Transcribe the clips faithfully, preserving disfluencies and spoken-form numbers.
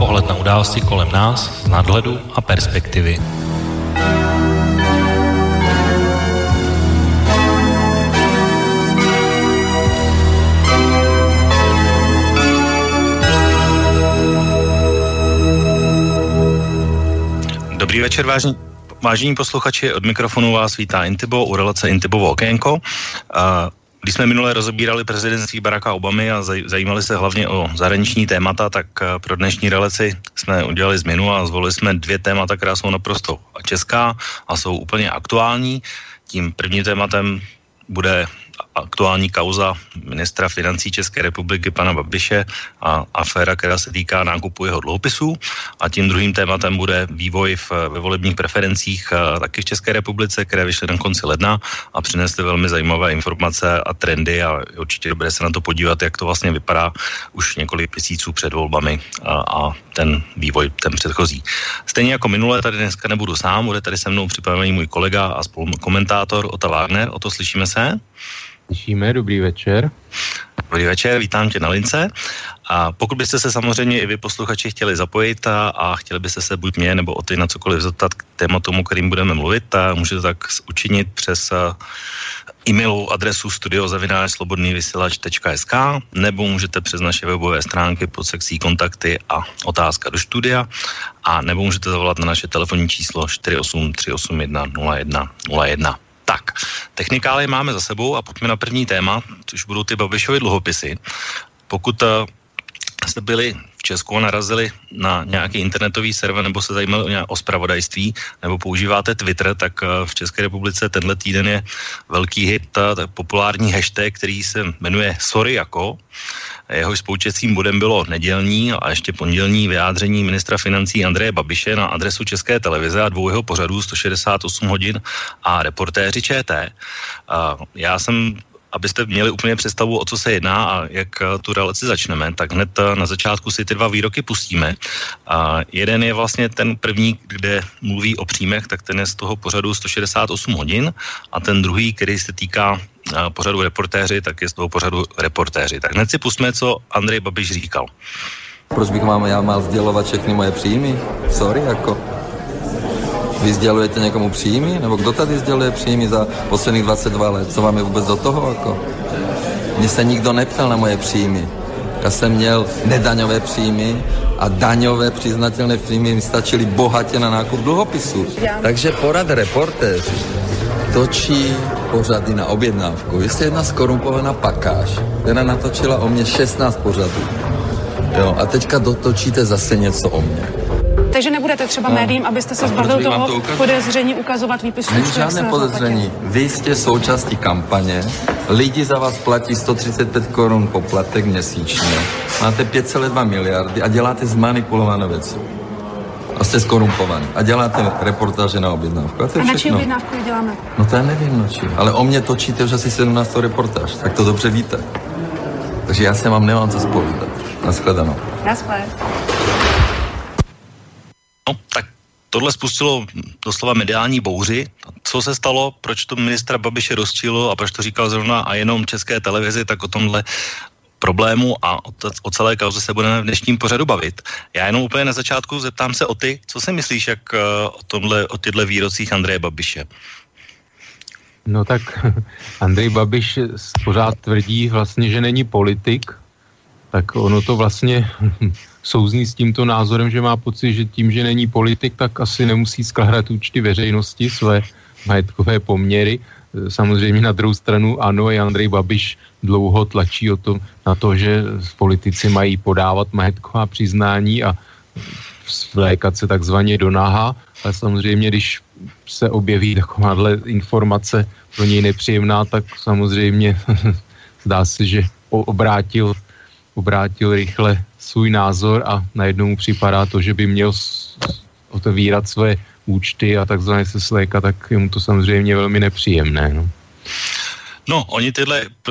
Pohled na události kolem nás z nadhledu a perspektivy. Dobrý večer, vážení, vážení posluchači, od mikrofonu vás vítá Intibo u relace Intibovo okénko. Když jsme minule rozebírali prezidentství Baracka Obamy a zajímali se hlavně o zahraniční témata, tak pro dnešní relaci jsme udělali změnu a zvolili jsme dvě témata, která jsou naprosto česká a jsou úplně aktuální. Tím prvním tématem bude aktuální kauza ministra financí České republiky pana Babiše a aféra, která se týká nákupu jeho dluhopisů. A tím druhým tématem bude vývoj v, ve volebních preferencích taky v České republice, které vyšly na konci ledna a přinesly velmi zajímavé informace a trendy a určitě dobré se na to podívat, jak to vlastně vypadá už několik měsíců před volbami a, a ten vývoj, ten předchozí. Stejně jako minule, tady dneska nebudu sám, bude tady se mnou připravený můj kolega a spolukomentátor Ota Wagner. Oto, slyšíme se? Slyšíme, dobrý večer. Dobrý večer, vítám tě na lince. A pokud byste se samozřejmě i vy posluchači chtěli zapojit a, a chtěli byste se buď mě nebo o ty na cokoliv zeptat k tématu, kterým budeme mluvit, a můžete tak učinit přes e-mailovou adresu studio zavináč slobodný vysílač tečka es ká nebo můžete přes naše webové stránky pod sekcí kontakty a otázka do studia a nebo můžete zavolat na naše telefonní číslo čtyři osm tři osm jedna nula jedna nula jedna. Tak, technikály máme za sebou a pojďme na první téma, což budou ty Babišovy dluhopisy. Pokud uh, jste byli v Česku a narazili na nějaký internetový server nebo se zajímali o zpravodajství nebo používáte Twitter, tak uh, v České republice tenhle týden je velký hit, uh, populární hashtag, který se jmenuje Sorry jako. Jehož spoučetcím bodem bylo nedělní a ještě pondělní vyjádření ministra financí Andreje Babiše na adresu České televize a dvou jeho pořadů sto šedesát osm hodin a reportéři ČT. Já jsem, abyste měli úplně představu, o co se jedná a jak tu relaci začneme, tak hned na začátku si ty dva výroky pustíme. A jeden je vlastně ten první, kde mluví o příjmech, tak ten je z toho pořadu sto šedesát osm hodin a ten druhý, který se týká pořadu reportéři, tak je z toho pořadu reportéři. Tak hned si pustíme, co Andrej Babiš říkal. Proč bych mám, já mal sdělovat všechny moje příjmy? Sorry, jako. Vy sdělujete někomu příjmy? Nebo kdo tady sděluje příjmy za posledních dvacet dva let? Co vám je vůbec do toho, jako? Mně se nikdo neptal na moje příjmy. Já jsem měl nedaňové příjmy a daňové přiznatelné příjmy mi stačily bohatě na nákup dluhopisů. Takže porad reportéři točí pořady na objednávku. Vy jste jedna skorumpovaná pakáž, která natočila o mě šestnáct pořadů. Jo, a teďka dotočíte zase něco o mě. Takže nebudete třeba no. médiím, abyste se zbavil toho to podezření ukazovat výpisů? Není žádné podezření. Vy jste součástí kampaně, lidi za vás platí sto třicet pět korun poplatek měsíčně, máte pět celá dva miliardy a děláte zmanipulované věci. A jste skorumpovaný. A děláte reportáže na objednávku. A, a na čí objednávku děláme? No to já nevím, no či. Ale o mě točíte už asi sedmnáct reportáž. Tak to dobře víte. Takže já se vám nemám co zpovídat. Naschledanou. Naschle. No, tak tohle spustilo doslova mediální bouři. Co se stalo, proč to ministra Babiše rozčilo a proč to říkal zrovna a jenom České televizi, tak o tomhle problému a o, t- o celé kauze se budeme v dnešním pořadu bavit. Já jenom úplně na začátku zeptám se o ty, co si myslíš, jak uh, o tomhle, o těchto výrocích Andreje Babiše? No tak Andrej Babiš pořád tvrdí vlastně, že není politik, tak ono to vlastně souzní s tímto názorem, že má pocit, že tím, že není politik, tak asi nemusí skládat účty veřejnosti, své majetkové poměry. Samozřejmě na druhou stranu ano, i Andrej Babiš dlouho tlačí o to, na to, že politici mají podávat majetková přiznání a vlékat se takzvaně do náha, ale samozřejmě, když se objeví takováhle informace pro něj nepříjemná, tak samozřejmě zdá se, že obrátil, obrátil rychle svůj názor a najednou mu připadá to, že by měl otevírat své účty a takzvaně se slékat, tak je mu to samozřejmě velmi nepříjemné. No, no oni tyhle, pro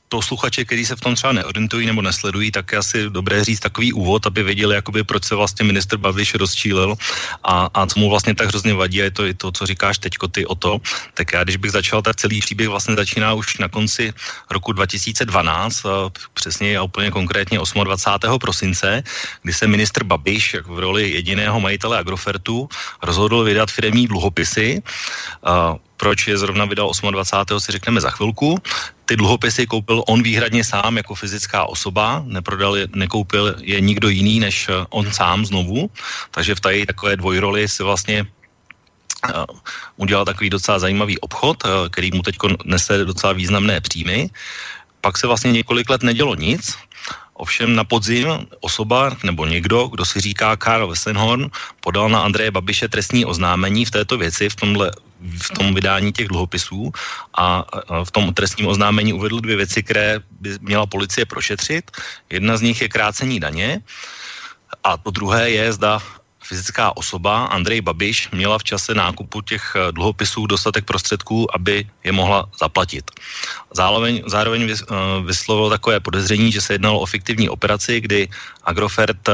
posluchače, kteří se v tom třeba neorientují nebo nesledují, tak je asi dobré říct takový úvod, aby věděli, jakoby, proč se vlastně ministr Babiš rozčílil a, a co mu vlastně tak hrozně vadí, a je to i to, co říkáš teďko ty o to. Tak já, když bych začal, tak celý příběh vlastně začíná už na konci roku dva tisíce dvanáct, přesně a úplně konkrétně dvacátého osmého prosince, kdy se ministr Babiš jak v roli jediného majitele Agrofertu rozhodl vydat firemní dluhopisy. Proč je zrovna vydal dvacátého osmého si řekneme za chvilku. Ty dluhopisy koupil on výhradně sám jako fyzická osoba, neprodal je, nekoupil je nikdo jiný než on sám znovu, takže v tady takové dvojroli si vlastně uh, udělal takový docela zajímavý obchod, uh, který mu teď nese docela významné příjmy. Pak se vlastně několik let nedělo nic. Ovšem na podzim osoba nebo někdo, kdo si říká Karl Westenhorn, podal na Andreje Babiše trestní oznámení v této věci, v tomhle v tom vydání těch dluhopisů a v tom trestním oznámení uvedl dvě věci, které by měla policie prošetřit. Jedna z nich je krácení daně a to druhé je, zda fyzická osoba Andrej Babiš měla v čase nákupu těch dluhopisů dostatek prostředků, aby je mohla zaplatit. Zároveň, zároveň vyslovil takové podezření, že se jednalo o fiktivní operaci, kdy Agrofert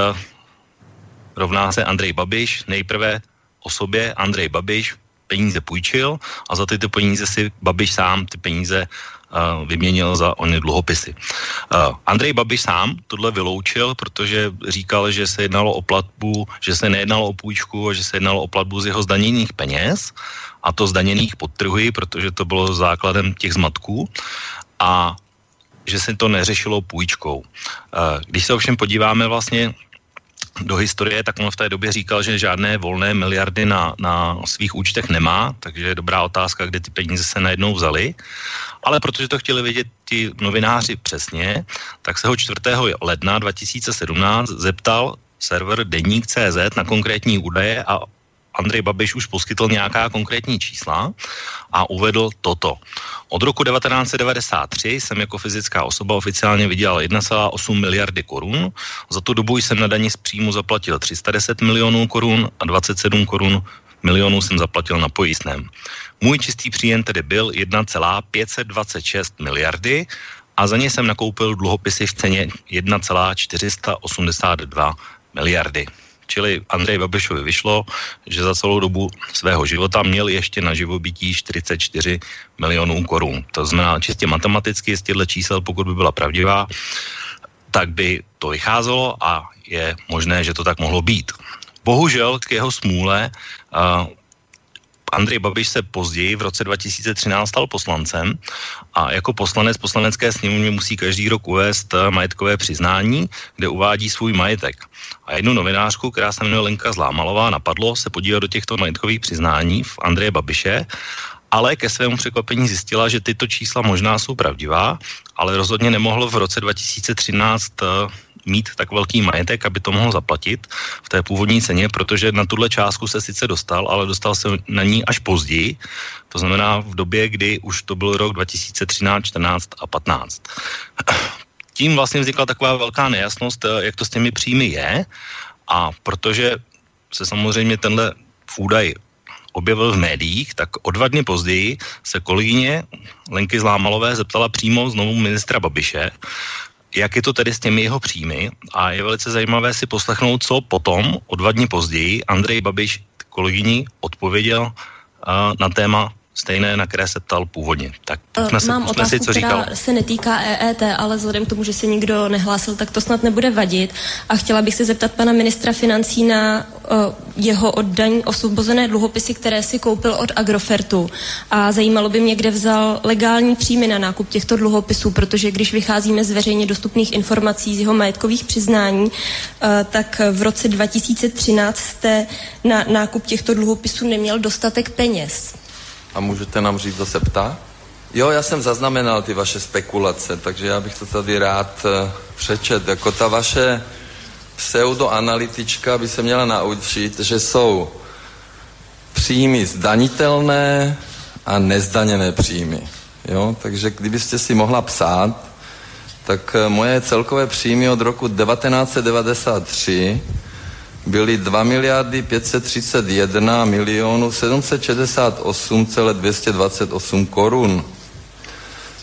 rovná se Andrej Babiš, nejprve osobě Andrej Babiš peníze půjčil a za tyto peníze si Babiš sám ty peníze uh, vyměnil za ony dluhopisy. Uh, Andrej Babiš sám tohle vyloučil, protože říkal, že se jednalo o platbu, že se nejednalo o půjčku a že se jednalo o platbu z jeho zdaněných peněz, a to zdaněných podtrhuji, protože to bylo základem těch zmatků, a že se to neřešilo půjčkou. Uh, když se ovšem podíváme vlastně do historie, tak on v té době říkal, že žádné volné miliardy na, na svých účtech nemá, takže je dobrá otázka, kde ty peníze se najednou vzaly. Ale protože to chtěli vědět ti novináři přesně, tak se ho čtvrtého ledna dva tisíce sedmnáct zeptal server Deník tečka cé zet na konkrétní údaje a Andrej Babiš už poskytl nějaká konkrétní čísla a uvedl toto. Od roku devatenáct set devadesát tři jsem jako fyzická osoba oficiálně vydělal jedna celá osm miliardy korun. Za tu dobu jsem na dani z příjmu zaplatil tři sta deset milionů korun a dvacet sedm korun milionů jsem zaplatil na pojistném. Můj čistý příjem tedy byl jedna celá pět set dvacet šest miliardy a za ně jsem nakoupil dluhopisy v ceně jedna celá čtyři sta osmdesát dva miliardy. Čili Andrej Babišovi vyšlo, že za celou dobu svého života měl ještě na živobytí čtyřicet čtyři milionů korun. To znamená čistě matematicky, z těchto čísel, pokud by byla pravdivá, tak by to vycházelo a je možné, že to tak mohlo být. Bohužel k jeho smůle uh, Andrej Babiš se později v roce dva tisíce třináct stal poslancem a jako poslanec poslanecké sněmovny musí každý rok uvést majetkové přiznání, kde uvádí svůj majetek. A jednu novinářku, která se jmenuje Lenka Zlámalová, napadlo se podívat do těchto majetkových přiznání v Andreje Babiše, ale ke svému překvapení zjistila, že tyto čísla možná jsou pravdivá, ale rozhodně nemohl v roce dva tisíce třináct mít tak velký majetek, aby to mohl zaplatit v té původní ceně, protože na tuhle částku se sice dostal, ale dostal se na ní až později, to znamená v době, kdy už to byl rok dva tisíce třináct, čtrnáct a patnáct. Tím vlastně vznikla taková velká nejasnost, jak to s těmi příjmy je, a protože se samozřejmě tenhle údaj objevil v médiích, tak o dva dny později se kolegyně Lenky Zlámalové zeptala přímo znovu ministra Babiše, jak je to tedy s těmi jeho příjmy, a je velice zajímavé si poslechnout, co potom o dva dny později Andrej Babiš kolegyni odpověděl uh, na téma stejné, na které se ptal původně. Tak uh, se, mám otázku, si, co říkal. která se netýká E E T, ale vzhledem k tomu, že se nikdo nehlásil, tak to snad nebude vadit. A chtěla bych se zeptat pana ministra financí na uh, jeho oddaní osvobozené dluhopisy, které si koupil od Agrofertu. A zajímalo by mě, kde vzal legální příjmy na nákup těchto dluhopisů, protože když vycházíme z veřejně dostupných informací z jeho majetkových přiznání, uh, tak v roce dva tisíce třináct jste na nákup těchto dluhopisů neměl dostatek peněz. A můžete nám říct, kdo se ptá? Jo, já jsem zaznamenal ty vaše spekulace, takže já bych to tady rád uh, přečet. Jako ta vaše pseudoanalytička by se měla naučit, že jsou příjmy zdanitelné a nezdaněné příjmy. Jo, takže kdybyste si mohla psát, tak uh, moje celkové příjmy od roku devatenáct set devadesát tři byly dva miliardy pět set třicet jedna milionů sedm set šedesát osm celé dvě stě dvacet osm korun. Z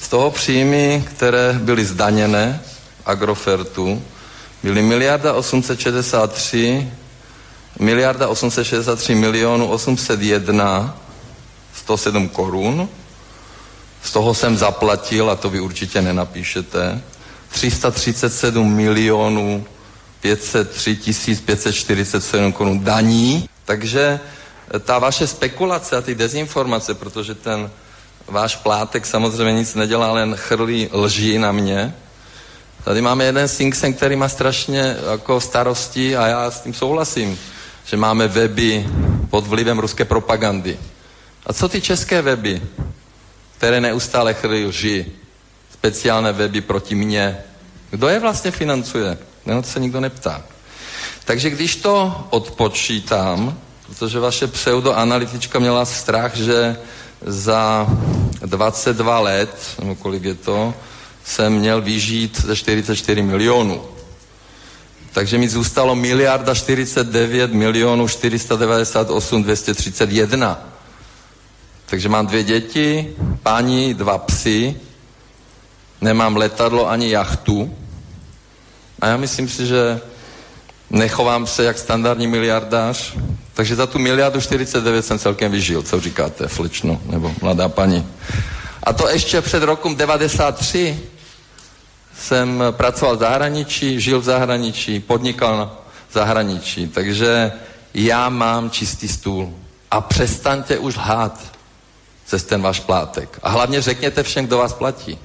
z toho příjmy, které byly zdaněné Agrofertu, byly miliarda osmset šedesát tři, miliarda osmset šedesát tři milionů osmset jedna sto sedm korun. Z toho jsem zaplatil, a to vy určitě nenapíšete, tři sta třicet sedm milionů pět set tři tisíc pět set čtyřicet sedm korun daní. Takže ta vaše spekulace a ty dezinformace, protože ten váš plátek samozřejmě nic nedělá, len chrlí lži na mě. Tady máme jeden think tank, který má strašně jako starosti a já s tím souhlasím, že máme weby pod vlivem ruské propagandy. A co ty české weby, které neustále chrlí lži, speciální weby proti mně? Kdo je vlastně financuje? No, to se nikdo neptá. Takže když to odpočítám, protože vaše pseudoanalytička měla strach, že za dvacet dva let, no kolik je to, jsem měl vyžít ze čtyřicet čtyři milionů. Takže mi zůstalo miliarda čtyřicet devět milionů čtyři sta devadesát osm dvě stě třicet jedna. Takže mám dvě děti, paní, dva psy, nemám letadlo ani jachtu. A já myslím si, že nechovám se jak standardní miliardář, takže za tu miliardu čtyřicet devět jsem celkem vyžil, co říkáte, slečno, nebo mladá paní. A to ještě před rokem devadesát tři jsem pracoval v zahraničí, žil v zahraničí, podnikal v zahraničí, takže já mám čistý stůl. A přestaňte už lhát přes ten váš plátek. A hlavně řekněte všem, kdo vás platí.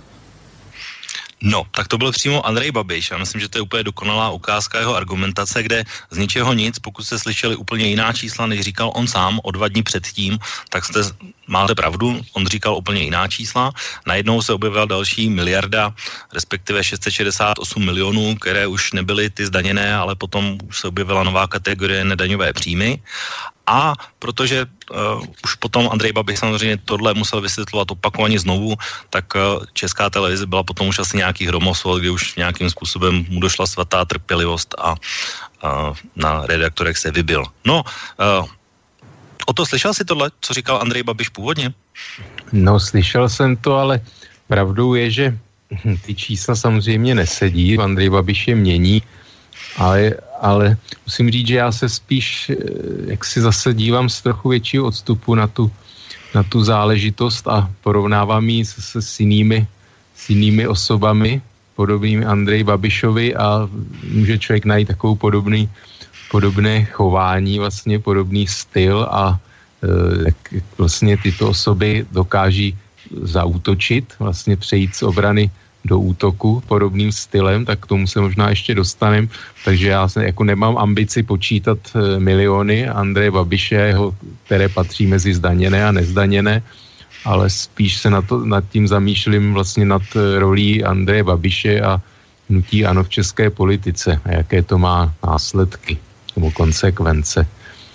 No, tak to byl přímo Andrej Babiš. Já myslím, že to je úplně dokonalá ukázka jeho argumentace, kde z ničeho nic, pokud jste slyšeli úplně jiná čísla, než říkal on sám o dva dny předtím, tak jste, máte pravdu, on říkal úplně jiná čísla. Najednou se objevila další miliarda, respektive šest set šedesát osm milionů, které už nebyly ty zdaněné, ale potom už se objevila nová kategorie nedaňové příjmy. A protože uh, už potom Andrej Babiš samozřejmě tohle musel vysvětlovat opakovaně znovu, tak uh, Česká televize byla potom už asi nějaký hromosvol, kdy už nějakým způsobem mu došla svatá trpělivost a uh, na redaktorech se vybil. No, uh, o to slyšel jsi tohle, co říkal Andrej Babiš původně? No, slyšel jsem to, ale pravdou je, že ty čísla samozřejmě nesedí, Andrej Babiš je mění, ale, ale musím říct, že já se spíš, jak si zase dívám z trochu většího odstupu na tu, na tu záležitost a porovnávám ji se, s, jinými, s jinými osobami, podobnými Andreji Babišovi, a může člověk najít takovou podobný, podobné chování, vlastně podobný styl, a jak vlastně tyto osoby dokáží zaútočit, vlastně přejít z obrany do útoku podobným stylem, tak k tomu se možná ještě dostanem. Takže já se jako nemám ambici počítat miliony Andreje Babiše, jeho, které patří mezi zdaněné a nezdaněné, ale spíš se na to, nad tím zamýšlím vlastně nad rolí Andreje Babiše a hnutí ANO v české politice a jaké to má následky nebo konsekvence.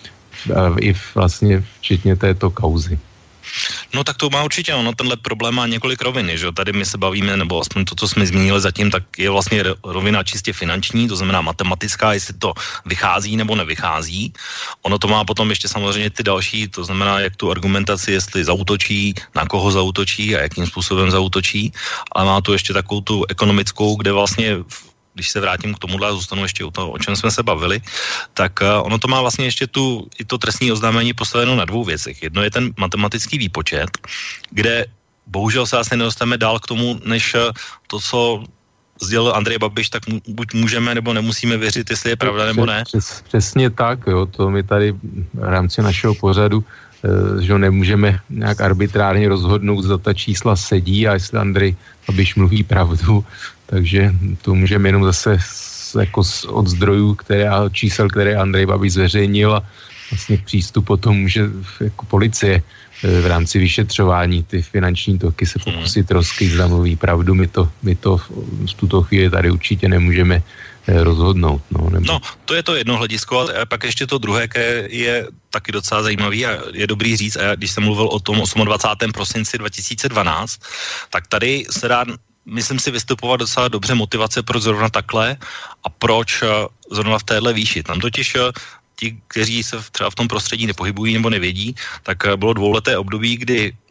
I vlastně včetně této kauzy. No tak to má určitě, ono tenhle problém má několik rovin, že jo, tady my se bavíme, nebo aspoň to, co jsme zmínili zatím, tak je vlastně rovina čistě finanční, to znamená matematická, jestli to vychází nebo nevychází. Ono to má potom ještě samozřejmě ty další, to znamená, jak tu argumentaci, jestli zaútočí, na koho zaútočí a jakým způsobem zaútočí, ale má tu ještě takovou tu ekonomickou, kde vlastně když se vrátím k tomuhle a zůstanu ještě u toho, o čem jsme se bavili, tak uh, ono to má vlastně ještě tu, i to trestní oznámení postaveno na dvou věcech. Jedno je ten matematický výpočet, kde bohužel se asi nedostaneme dál k tomu, než to, co sdělil Andrej Babiš, tak mu, buď můžeme nebo nemusíme věřit, jestli je pravda nebo ne. Přes, přesně tak, jo, to my tady v rámci našeho pořadu, uh, že nemůžeme nějak arbitrárně rozhodnout, zda ta čísla sedí a jestli Andrej Babiš mluví pravdu. Takže to můžeme jenom zase jako od zdrojů, které, čísel, které Andrej Babiš zveřejnil, a vlastně k přístupu potom může jako policie v rámci vyšetřování ty finanční toky se pokusit rozkrýt, zda mluví pravdu. My to, my to v tuto chvíli tady určitě nemůžeme rozhodnout. No, nebo... no to je to jedno hledisko, a pak ještě to druhé, které je taky docela zajímavý a je dobrý říct, a když jsem mluvil o tom dvacátého osmého prosince dva tisíce dvanáct, tak tady se dá, myslím si, vystupovat docela dobře motivace, proč zrovna takhle a proč zrovna v téhle výši. Tam totiž ti, kteří se třeba v tom prostředí nepohybují nebo nevědí, tak bylo dvouleté období, kdy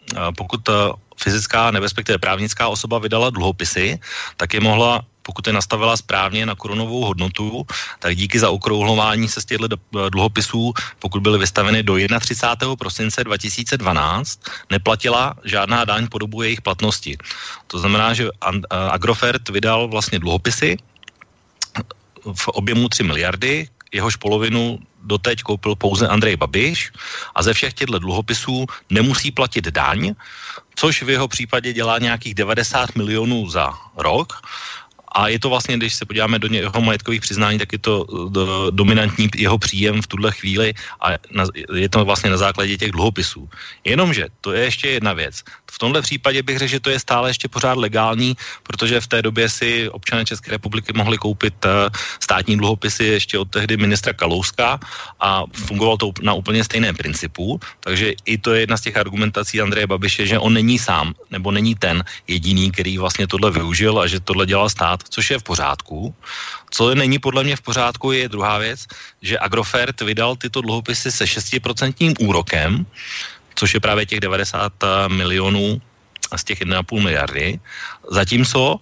pokud fyzická, nebo respektive právnická osoba vydala dluhopisy, tak je mohla, pokud je nastavila správně na korunovou hodnotu, tak díky zaokrouhlování se z těchto dluhopisů, pokud byly vystaveny do třicátého prvního prosince dva tisíce dvanáct, neplatila žádná daň po dobu jejich platnosti. To znamená, že Agrofert vydal vlastně dluhopisy v objemu tři miliardy, jehož polovinu doteď koupil pouze Andrej Babiš a ze všech těchto dluhopisů nemusí platit daň, což v jeho případě dělá nějakých devadesát milionů za rok. A je to vlastně, když se podíváme do jeho majetkových přiznání, tak je to do, dominantní jeho příjem v tuhle chvíli a na, je to vlastně na základě těch dluhopisů. Jenomže to je ještě jedna věc. V tomhle případě bych řekl, že to je stále ještě pořád legální, protože v té době si občané České republiky mohli koupit uh, státní dluhopisy ještě od tehdy ministra Kalouska a fungovalo to na úplně stejném principu, takže i to je jedna z těch argumentací Andreje Babiše, že on není sám, nebo není ten jediný, který vlastně tohle využil a že tohle dělal stát, což je v pořádku. Co není podle mě v pořádku, je druhá věc, že Agrofert vydal tyto dluhopisy se šestiprocentním úrokem, což je právě těch devadesát milionů z těch jedna celá pět miliardy, zatímco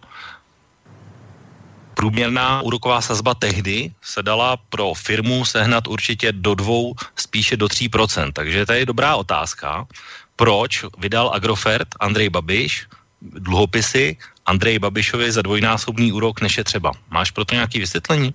průměrná úroková sazba tehdy se dala pro firmu sehnat určitě do dvou, spíše do tří procent. Takže to je dobrá otázka, proč vydal Agrofert Andrej Babiš dluhopisy Andreji Babišovi za dvojnásobný úrok, než je třeba. Máš pro to nějaké vysvětlení?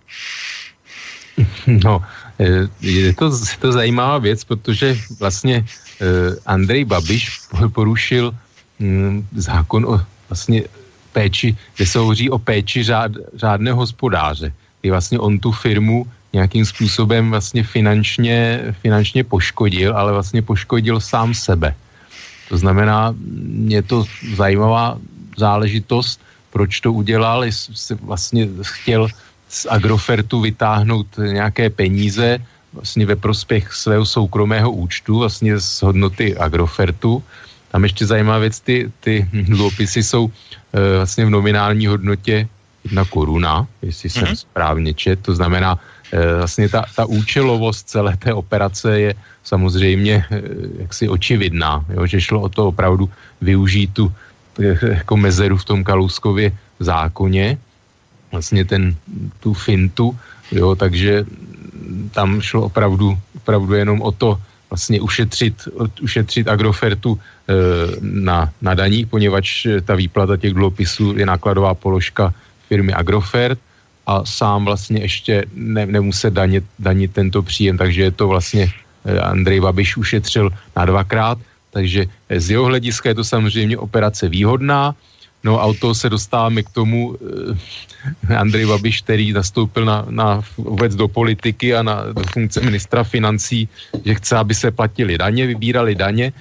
No, je to, je to zajímavá věc, protože vlastně Andrej Babiš porušil zákon o vlastně péči, kde se hovoří o péči řád, řádného hospodáře. Kdy vlastně on tu firmu nějakým způsobem vlastně finančně, finančně poškodil, ale vlastně poškodil sám sebe. To znamená, je to zajímavá záležitost, proč to udělal, jestli vlastně chtěl z Agrofertu vytáhnout nějaké peníze vlastně ve prospěch svého soukromého účtu, vlastně z hodnoty Agrofertu. Tam ještě zajímavá věc, ty, ty dluhopisy jsou e, vlastně v nominální hodnotě jedna koruna, jestli jsem mm-hmm. správně čet, to znamená e, vlastně ta, ta účelovost celé té operace je samozřejmě e, jaksi očividná, jo, že šlo o to opravdu využít tu e, jako mezeru v tom Kalouskově zákoně, vlastně ten, tu fintu, jo, takže tam šlo opravdu, opravdu jenom o to vlastně ušetřit, ušetřit Agrofertu e, na, na daních, poněvadž ta výplata těch dluhopisů je nákladová položka firmy Agrofert a sám vlastně ještě ne, nemusí danit, danit tento příjem, takže je to vlastně e, Andrej Babiš ušetřil na dvakrát, takže z jeho hlediska je to samozřejmě operace výhodná. No a od toho se dostáváme k tomu eh, Andrej Babiš, který nastoupil na, na vůbec do politiky a na do funkce ministra financí, že chce, aby se platili daně, vybírali daně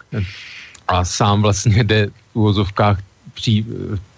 a sám vlastně jde v uvozovkách pří,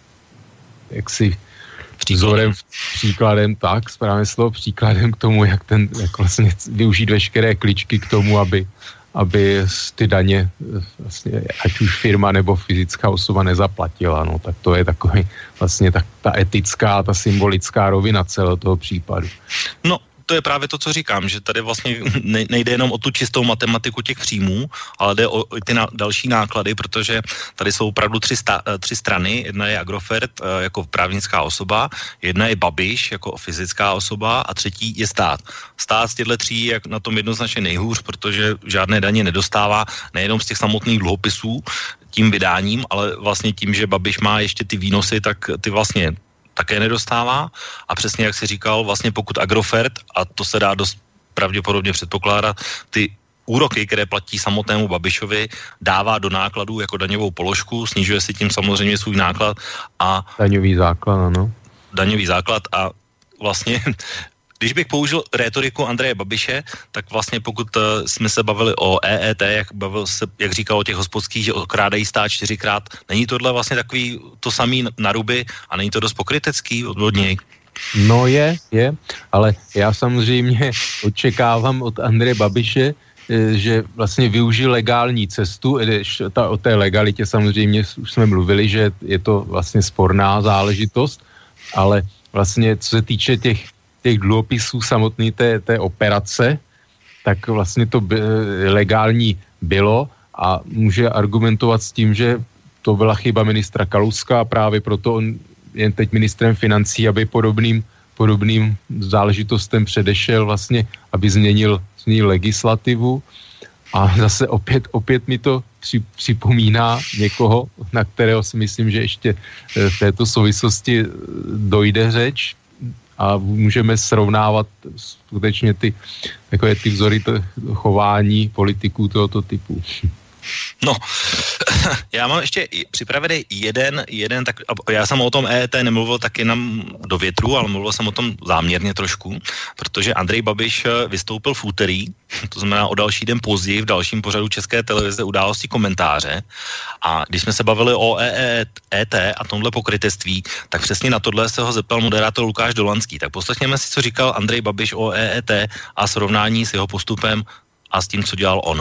jaksi vzorem, příkladem, tak, správně slovo, příkladem k tomu, jak ten, jak vlastně využít veškeré kličky k tomu, aby aby ty daně, vlastně, ať už firma nebo fyzická osoba nezaplatila, no, tak to je takový vlastně tak, ta etická, ta symbolická rovina celého toho případu. No, to je právě to, co říkám, že tady vlastně nejde jenom o tu čistou matematiku těch příjmů, ale jde o ty na, další náklady, protože tady jsou opravdu tři, sta, tři strany. Jedna je Agrofert jako právnická osoba, jedna je Babiš jako fyzická osoba a třetí je stát. Stát z těchto tří je na tom jednoznačně nejhůř, protože žádné daně nedostává, nejenom z těch samotných dluhopisů tím vydáním, ale vlastně tím, že Babiš má ještě ty výnosy, tak ty vlastně také nedostává a přesně jak si říkal, vlastně pokud Agrofert, a to se dá dost pravděpodobně předpokládat, ty úroky, které platí samotnému Babišovi, dává do nákladů jako daňovou položku, snižuje si tím samozřejmě svůj náklad a... Daňový základ, ano. Daňový základ a vlastně... Když bych použil rétoriku Andreje Babiše, tak vlastně pokud uh, jsme se bavili o E E T, jak, bavil se, jak říkal o těch hospodských, že okrádají stát čtyřikrát, není tohle vlastně takový to samý na ruby a není to dost pokrytecký od něj? No je, je, ale já samozřejmě očekávám od Andreje Babiše, že vlastně využil legální cestu, ta, o té legalitě samozřejmě už jsme mluvili, že je to vlastně sporná záležitost, ale vlastně co se týče těch těch dluhopisů samotný té, té operace, tak vlastně to by, legální bylo a může argumentovat s tím, že to byla chyba ministra Kalouska a právě proto on je teď ministrem financí, aby podobným, podobným záležitostem předešel vlastně, aby změnil, změnil legislativu. A zase opět, opět mi to při, připomíná někoho, na kterého si myslím, že ještě v této souvislosti dojde řeč a můžeme srovnávat skutečně ty, takové ty vzory chování politiků tohoto typu. No, já mám ještě připravený jeden, jeden, tak já jsem o tom E E T nemluvil tak jenom do větru, ale mluvil jsem o tom záměrně trošku, protože Andrej Babiš vystoupil v úterý, to znamená o další den později v dalším pořadu České televize Události komentáře, a když jsme se bavili o E E T a tomhle pokrytectví, tak přesně na tohle se ho zeptal moderátor Lukáš Dolanský. Tak poslechněme si, co říkal Andrej Babiš o E E T a srovnání s jeho postupem a s tím, co dělal on.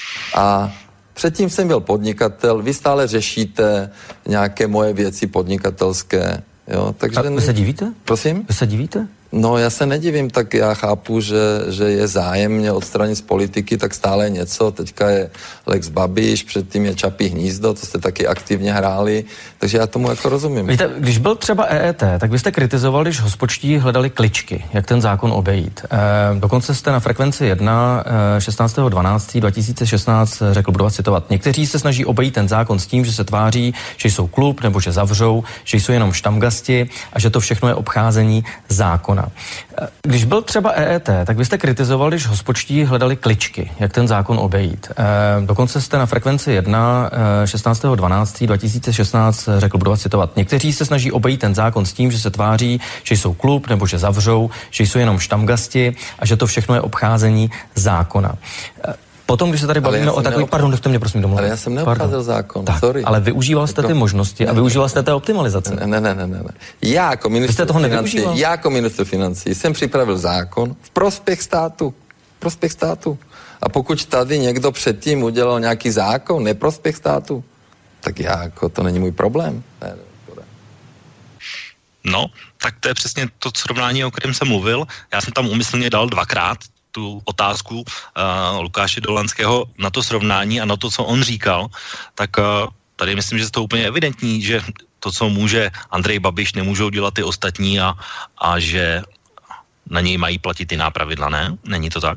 A předtím jsem byl podnikatel, vy stále řešíte nějaké moje věci podnikatelské, jo, takže... A vy se divíte? Prosím? Vy se divíte? No, já se nedivím, tak já chápu, že, že je zájem mě odstranit z politiky, tak stále je něco, teďka je Lex Babiš, předtím je Čapí hnízdo, to jste taky aktivně hráli, takže já tomu jako rozumím. Víte, když byl třeba E E T, tak byste kritizoval, když hospodští hledali kličky, jak ten zákon obejít. E, dokonce jste na Frekvenci jedna e, šestnáctého dvanáctého dva tisíce šestnáct řekl, budu vás citovat, někteří se snaží obejít ten zákon s tím, že se tváří, že jsou klub nebo že zavřou, že jsou jenom štamgasti a že to všechno je obcházení zákona. Když byl třeba E E T, tak byste kritizoval, když hospodští hledali kličky, jak ten zákon obejít. E, dokonce jste na Frekvenci jedna šestnáctého dvanáctého dva tisíce šestnáct řekl, budu vás citovat, někteří se snaží obejít ten zákon s tím, že se tváří, že jsou klub nebo že zavřou, že jsou jenom štamgasti a že to všechno je obcházení zákona. E, Potom, když se tady bavíme o takový... Neobcházel... Pardon, nechte mě prosím domluvit. Ale já jsem neobcházel zákon, tak, sorry. Ale využíval jste ty možnosti a využíval jste té optimalizace. Ne, ne, ne, ne, ne. Já jako ministr toho financí, já jako ministr financí jsem připravil zákon v prospěch státu. V prospěch státu. A pokud tady někdo předtím udělal nějaký zákon neprospěch státu, tak já jako, to není můj problém. Ne, no, tak to je přesně to srovnání, o kterém jsem mluvil. Já jsem tam úmyslně dal dvakrát tu otázku uh, Lukáše Dolanského na to srovnání a na to, co on říkal, tak uh, tady myslím, že je to úplně evidentní, že to, co může Andrej Babiš, nemůžou dělat ty ostatní a, a že na něj mají platit jiná pravidla, ne? Není to tak?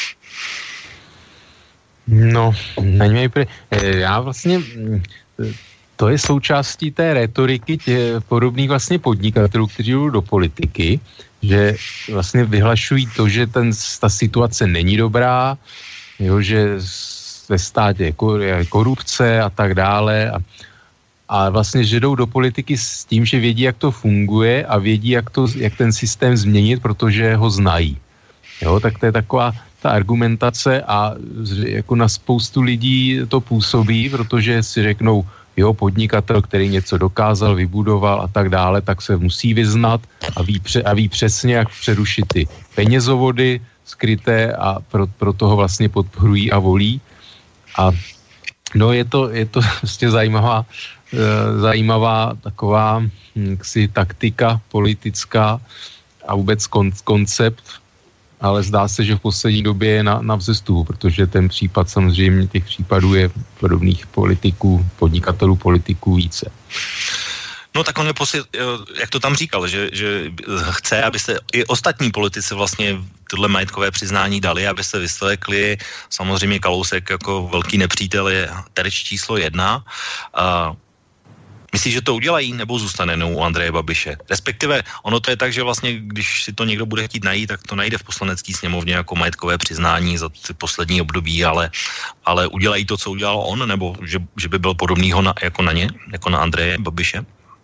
No, na něj pre... já vlastně... To je součástí té retoriky těch podobných vlastně podnikatelů, kteří jdou do politiky, že vlastně vyhlašují to, že ten, ta situace není dobrá, jo, že ve státě je korupce a tak dále a, a vlastně, že jdou do politiky s tím, že vědí, jak to funguje a vědí, jak, to, jak ten systém změnit, protože ho znají. Jo, tak to je taková ta argumentace a jako na spoustu lidí to působí, protože si řeknou, jo, podnikatel, který něco dokázal, vybudoval a tak dále, tak se musí vyznat a ví, pře, a ví přesně, jak přerušit ty penězovody skryté a pro, pro toho vlastně podporují a volí. A no je to, je to vlastně zajímavá, e, zajímavá taková ksi, taktika politická a vůbec kon, koncept, ale zdá se, že v poslední době je na, na vzestupu, protože ten případ samozřejmě, těch případů je podobných politiků, podnikatelů politiků více. No tak on je posl- jak to tam říkal, že, že chce, aby se i ostatní politici vlastně tohle majetkové přiznání dali, aby se vyslekli. Samozřejmě Kalousek jako velký nepřítel je terč číslo jedna. A myslíš, že to udělají, nebo zůstane no u Andreje Babiše? Respektive ono to je tak, že vlastně, když si to někdo bude chtít najít, tak to najde v poslanecké sněmovně jako majetkové přiznání za ty poslední období, ale, ale udělají to, co udělal on, nebo že, že by byl podobnýho na, jako na ně, jako na Andreje Babiše?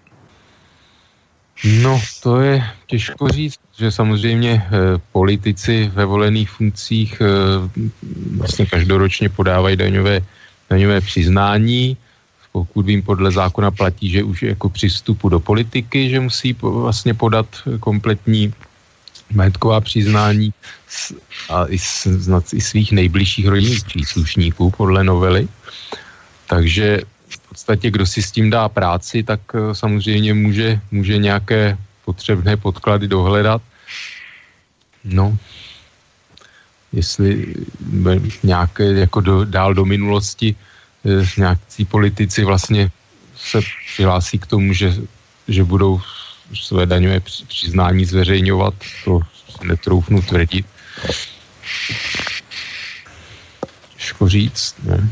No, to je těžko říct, že samozřejmě e, politici ve volených funkcích e, vlastně každoročně podávají daňové, daňové přiznání. Pokud vím, podle zákona platí, že už jako při vstupu do politiky, že musí vlastně podat kompletní majetková přiznání a i, snad i svých nejbližších rodinných příslušníků podle novely. Takže v podstatě, kdo si s tím dá práci, tak samozřejmě může, může nějaké potřebné podklady dohledat. No, jestli nějaké jako do, dál do minulosti nějakcí politici vlastně se přihlásí k tomu, že, že budou své daňové přiznání zveřejňovat, to netroufnu tvrdit. Těžko říct, ne?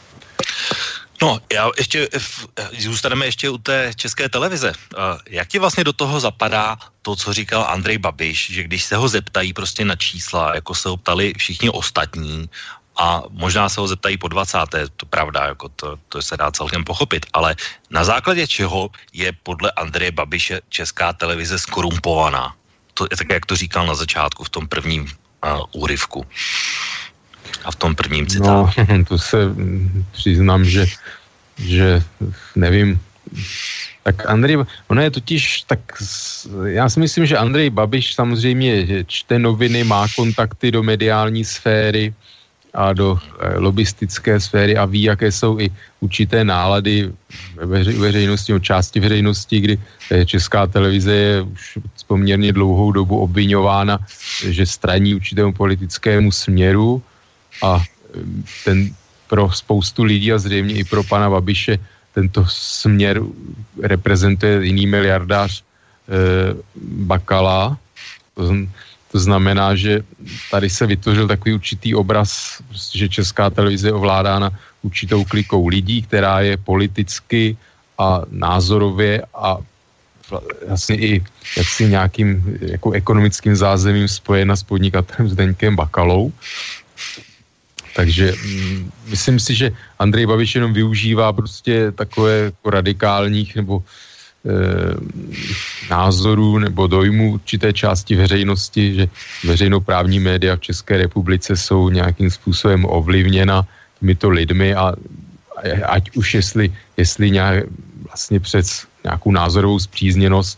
No, já ještě, zůstaneme ještě u té České televize. Jak ti vlastně do toho zapadá to, co říkal Andrej Babiš, že když se ho zeptají prostě na čísla, jako se ho ptali všichni ostatní, a možná se ho zeptají po dvacáté, to pravda, jako to, to se dá celkem pochopit, ale na základě čeho je podle Andreje Babiše Česká televize skorumpovaná? To je tak, jak to říkal na začátku v tom prvním uh, úryvku a v tom prvním citátu. No, to se přiznám, že, že nevím. Tak Andrej, ono je totiž, tak já si myslím, že Andrej Babiš samozřejmě čte noviny, má kontakty do mediální sféry a do lobistické sféry a ví, jaké jsou i určité nálady ve veřejnosti, o části veřejnosti, kdy Česká televize je už poměrně dlouhou dobu obviňována, že straní určitému politickému směru a ten pro spoustu lidí a zřejmě i pro pana Babiše tento směr reprezentuje jiný miliardář e, Bakala. To, to znamená, že tady se vytvořil takový určitý obraz, prostě, že Česká televize je ovládána určitou klikou lidí, která je politicky a názorově a vlastně i jaksi nějakým jako ekonomickým zázemím spojena s podnikatelem Zdeňkem Bakalou. Takže mm, myslím si, že Andrej Babiš jenom využívá prostě takové jako radikálních nebo e, názorů nebo dojmů určité části veřejnosti, že veřejnoprávní média v České republice jsou nějakým způsobem ovlivněna těmito lidmi a ať už jestli, jestli nějak vlastně přes nějakou názorovou spřízněnost,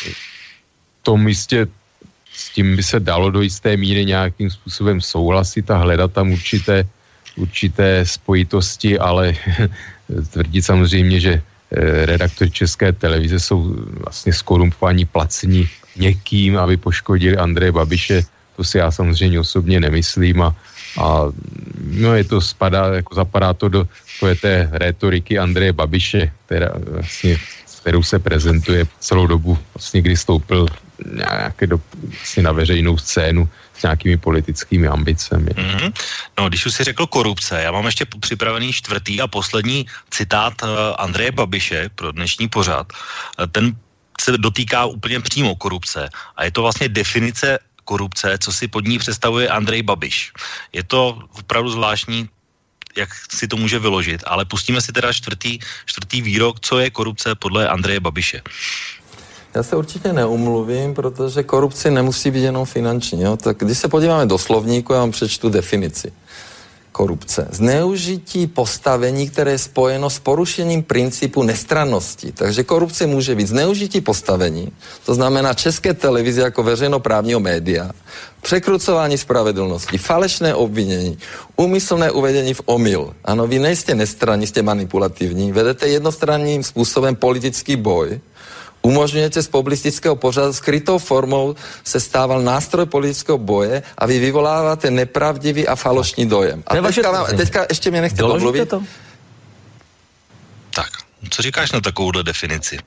to místě s tím by se dalo do jisté míry nějakým způsobem souhlasit a hledat tam určité, určité spojitosti, ale tvrdit samozřejmě, že redaktoři České televize jsou vlastně skorumpovaní, placení někým, aby poškodili Andreje Babiše, to si já samozřejmě osobně nemyslím a, a no je to spadá, jako zapadá to do té rétoriky Andreje Babiše, která vlastně, kterou se prezentuje celou dobu, vlastně kdy stoupil nějaké do, vlastně na veřejnou scénu s nějakými politickými ambicemi. Mm-hmm. No, když už si řekl korupce, já mám ještě připravený čtvrtý a poslední citát Andreje Babiše pro dnešní pořad. Ten se dotýká úplně přímo korupce a je to vlastně definice korupce, co si pod ní představuje Andrej Babiš. Je to opravdu zvláštní, jak si to může vyložit, ale pustíme si teda čtvrtý, čtvrtý výrok, co je korupce podle Andreje Babiše. Já se určitě neumluvím, protože korupce nemusí být jenom finanční. Jo? Tak když se podíváme do slovníku, já vám přečtu definici. Korupce. Zneužití postavení, které je spojeno s porušením principu nestrannosti. Takže korupce může být zneužití postavení, to znamená České televize jako veřejnoprávního média, překrucování spravedlnosti, falešné obvinění, úmyslné uvedení v omyl. Ano, vy nejste nestranní, jste manipulativní, vedete jednostranným způsobem politický boj, umožňujete z publicistického pořadu skrytou formou se stával nástroj politického boje a vy vyvoláváte nepravdivý a falošný dojem. A teďka, vám, teďka ještě mě nechte domluvit. To? Tak, co říkáš na takovouhle definici?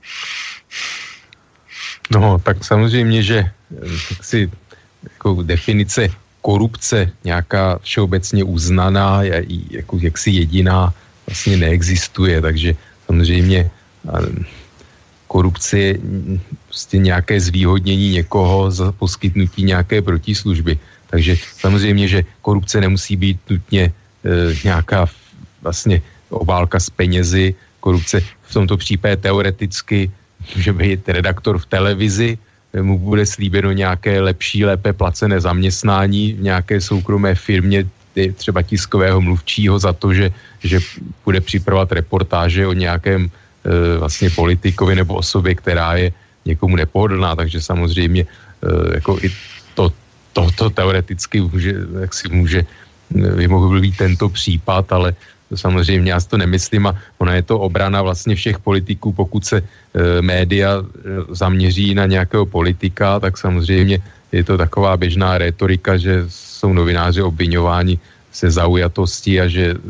No, tak samozřejmě, že tak si jako definice korupce nějaká všeobecně uznaná, jako jaksi jediná vlastně neexistuje, takže samozřejmě korupce je prostě nějaké zvýhodnění někoho za poskytnutí nějaké protislužby. Takže samozřejmě, že korupce nemusí být nutně e, nějaká vlastně obálka s penězi. Korupce v tomto případě teoreticky může být redaktor v televizi, mu bude slíbeno nějaké lepší, lépe placené zaměstnání v nějaké soukromé firmě, třeba tiskového mluvčího za to, že, že bude připravovat reportáže o nějakém vlastně politikovi nebo osobě, která je někomu nepohodlná, takže samozřejmě jako i to, to, to teoreticky může, jak si může, by mohl být tento případ, ale samozřejmě já si to nemyslím a ona je to obrana vlastně všech politiků, pokud se e, média zaměří na nějakého politika, tak samozřejmě je to taková běžná rétorika, že jsou novináři obviňováni se zaujatosti a že, že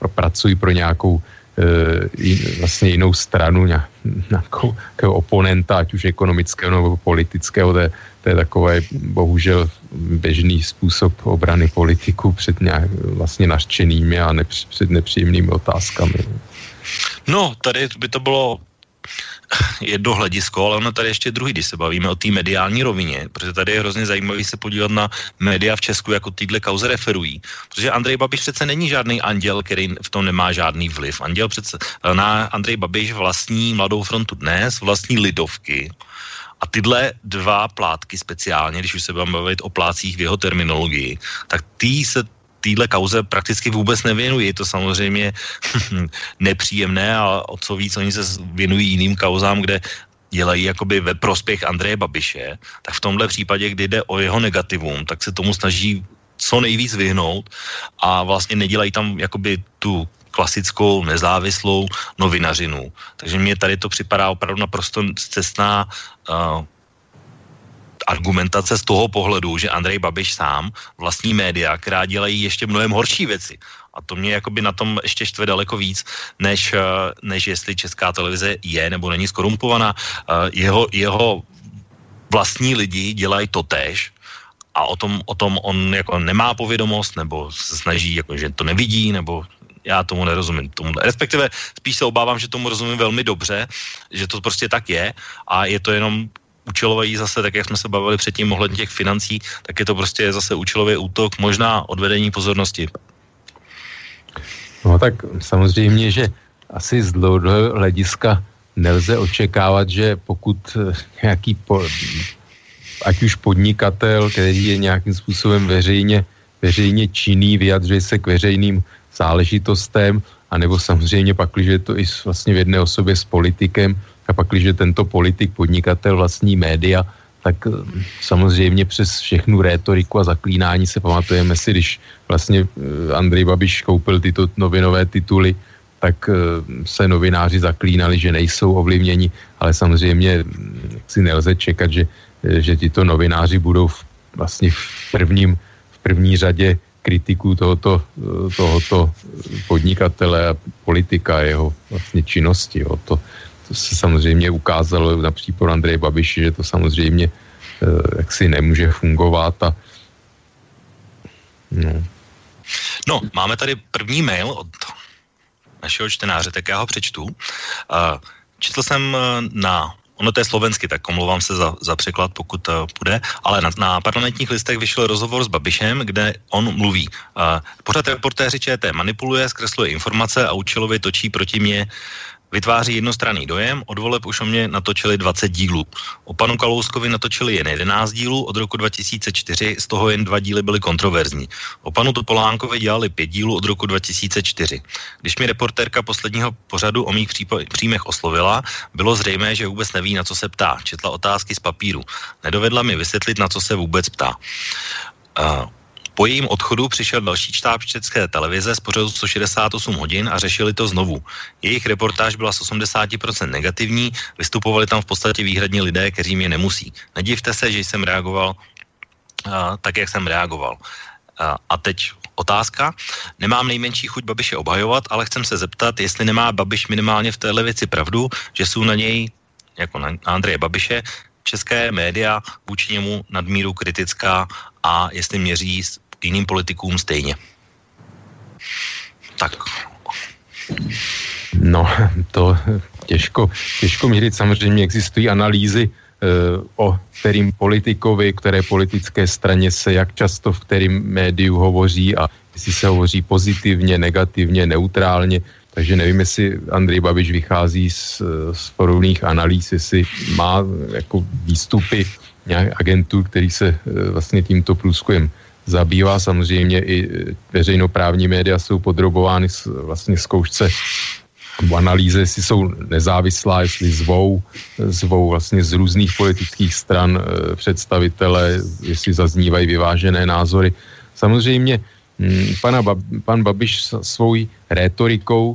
pracují pro nějakou e, vlastně jinou stranu, nějakou, nějakého oponenta, ať už ekonomického nebo politického. To je, to je takové bohužel běžný způsob obrany politiků před nějak, vlastně nařčenými a nepř, před nepříjemnými otázkami. No, tady by to bylo jedno hledisko, ale ono tady ještě druhý, když se bavíme o té mediální rovině, protože tady je hrozně zajímavý se podívat na média v Česku, jako týhle kauze referují, protože Andrej Babiš přece není žádný anděl, který v tom nemá žádný vliv. Anděl přece, na Andrej Babiš vlastní Mladou frontu Dnes, vlastní Lidovky a tyhle dva plátky speciálně, když už se budeme bavit o plácích v jeho terminologii, tak ty se týhle kauze prakticky vůbec nevěnují. Je to samozřejmě nepříjemné a o co víc oni se věnují jiným kauzám, kde dělají jakoby ve prospěch Andreje Babiše, tak v tomhle případě, kdy jde o jeho negativum, tak se tomu snaží co nejvíc vyhnout a vlastně nedělají tam jakoby tu klasickou nezávislou novinařinu. Takže mně tady to připadá opravdu naprosto cestná uh, argumentace z toho pohledu, že Andrej Babiš sám vlastní média, která dělají ještě mnohem horší věci. A to mě jakoby na tom ještě štve daleko víc, než, než jestli Česká televize je nebo není skorumpovaná. Jeho, jeho vlastní lidi dělají totéž a o tom, o tom on jako nemá povědomost nebo se snaží, jako, že to nevidí, nebo já tomu nerozumím. Tomu, respektive spíš se obávám, že tomu rozumím velmi dobře, že to prostě tak je a je to jenom účelový zase, tak jak jsme se bavili předtím ohledně těch financí, tak je to prostě zase účelový útok, možná odvedení pozornosti. No tak samozřejmě, že asi z dlouhodobého hlediska nelze očekávat, že pokud nějaký, po, ať už podnikatel, který je nějakým způsobem veřejně, veřejně činný, vyjadřuje se k veřejným záležitostem, anebo samozřejmě pak, když je to i vlastně v jedné osobě s politikem, a pak, když tento politik, podnikatel vlastní média, tak samozřejmě přes všechnu rétoriku a zaklínání se pamatujeme si, když vlastně Andrej Babiš koupil tyto novinové tituly, tak se novináři zaklínali, že nejsou ovlivněni, ale samozřejmě si nelze čekat, že, že tyto novináři budou v, vlastně v, prvním, v první řadě kritiků tohoto, tohoto podnikatele a politika, jeho vlastně činnosti. Jo. To, To se samozřejmě ukázalo na případu Andreje Babiše, že to samozřejmě e, jaksi nemůže fungovat. A, no. no, máme tady první mail od našeho čtenáře, tak já ho přečtu. Uh, četl jsem na, ono to je slovensky, tak omlouvám se za, za překlad, pokud uh, půjde, ale na, na Parlamentních listech vyšel rozhovor s Babišem, kde on mluví. Uh, pořád reportéři ČT manipuluje, zkresluje informace a účelově točí proti mně, vytváří jednostranný dojem, od voleb už o mě natočili dvacet dílů. O panu Kalouskovi natočili jen jedenáct dílů, od roku dva tisíce čtyři, z toho jen dva díly byly kontroverzní. O panu Topolánkovi dělali pět dílů od roku dva tisíce čtyři. Když mi reportérka posledního pořadu o mých příjmech oslovila, bylo zřejmé, že vůbec neví, na co se ptá. Četla otázky z papíru. Nedovedla mi vysvětlit, na co se vůbec ptá. Uh, Po jejím odchodu přišel další štáb České televize z pořadu sto šedesát osm hodin a řešili to znovu. Jejich reportáž byla z osmdesát procent negativní, vystupovali tam v podstatě výhradně lidé, kteří mě nemusí. Nedivte se, že jsem reagoval uh, tak, jak jsem reagoval. Uh, a teď otázka. Nemám nejmenší chuť Babiše obhajovat, ale chcem se zeptat, jestli nemá Babiš minimálně v téhle věci pravdu, že jsou na něj, jako na Andreje Babiše, české média vůči němu nadmíru kritická a jestli měří jiným politikům stejně. Tak. No, to těžko, těžko měřit. Samozřejmě existují analýzy e, o kterým politikovi, které politické straně se jak často v kterém médiu hovoří a jestli se hovoří pozitivně, negativně, neutrálně. Takže nevím, jestli Andrej Babiš vychází z, z podobných analýz, jestli má jako výstupy nějak agentů, který se vlastně tímto průzkumem zabývá. Samozřejmě i veřejnoprávní média jsou podrobovány vlastně zkoušce nebo analýze, jestli jsou nezávislá, jestli zvou, zvou vlastně z různých politických stran představitele, jestli zaznívají vyvážené názory. Samozřejmě Pana Bab, pan Babiš svou rétorikou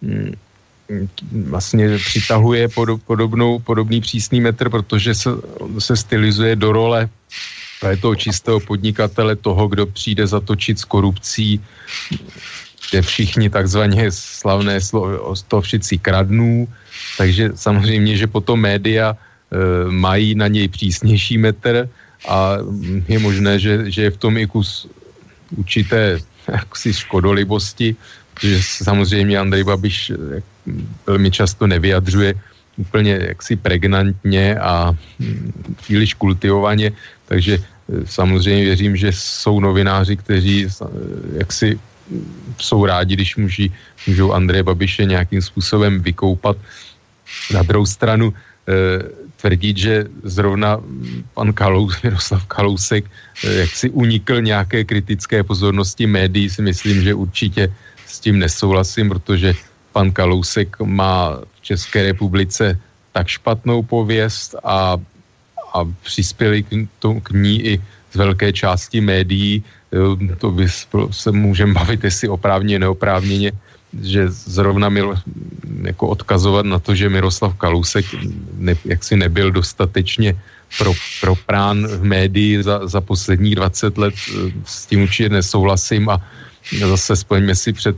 vlastně přitahuje podob, podobnou, podobný přísný metr, protože se, se stylizuje do role toho čistého podnikatele, toho, kdo přijde zatočit s korupcí kde všichni takzvaně slavné stovšici kradnů, takže samozřejmě, že potom média e, mají na něj přísnější metr a je možné, že, že je v tom i kus určité jaksi škodolibosti, že samozřejmě Andrej Babiš velmi často nevyjadřuje úplně jaksi pregnantně a příliš kultivovaně, takže samozřejmě věřím, že jsou novináři, kteří jaksi jsou rádi, když můží, můžou Andreje Babiše nějakým způsobem vykoupat. Na druhou stranu e, tvrdit, že zrovna pan Kalous, Miroslav Kalousek e, jaksi unikl nějaké kritické pozornosti médií, si myslím, že určitě s tím nesouhlasím, protože pan Kalousek má v České republice tak špatnou pověst a, a přispěli k, to, k ní i z velké části médií. To by se můžeme bavit, jestli oprávněně, neoprávněně, že zrovna mil, jako odkazovat na to, že Miroslav Kalousek ne, jaksi nebyl dostatečně pro, proprán v médii za, za posledních dvacet let, s tím určitě nesouhlasím a zase spomeňme si před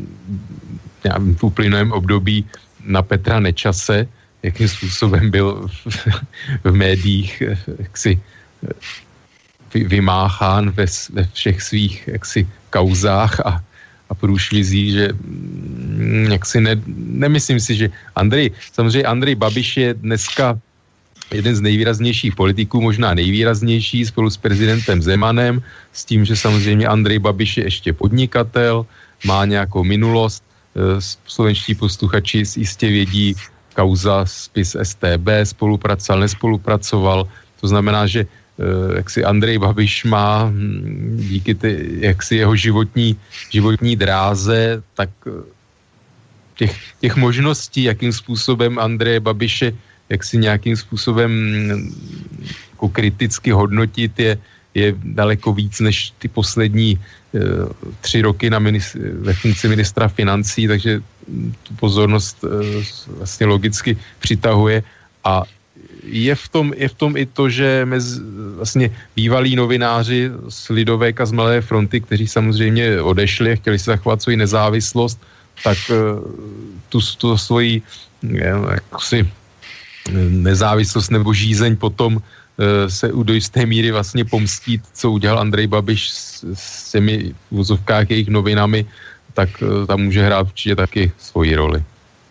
v uplynulém období na Petra Nečase, jakým způsobem byl v, v médiích jaksi vymáchán ve, ve všech svých jaksi kauzách a, a průšvizí, že jaksi ne, nemyslím si, že Andrej, samozřejmě Andrej Babiš je dneska jeden z nejvýraznějších politiků, možná nejvýraznější spolu s prezidentem Zemanem, s tím, že samozřejmě Andrej Babiš je ještě podnikatel, má nějakou minulost, slovenští posluchači jistě vědí, kauza spis S T B, spolupracoval, nespolupracoval, to znamená, že jaksi Andrej Babiš má díky ty, jaksi jeho životní, životní dráze, tak těch, těch možností, jakým způsobem Andreje Babiše jaksi nějakým způsobem jako kriticky hodnotit je, je daleko víc než ty poslední e, tři roky na ministr, ve funkci ministra financí, takže tu pozornost e, vlastně logicky přitahuje a je v tom, je v tom i to, že mezi, vlastně bývalí novináři z Lidovek a z Mladé fronty, kteří samozřejmě odešli a chtěli si zachovat svoji nezávislost, tak e, tu, tu svoji jaksi nezávislost nebo žízeň potom e, se do jisté míry vlastně pomstít, co udělal Andrej Babiš s, s těmi v vozovkách jejich novinami, tak e, tam může hrát určitě taky svoji roli.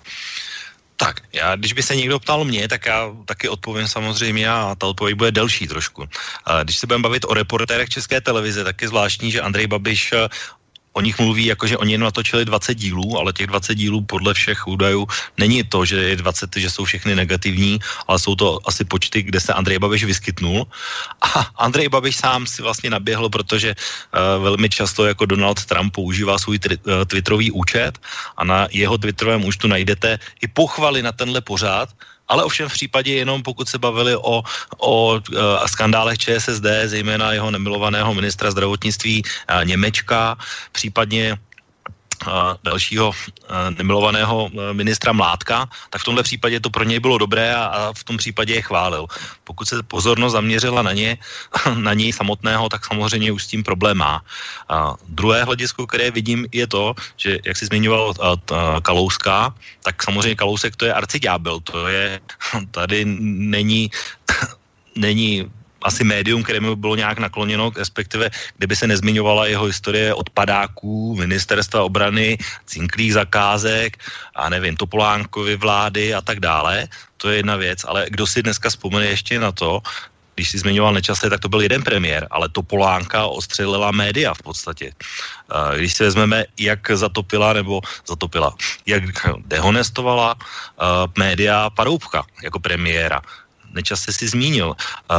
Tak, já, když by se někdo ptal mě, tak já taky odpovím samozřejmě a ta odpověď bude delší trošku. Když se budeme bavit o reportérech České televize, tak je zvláštní, že Andrej Babiš o nich mluví, jako že oni jen natočili dvacet dílů, ale těch dvacet dílů podle všech údajů není to, že je dvacet, že jsou všechny negativní, ale jsou to asi počty, kde se Andrej Babiš vyskytnul. A Andrej Babiš sám si vlastně naběhl, protože uh, velmi často jako Donald Trump používá svůj tri, uh, twitterový účet a na jeho twitterovém účtu najdete i pochvaly na tenhle pořád, ale ovšem v případě jenom pokud se bavili o, o uh, skandálech Č S S D, zejména jeho nemilovaného ministra zdravotnictví uh, Němečka, případně uh, dalšího uh, nemilovaného uh, ministra Mládka, tak v tomhle případě to pro něj bylo dobré a, a v tom případě je chválil. Pokud se pozornost zaměřila na ně, na něj samotného, tak samozřejmě už s tím problém má. Uh, druhé hledisko, které vidím, je to, že jak jsi zmiňoval uh, uh, Kalouska, tak samozřejmě Kalousek to je arciďábel, to je, tady není, není asi médium, kterému bylo nějak nakloněno, respektive kdyby se nezmiňovala jeho historie odpadáků, ministerstva obrany, cinklých zakázek a nevím, Topolánkovy vlády a tak dále, to je jedna věc, ale kdo si dneska vzpomene ještě na to, když si zmiňoval Nečase, tak to byl jeden premiér, ale Topolánka ostřelila média v podstatě. Když si vezmeme, jak zatopila, nebo zatopila, jak dehonestovala média Paroubka jako premiéra. Nečase si zmínil.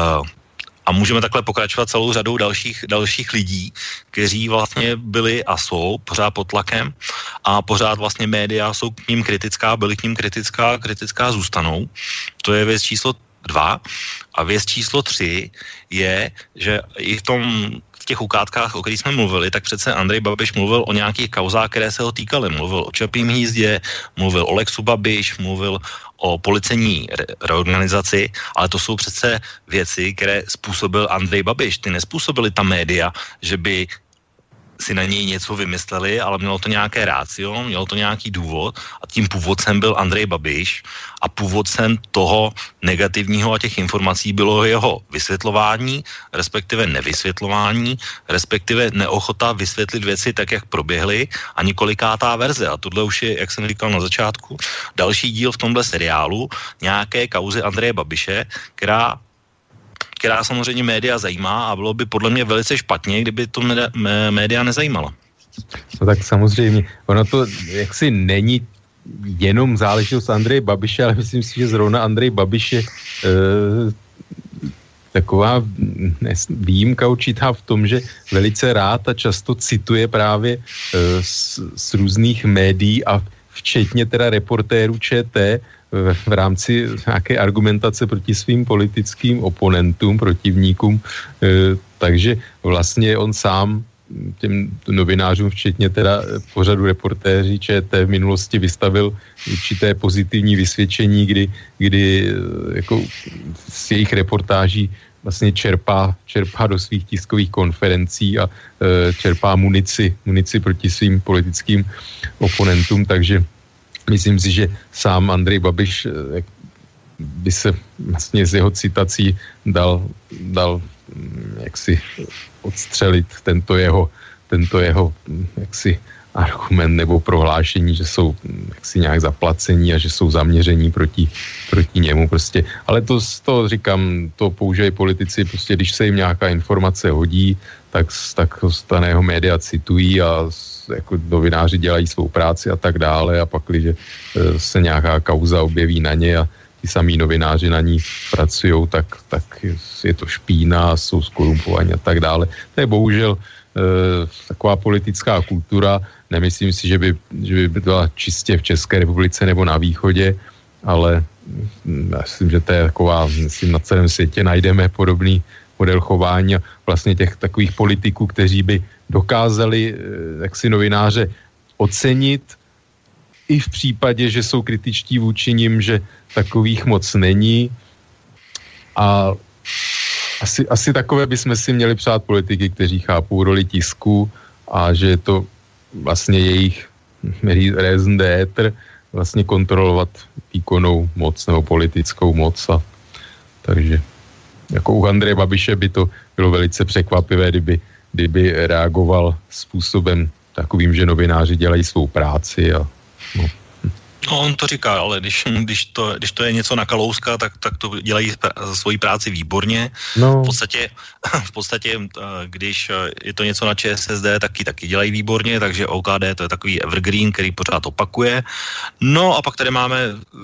A můžeme takhle pokračovat celou řadou dalších, dalších lidí, kteří vlastně byli a jsou pořád pod tlakem a pořád vlastně média jsou k ním kritická, byli k ním kritická, kritická zůstanou. To je věc číslo dva. A věc číslo tři je, že i v tom v těch ukázkách, o kterých jsme mluvili, tak přece Andrej Babiš mluvil o nějakých kauzách, které se ho týkaly. Mluvil o Čapím hnízdě, mluvil o Lexu Babiš, mluvil o policejní re- reorganizaci, ale to jsou přece věci, které způsobil Andrej Babiš. Ty nespůsobily ta média, že by si na něj něco vymysleli, ale mělo to nějaké rácio, mělo to nějaký důvod a tím původcem byl Andrej Babiš a původcem toho negativního a těch informací bylo jeho vysvětlování, respektive nevysvětlování, respektive neochota vysvětlit věci tak, jak proběhly a několikátá verze. A tohle už je, jak jsem říkal na začátku, další díl v tomhle seriálu nějaké kauzy Andreje Babiše, která která samozřejmě média zajímá a bylo by podle mě velice špatně, kdyby to média nezajímala. No tak samozřejmě, ono to jaksi není jenom záležitost Andreje Babiše, ale myslím si, že zrovna Andrej Babiš je e, taková výjimka určitá v tom, že velice rád a často cituje právě e, z, z různých médií a včetně teda reportérů ČT v, v rámci nějaké argumentace proti svým politickým oponentům, protivníkům, e, takže vlastně on sám těm novinářům, včetně teda pořadu reportéři ČT v minulosti vystavil určité pozitivní vysvědčení, kdy, kdy jako z jejich reportáží vlastně čerpá, čerpá do svých tiskových konferencí a e, čerpá munici, munici proti svým politickým oponentům, takže myslím si, že sám Andrej Babiš e, by se vlastně z jeho citací dal, dal jaksi odstřelit tento jeho, tento jeho jaksi argument nebo prohlášení, že jsou jaksi nějak zaplacení a že jsou zaměření proti, proti němu prostě. Ale to, to říkám, to používají politici, prostě když se jim nějaká informace hodí, tak, tak staného média citují a jako novináři dělají svou práci a tak dále a pak, když se nějaká kauza objeví na ně a ty samý novináři na ní pracujou, tak, tak je to špína, jsou skorumpovaní a tak dále. To je bohužel e, taková politická kultura. Nemyslím si, že by, že by byla čistě v České republice nebo na východě, ale myslím, že to je taková, myslím, na celém světě najdeme podobný model chování a vlastně těch takových politiků, kteří by dokázali e, jaksi novináře ocenit i v případě, že jsou kritičtí vůči nim, že takových moc není. A asi, asi takové bychom si měli přát politiky, kteří chápou roli tisku a že je to vlastně jejich raison d'être vlastně kontrolovat výkonnou moc nebo politickou moc. A, takže jako u Andreje Babiše by to bylo velice překvapivé, kdyby, kdyby reagoval způsobem takovým, že novináři dělají svou práci a no. No, on to říká, ale když, když, to, když to je něco na Kalouska, tak, tak to dělají svoji práci výborně. No. V podstatě, v podstatě, když je to něco na ČSSD, taky taky dělají výborně, takže O K D to je takový evergreen, který pořád opakuje. No a pak tady máme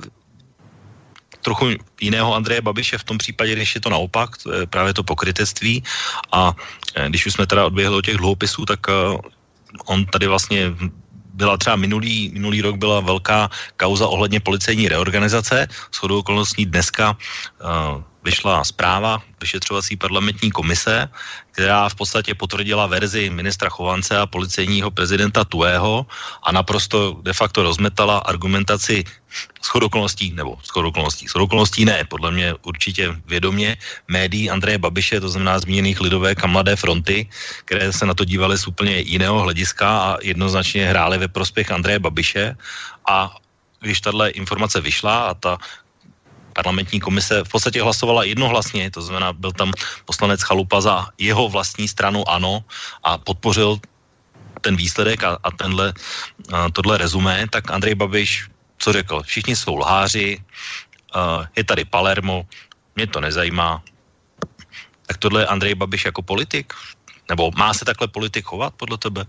trochu jiného Andreje Babiše v tom případě, když je to naopak, to je právě to pokrytectví. A když už jsme teda odběhli od těch dluhopisů, tak on tady vlastně byla třeba minulý, minulý rok byla velká kauza ohledně policejní reorganizace. Shodou okolností dneska uh, vyšla zpráva vyšetřovací parlamentní komise, která v podstatě potvrdila verzi ministra Chovance a policejního prezidenta Tuhého a naprosto de facto rozmetala argumentaci shodou okolností, nebo shodou okolností, shodou okolností ne, podle mě určitě vědomě médií Andreje Babiše, to znamená zmíněných Lidové a Mladé fronty, které se na to dívaly z úplně jiného hlediska a jednoznačně hrály ve prospěch Andreje Babiše. A když tahle informace vyšla a ta parlamentní komise v podstatě hlasovala jednohlasně, to znamená, byl tam poslanec Chalupa za jeho vlastní stranu ANO a podpořil ten výsledek a, a tenhle, a tohle rezumé, tak Andrej Babiš co řekl? Všichni jsou lháři, uh, je tady Palermo, mě to nezajímá. Tak tohle je Andrej Babiš jako politik? Nebo má se takhle politik chovat podle tebe?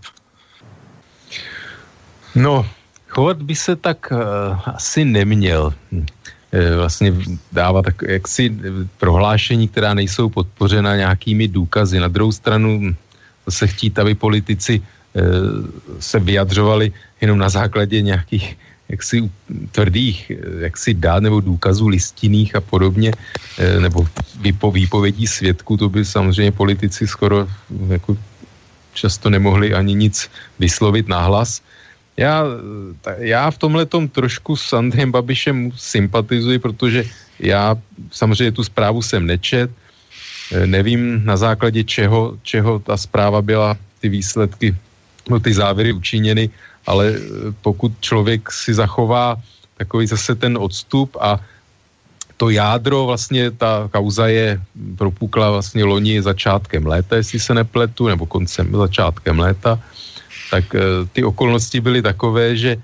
No, chovat by se tak uh, asi neměl. Vlastně dává tak jaksi prohlášení, která nejsou podpořena nějakými důkazy. Na druhou stranu se chtít, aby politici uh, se vyjadřovali jenom na základě nějakých jaksi tvrdých, jaksi dát nebo důkazů listinných a podobně, nebo výpo, výpovědí svědků, to by samozřejmě politici skoro jako často nemohli ani nic vyslovit nahlas. Já, já v tomhletom trošku s Andrejem Babišem sympatizuji, protože já samozřejmě tu zprávu jsem nečet, nevím na základě čeho, čeho ta zpráva byla, ty výsledky no, ty závěry učiněny, ale pokud člověk si zachová takový zase ten odstup a to jádro, vlastně ta kauza je propukla vlastně loni začátkem léta, jestli se nepletu, nebo koncem začátkem léta, tak ty okolnosti byly takové, že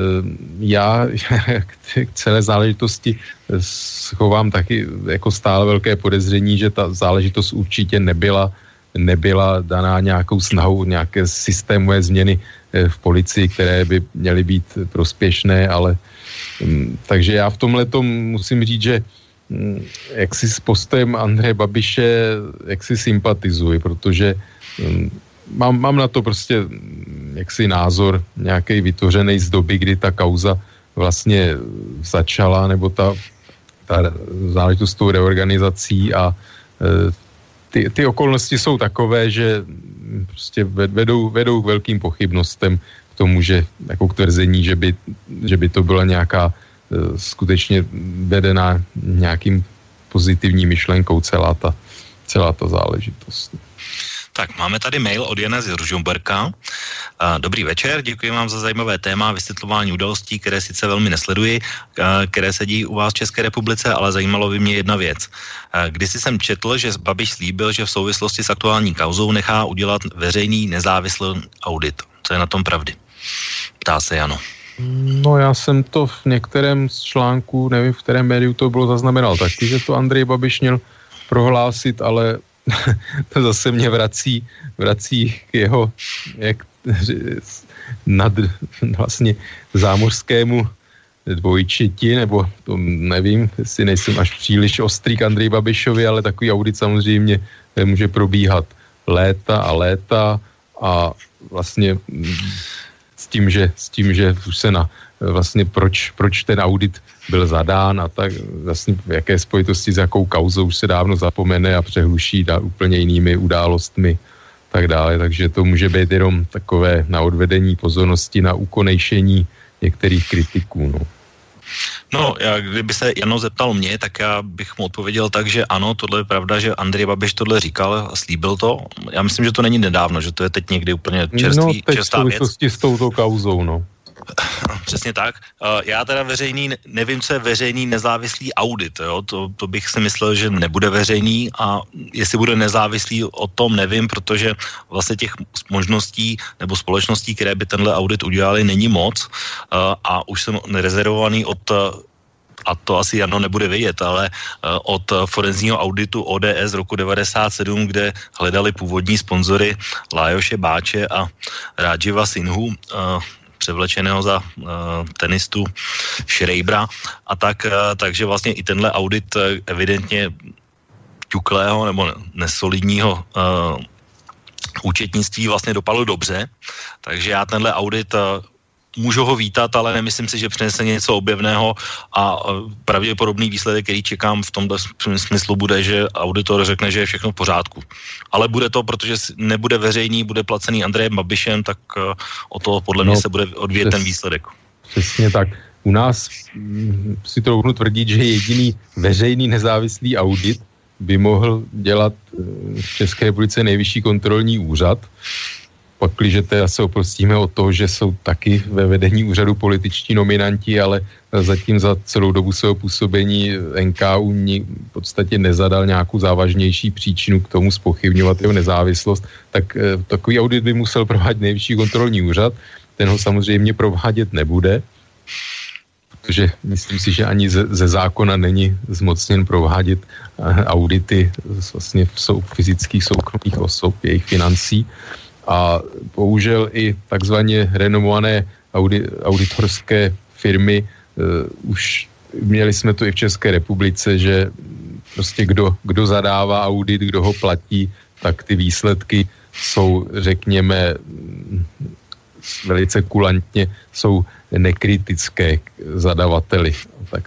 já k celé záležitosti schovám taky jako stále velké podezření, že ta záležitost určitě nebyla, nebyla daná nějakou snahou, nějaké systémové změny v policii, které by měly být prospěšné, ale takže já v tomhletom musím říct, že jak si s postem Andreje Babiše jak si sympatizuji, protože mám, mám na to prostě jaksi názor nějaký vytvořený z doby, kdy ta kauza vlastně začala, nebo ta, ta záležitost s tou reorganizací a ty, ty okolnosti jsou takové, že prostě vedou, vedou k velkým pochybnostem k tomu, že jako k tvrzení, že by, že by to byla nějaká uh, skutečně vedená nějakým pozitivní myšlenkou celá ta, celá ta záležitost. Tak, máme tady mail od Jana z Ružomberka. Dobrý večer, děkuji vám za zajímavé téma vysvětlování událostí, které sice velmi nesleduji, které se dějí u vás v České republice, ale zajímalo by mě jedna věc. Kdysi jsem četl, že Babiš slíbil, že v souvislosti s aktuální kauzou nechá udělat veřejný nezávislý audit. Co je na tom pravdy? Ptá se Jano. No já jsem to v některém z článků, nevím v kterém médiu to bylo zaznamenal taky, že to Andrej Babiš měl prohlásit, ale to zase mě vrací, vrací k jeho jak, nad vlastně zámořskému dvojčeti, nebo to nevím, jestli nejsem až příliš ostrý k Andreji Babišovi, ale takový audit samozřejmě může probíhat léta a léta a vlastně s tím, že, s tím, že už se na vlastně proč, proč ten audit byl zadán a tak vlastně v jaké spojitosti s jakou kauzou už se dávno zapomene a přehluší dá úplně jinými událostmi tak dále, takže to může být jenom takové na odvedení pozornosti, na ukonejšení některých kritiků, no. No, já, kdyby se Jano zeptal mě, tak já bych mu odpověděl tak, že ano, tohle je pravda, že Andrej Babiš tohle říkal a slíbil to. Já myslím, že to není nedávno, že to je teď někdy úplně čerstvý, no, čerstvá věc. No, teď s touto kauzou, no. Přesně tak. Já teda veřejný, nevím, co je veřejný nezávislý audit, jo? To, to bych si myslel, že nebude veřejný a jestli bude nezávislý, o tom nevím, protože vlastně těch možností nebo společností, které by tenhle audit udělali, není moc a už jsem nerezervovaný od a to asi Jano nebude vědět, ale od forenzního auditu O D S z roku devadesát sedm, kde hledali původní sponzory Lajoše Báče a Rádživa Sinhu, převlečeného za uh, tenistu Schreibera a tak, uh, takže vlastně i tenhle audit uh, evidentně ťuklého nebo nesolidního uh, účetnictví vlastně dopadl dobře, takže já tenhle audit uh, můžu ho vítat, ale nemyslím si, že přinese něco objevného a uh, pravděpodobný výsledek, který čekám v tomto smyslu bude, že auditor řekne, že je všechno v pořádku. Ale bude to, protože nebude veřejný, bude placený Andrejem Babišem, tak uh, o to podle mě no, se bude odvíjet přes, ten výsledek. Přesně tak. U nás m, si trochu tvrdit, že jediný veřejný nezávislý audit by mohl dělat v České republice Nejvyšší kontrolní úřad. Pakliže teda se oprostíme od toho, že jsou taky ve vedení úřadu političtí nominanti, ale zatím za celou dobu svého působení N K U v podstatě nezadal nějakou závažnější příčinu k tomu zpochybňovat jeho nezávislost, tak takový audit by musel provádět Nejvyšší kontrolní úřad. Ten ho samozřejmě provádět nebude, protože myslím si, že ani ze, ze zákona není zmocněn provádět audity vlastně sou, fyzických soukromých osob, jejich financí. A bohužel i takzvaně renomované audi, auditorské firmy uh, už měli jsme to i v České republice, že prostě kdo, kdo zadává audit, kdo ho platí, tak ty výsledky jsou, řekněme, velice kulantně, jsou nekritické k zadavateli. Tak.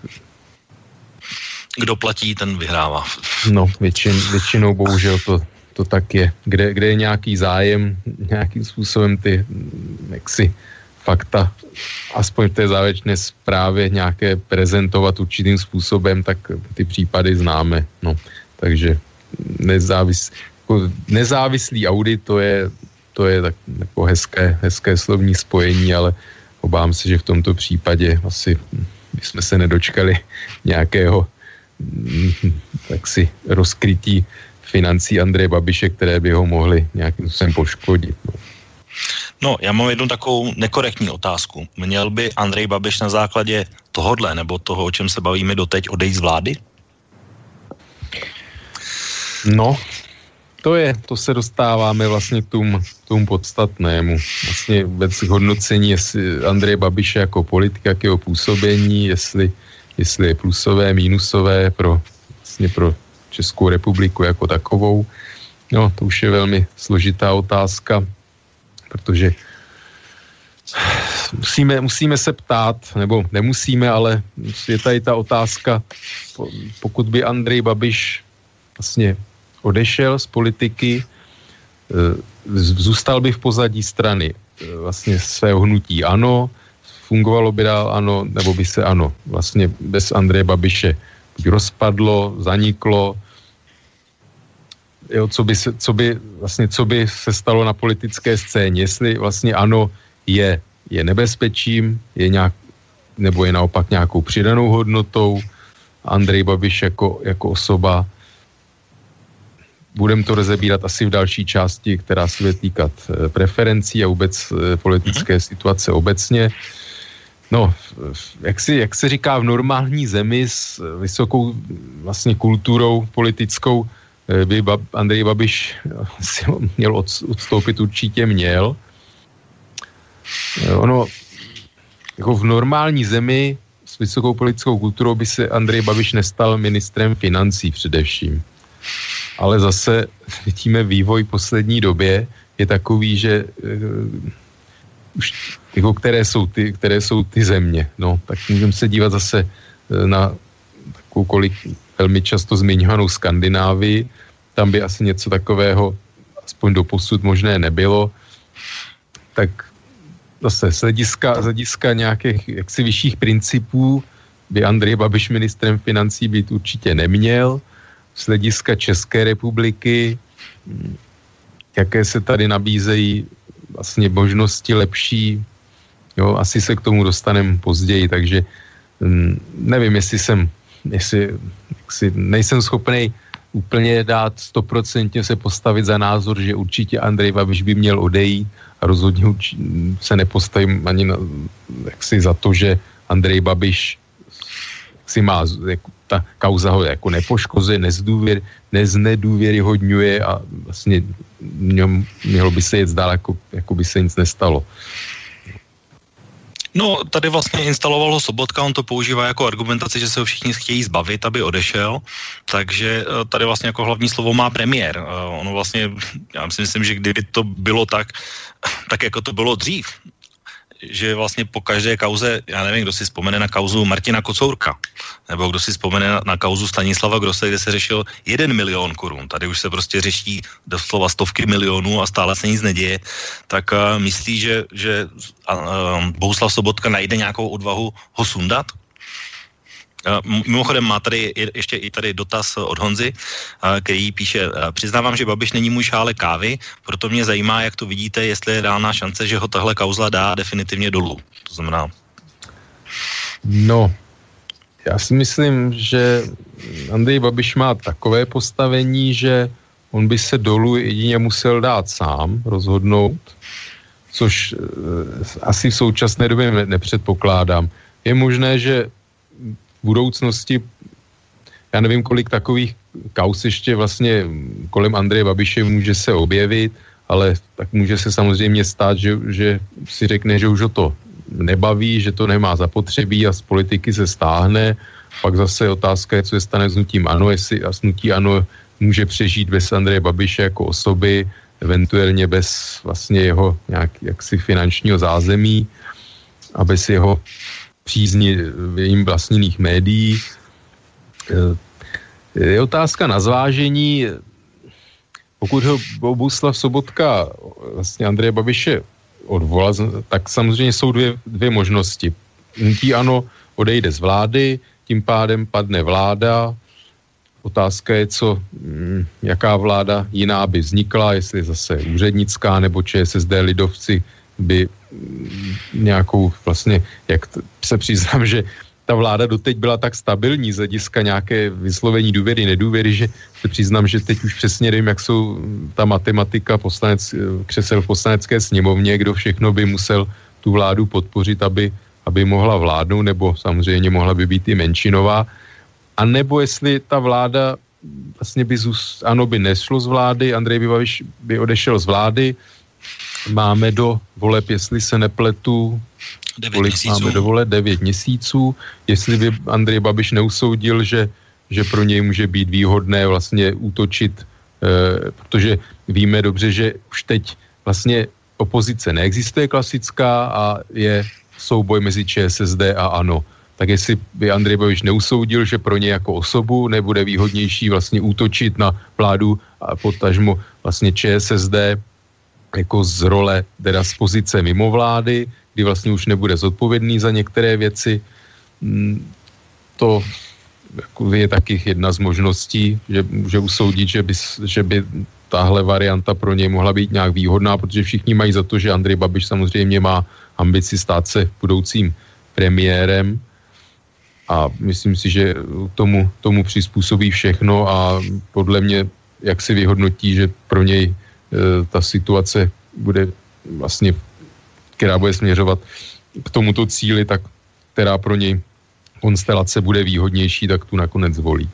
Kdo platí, ten vyhrává. No, většin, většinou bohužel to to tak je. Kde, kde je nějaký zájem, nějakým způsobem ty jaksi fakta, aspoň v té závěrečné zprávě nějaké prezentovat určitým způsobem, tak ty případy známe. No, takže nezávis, jako nezávislý audit, to je, to je tak jako hezké, hezké slovní spojení, ale obávám se, že v tomto případě asi bychom se nedočkali nějakého taksi rozkrytí financí Andreje Babiše, které by ho mohly nějakým způsobem poškodit. No. No, já mám jednu takovou nekorektní otázku. Měl by Andrej Babiš na základě tohodle, nebo toho, o čem se bavíme doteď, odejít z vlády? No, to je, to se dostáváme vlastně k tomu, tomu podstatnému. Vlastně vůbec hodnocení, jestli Andreje Babiše jako politika, k jeho působení, jestli, jestli je plusové, mínusové pro, vlastně pro Českou republiku jako takovou. No, to už je velmi složitá otázka, protože musíme, musíme se ptát, nebo nemusíme, ale je tady ta otázka, pokud by Andrej Babiš vlastně odešel z politiky, zůstal by v pozadí strany vlastně svého hnutí ANO, fungovalo by dál ANO, nebo by se ANO vlastně bez Andreje Babiše rozpadlo, zaniklo, jo, co by se, co by vlastně, co by se stalo na politické scéně, jestli vlastně ANO je, je nebezpečím, je nějak, nebo je naopak nějakou přidanou hodnotou, Andrej Babiš jako, jako osoba. Budeme to rozebírat asi v další části, která se bude týkat preferencí a vůbec politické situace obecně. No, jak, si, jak se říká, v normální zemi s vysokou vlastně kulturou politickou by Andrej Babiš si měl odstoupit, určitě měl. Ono, jako v normální zemi s vysokou politickou kulturou by se Andrej Babiš nestal ministrem financí především. Ale zase vidíme vývoj v poslední době je takový, že uh, už jako které jsou ty, které jsou ty země. No, tak můžeme se dívat zase na takovou kolik velmi často zmiňovanou Skandinávii. Tam by asi něco takového aspoň doposud možné nebylo. Tak zase z hlediska, z hlediska nějakých jaksi vyšších principů by Andrej Babiš ministrem financí být určitě neměl. Z hlediska České republiky, jaké se tady nabízejí vlastně možnosti lepší, jo, asi se k tomu dostaneme později, takže hm, nevím, jestli jsem, jestli, jestli nejsem schopný úplně dát stoprocentně se postavit za názor, že určitě Andrej Babiš by měl odejít a rozhodně se nepostavím ani na, jaksi za to, že Andrej Babiš si má, jako, ta kauza ho jako nepoškozuje, nezdůvěr, neznedůvěryhodňuje a vlastně mělo by se jet dál, jako, jako by se nic nestalo. No, tady vlastně instaloval ho Sobotka, on to používá jako argumentaci, že se ho všichni chtějí zbavit, aby odešel, takže tady vlastně jako hlavní slovo má premiér. Ono vlastně, já si myslím, že kdyby to bylo tak, tak jako to bylo dřív, že vlastně po každé kauze, já nevím, kdo si vzpomene na kauzu Martina Kocourka, nebo kdo si vzpomene na, na kauzu Stanislava Grosse, kde se řešil jeden milion korun. Tady už se prostě řeší doslova stovky milionů a stále se nic neděje. Tak uh, myslí, že, že uh, Bohuslav Sobotka najde nějakou odvahu ho sundat? Mimochodem má tady ještě i tady dotaz od Honzy, který píše, přiznávám, že Babiš není můj šálek kávy, proto mě zajímá, jak to vidíte, jestli je reálná šance, že ho tahle kauzla dá definitivně dolů. To znamená... No, já si myslím, že Andrej Babiš má takové postavení, že on by se dolů jedině musel dát sám, rozhodnout, což asi v současné době nepředpokládám. Je možné, že v budoucnosti, já nevím, kolik takových kauz ještě vlastně kolem Andreje Babiše může se objevit, ale tak může se samozřejmě stát, že, že si řekne, že už ho to nebaví, že to nemá zapotřebí a z politiky se stáhne. Pak zase otázka je, co se stane s hnutím ANO, jestli a hnutí ANO může přežít bez Andreje Babiše jako osoby, eventuálně bez vlastně jeho nějak jaksi finančního zázemí a bez jeho přízni jim vlastněných médií. Je otázka na zvážení, pokud ho Bohuslav Sobotka vlastně Andreje Babiše odvolal, tak samozřejmě jsou dvě, dvě možnosti. Hnutí ANO odejde z vlády, tím pádem padne vláda, otázka je, co, jaká vláda jiná by vznikla, jestli zase úřednická nebo ČSSD lidovci by nějakou vlastně, jak se přiznám, že ta vláda doteď byla tak stabilní z hlediska nějaké vyslovení důvěry, nedůvěry, že se přiznám, že teď už přesně nevím, jak jsou ta matematika poslanec, křesel v poslanecké sněmovně, kdo všechno by musel tu vládu podpořit, aby, aby mohla vládnout, nebo samozřejmě mohla by být i menšinová. A nebo jestli ta vláda vlastně by, zus, ano, by nešlo z vlády, Andrej Babiš by odešel z vlády, máme do voleb, jestli se nepletu, kolik máme do voleb, devět měsíců, jestli by Andrej Babiš neusoudil, že, že pro něj může být výhodné vlastně útočit, eh, protože víme dobře, že už teď vlastně opozice neexistuje klasická a je souboj mezi ČSSD a ANO. Tak jestli by Andrej Babiš neusoudil, že pro ně jako osobu nebude výhodnější vlastně útočit na vládu a potažmo vlastně ČSSD jako z role, teda z pozice mimo vlády, kdy vlastně už nebude zodpovědný za některé věci. To je taky jedna z možností, že může usoudit, že by, že by tahle varianta pro něj mohla být nějak výhodná, protože všichni mají za to, že Andrej Babiš samozřejmě má ambici stát se budoucím premiérem a myslím si, že tomu, tomu přizpůsobí všechno a podle mě, jak si vyhodnotí, že pro něj e, ta situace bude vlastně, která bude směřovat k tomuto cíli, tak která pro něj konstelace bude výhodnější, tak tu nakonec zvolí.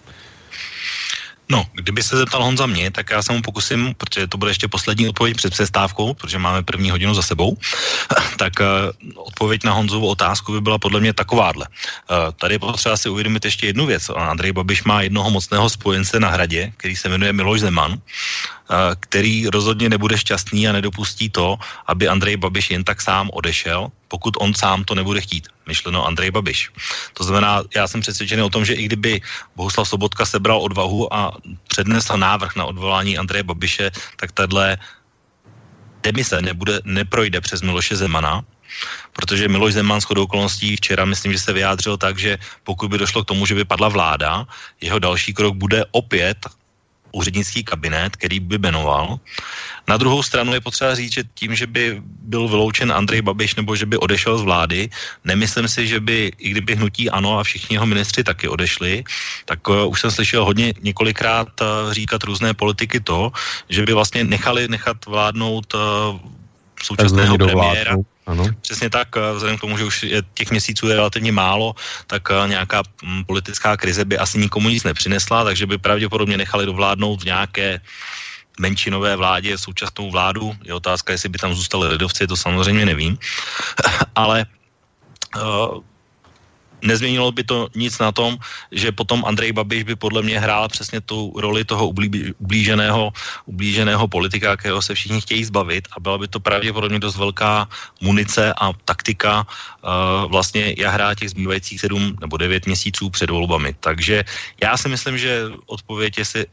No, kdyby se zeptal Honza mě, tak já se mu pokusím, protože to bude ještě poslední odpověď před přestávkou, protože máme první hodinu za sebou, tak uh, odpověď na Honzovu otázku by byla podle mě takováhle. Uh, tady je potřeba si uvědomit ještě jednu věc. Andrej Babiš má jednoho mocného spojence na Hradě, který se jmenuje Miloš Zeman, uh, který rozhodně nebude šťastný a nedopustí to, aby Andrej Babiš jen tak sám odešel, pokud on sám to nebude chtít. Myšleno Andrej Babiš. To znamená, já jsem přesvědčený o tom, že i kdyby Bohuslav Sobotka sebral odvahu a přednesl návrh na odvolání Andreje Babiše, tak tahle demise nebude, neprojde přes Miloše Zemana, protože Miloš Zeman shodou okolností včera, myslím, že se vyjádřil tak, že pokud by došlo k tomu, že by padla vláda, jeho další krok bude opět úřednický kabinet, který by jmenoval. Na druhou stranu je potřeba říct, že tím, že by byl vyloučen Andrej Babiš nebo že by odešel z vlády, nemyslím si, že by, i kdyby hnutí ANO a všichni jeho ministři taky odešli, tak uh, už jsem slyšel hodně několikrát uh, říkat různé politiky to, že by vlastně nechali nechat vládnout uh, současného premiéra. Ano. Přesně tak, vzhledem k tomu, že už je těch měsíců je relativně málo, tak nějaká politická krize by asi nikomu nic nepřinesla, takže by pravděpodobně nechali dovládnout v nějaké menšinové vládě současnou vládu. Je otázka, jestli by tam zůstali lidovci, to samozřejmě nevím. Ale uh, nezměnilo by to nic na tom, že potom Andrej Babiš by podle mě hrál přesně tu roli toho ublí, ublíženého, ublíženého politika, kterého se všichni chtějí zbavit a byla by to pravděpodobně dost velká munice a taktika uh, vlastně jahrá těch zbývajících sedm nebo devět měsíců před volbami. Takže já si myslím, že odpověď, jestli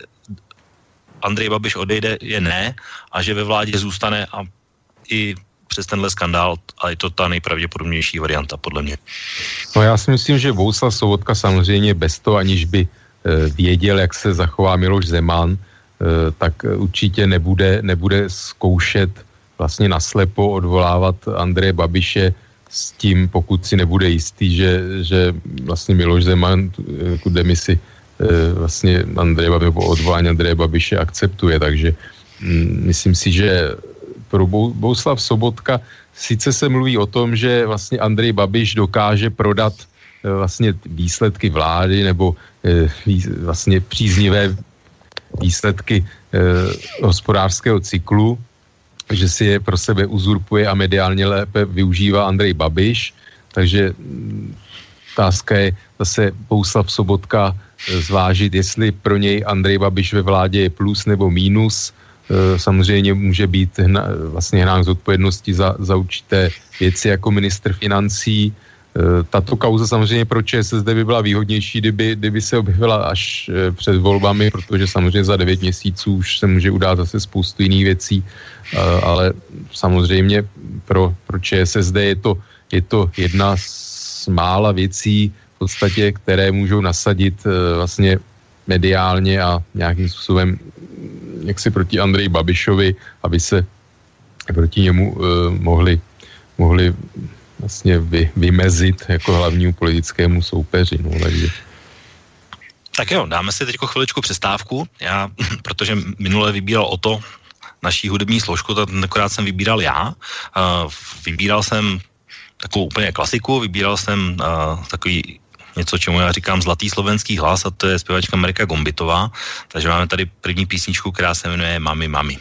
Andrej Babiš odejde, je ne a že ve vládě zůstane a i přes tenhle skandál, ale je to ta nejpravděpodobnější varianta, podle mě. No já si myslím, že Bohuslav Sobotka samozřejmě bez toho, aniž by e, věděl, jak se zachová Miloš Zeman, e, tak určitě nebude, nebude zkoušet vlastně naslepo odvolávat Andreje Babiše s tím, pokud si nebude jistý, že, že vlastně Miloš Zeman tu demisi e, vlastně Andreje Babiše, nebo odvolání Andreje Babiše akceptuje, takže mm, myslím si, že pro Bohuslav Sobotka sice se mluví o tom, že vlastně Andrej Babiš dokáže prodat vlastně výsledky vlády nebo vlastně příznivé výsledky hospodářského cyklu, že si je pro sebe uzurpuje a mediálně lépe využívá Andrej Babiš, takže otázka je zase Bohuslav Sobotka zvážit, jestli pro něj Andrej Babiš ve vládě je plus nebo mínus. Samozřejmě může být hna, vlastně hnán z odpovědnosti za, za určité věci jako ministr financí. Tato kauza samozřejmě pro ČSSD by byla výhodnější, kdyby, kdyby se objevila až před volbami, protože samozřejmě za devět měsíců už se může udát zase spoustu jiných věcí, ale samozřejmě pro, pro ČSSD je to, je to jedna z mála věcí v podstatě, které můžou nasadit vlastně mediálně a nějakým způsobem jaksi proti Andreji Babišovi, aby se proti němu uh, mohli, mohli vlastně vy, vymezit jako hlavnímu politickému soupeři. No, takže. Tak jo, dáme si teď chviličku přestávku. Já, protože minule vybíral o to naší hudební složku, tak tentokrát jsem vybíral já. Uh, vybíral jsem takovou úplně klasiku, vybíral jsem uh, takový něco, čemu já říkám zlatý slovenský hlas, a to je zpěvačka Marika Gombitová. Takže máme tady první písničku, která se jmenuje Mami, mami.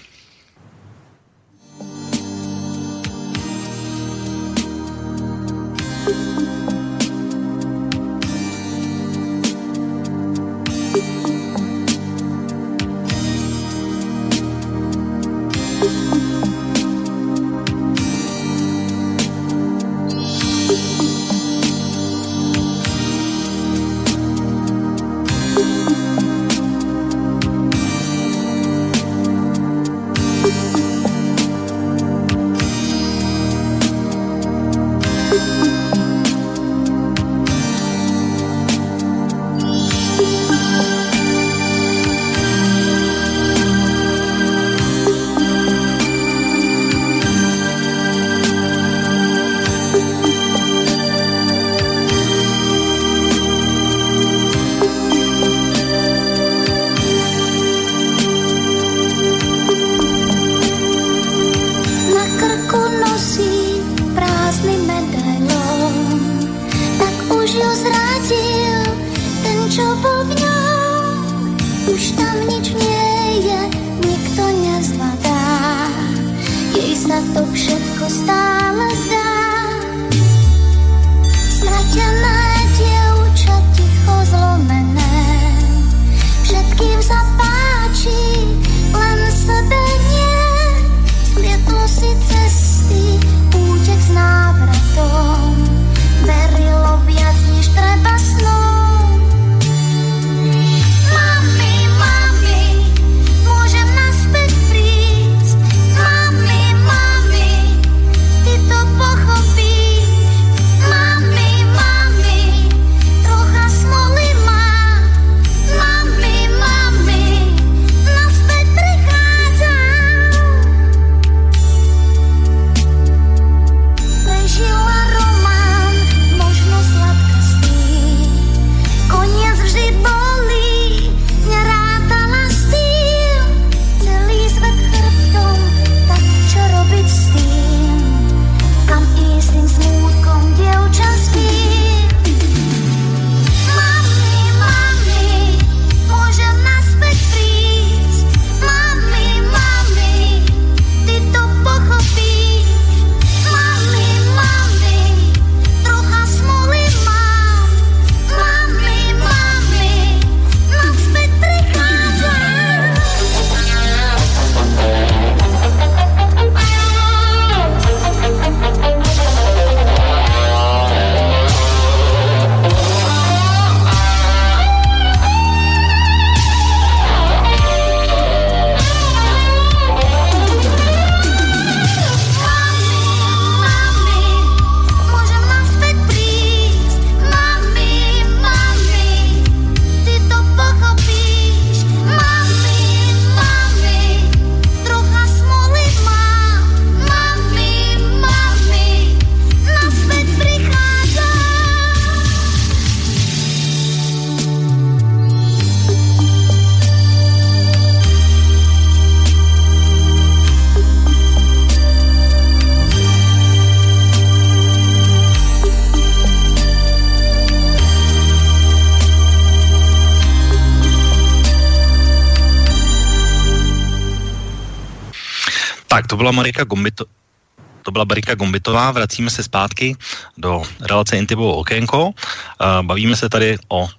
Tak, to byla Marika Gombito, to byla Marika Gombitová, vracíme se zpátky do relace Intibovo okénko. Bavíme se tady o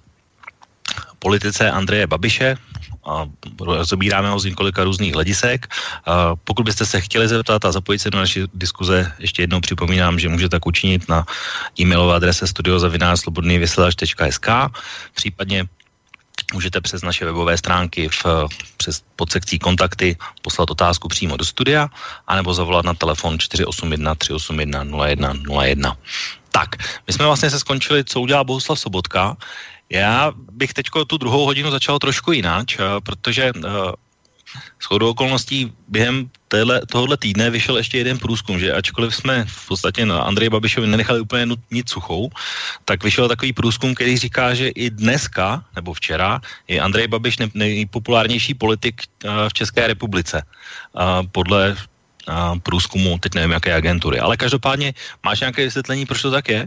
politice Andreje Babiše a rozebíráme ho z několika různých hledisek. Pokud byste se chtěli zeptat a zapojit se do naší diskuze, ještě jednou připomínám, že můžete tak učinit na e-mailové adrese studio zavináč slobodný vysílač tečka es ká, případně můžete přes naše webové stránky v, přes podsekcí kontakty poslat otázku přímo do studia, anebo zavolat na telefon čtyři osm jedna tři osm jedna nula jedna nula jedna. Tak, my jsme vlastně se skončili, co udělal Bohuslav Sobotka. Já bych teďko tu druhou hodinu začal trošku jináč, protože shodou okolností během téhle, tohohle týdne vyšel ještě jeden průzkum, že ačkoliv jsme v podstatě na Andreji Babišovi nenechali úplně nic suchou, tak vyšel takový průzkum, který říká, že i dneska, nebo včera, je Andrej Babiš nejpopulárnější politik v České republice. Podle průzkumu, teď nevím, jaké agentury. Ale každopádně, máš nějaké vysvětlení, proč to tak je?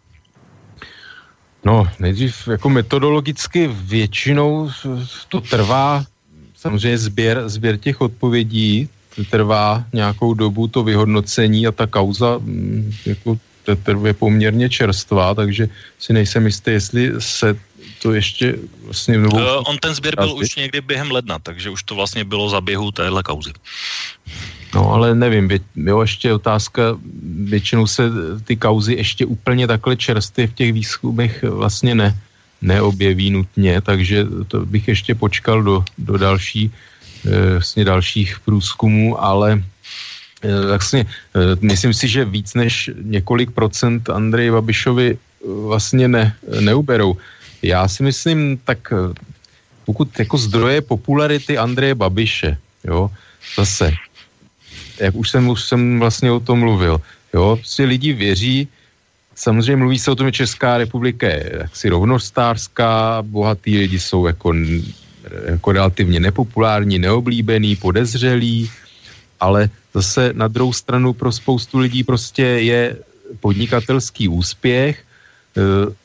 No, nejdřív jako metodologicky většinou to trvá, samozřejmě sběr, sběr těch odpovědí, to trvá nějakou dobu to vyhodnocení a ta kauza jako je poměrně čerstvá, takže si nejsem jistý, jestli se to ještě vlastně... Novou... Uh, on ten sběr byl už někdy během ledna, takže už to vlastně bylo za běhu téhle kauzy. No ale nevím, jo, ještě otázka, většinou se ty kauzy ještě úplně takhle čerstvě v těch výzkumech vlastně ne, neobjeví nutně, takže to bych ještě počkal do, do další, vlastně dalších průzkumů, ale vlastně myslím si, že víc než několik procent Andreji Babišovi vlastně ne, neuberou. Já si myslím, tak pokud jako zdroje popularity Andreje Babiše, jo, zase, jak už jsem, už jsem vlastně o tom mluvil, jo, prostě lidi věří, samozřejmě mluví se o tom, že Česká republika je jaksi rovnostářská, bohatý lidi jsou jako, jako relativně nepopulární, neoblíbený, podezřelí, ale zase na druhou stranu pro spoustu lidí prostě je podnikatelský úspěch e,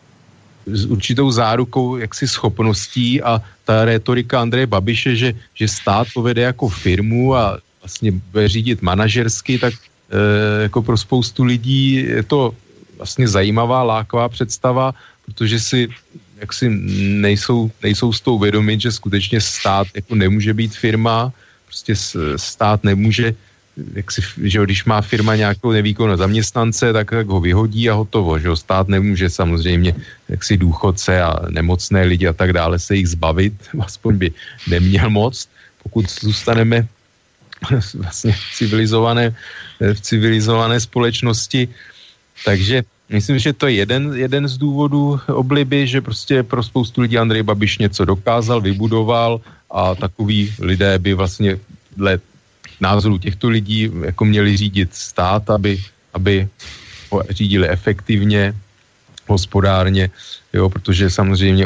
s určitou zárukou jaksi schopností a ta rétorika Andreje Babiše, že, že stát povede jako firmu a vlastně bude řídit manažersky, tak e, jako pro spoustu lidí je to vlastně zajímavá, lákavá představa, protože si jaksi nejsou, nejsou s tou vědomit, že skutečně stát jako nemůže být firma, prostě stát nemůže, jak si, že když má firma nějakou nevýkonnou zaměstnance, tak, tak ho vyhodí a hotovo, že stát nemůže samozřejmě jaksi důchodce a nemocné lidi a tak dále se jich zbavit, aspoň by neměl moc, pokud zůstaneme vlastně v civilizované, v civilizované společnosti. Takže myslím, že to je jeden, jeden z důvodů obliby, že prostě pro spoustu lidí Andrej Babiš něco dokázal, vybudoval a takový lidé by vlastně dle názoru těchto lidí jako měli řídit stát, aby, aby ho řídili efektivně, hospodárně, jo, protože samozřejmě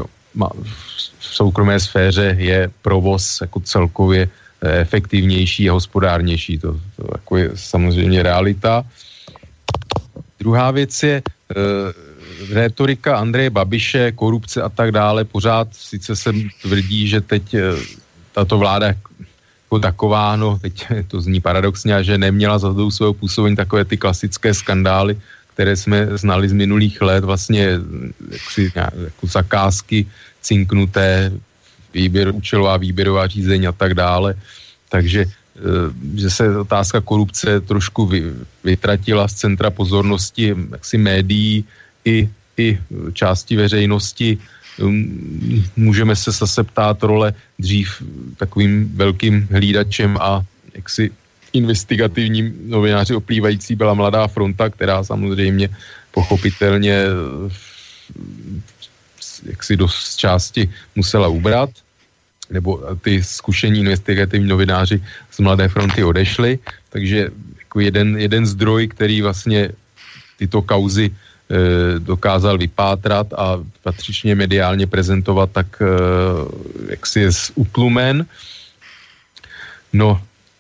v soukromé sféře je provoz jako celkově efektivnější a hospodárnější. To, to jako je samozřejmě realita. Druhá věc je e, rétorika Andreje Babiše, korupce a tak dále. Pořád sice se tvrdí, že teď e, tato vláda jako taková, no teď to zní paradoxně, že neměla za tou svého působení takové ty klasické skandály, které jsme znali z minulých let, vlastně jaksi, jako zakázky cinknuté, výběr, účelová výběrová řízení a tak dále. Takže že se otázka korupce trošku vy, vytratila z centra pozornosti jaksi médií i, i části veřejnosti. Můžeme se zase ptát role dřív takovým velkým hlídačem a jaksi investigativním novináři oplývající byla Mladá fronta, která samozřejmě pochopitelně jaksi dost části musela ubrat, nebo ty zkušení investigativní novináři z Mladé fronty odešli, takže jako jeden, jeden zdroj, který vlastně tyto kauzy e, dokázal vypátrat a patřičně mediálně prezentovat, tak e, jaksi je utlumen. No,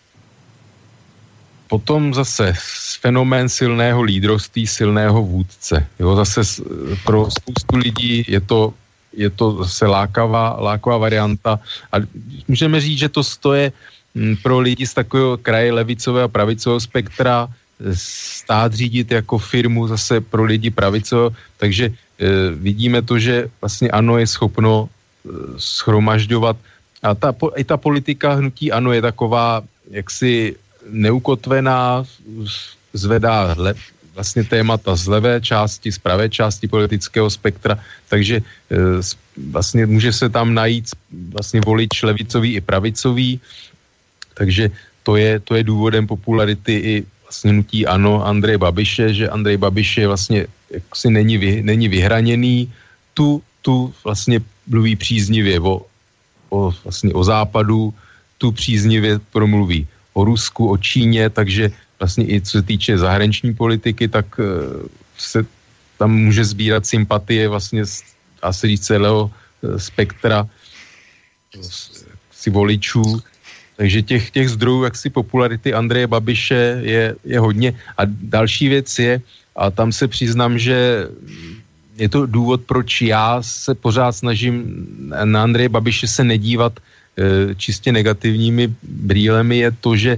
potom zase fenomén silného lídrovství, silného vůdce. Jo, zase pro spoustu lidí je to je to zase lákavá, lákavá varianta. A můžeme říct, že to stoje pro lidi z takového kraje levicového a pravicového spektra stát řídit jako firmu zase pro lidi pravicového. Takže e, vidíme to, že vlastně ANO je schopno e, schromažďovat. A ta, i ta politika hnutí ANO je taková jaksi neukotvená, zvedá le, vlastně témata z levé části, z pravé části politického spektra, takže e, vlastně může se tam najít vlastně volič levicový i pravicový, takže to je, to je důvodem popularity i vlastně hnutí ANO Andreje Babiše, že Andrej Babiš je vlastně jaksi není, vy, není vyhraněný, tu, tu vlastně mluví příznivě o, o, vlastně o západu, tu příznivě promluví o Rusku, o Číně, takže vlastně i co se týče zahraniční politiky, tak se tam může sbírat sympatie vlastně asi říct celého spektra si voličů. Takže těch, těch zdrojů jaksi popularity Andreje Babiše je, je hodně. A další věc je, a tam se přiznám, že je to důvod, proč já se pořád snažím na Andreje Babiše se nedívat e, čistě negativními brýlemi, je to, že e,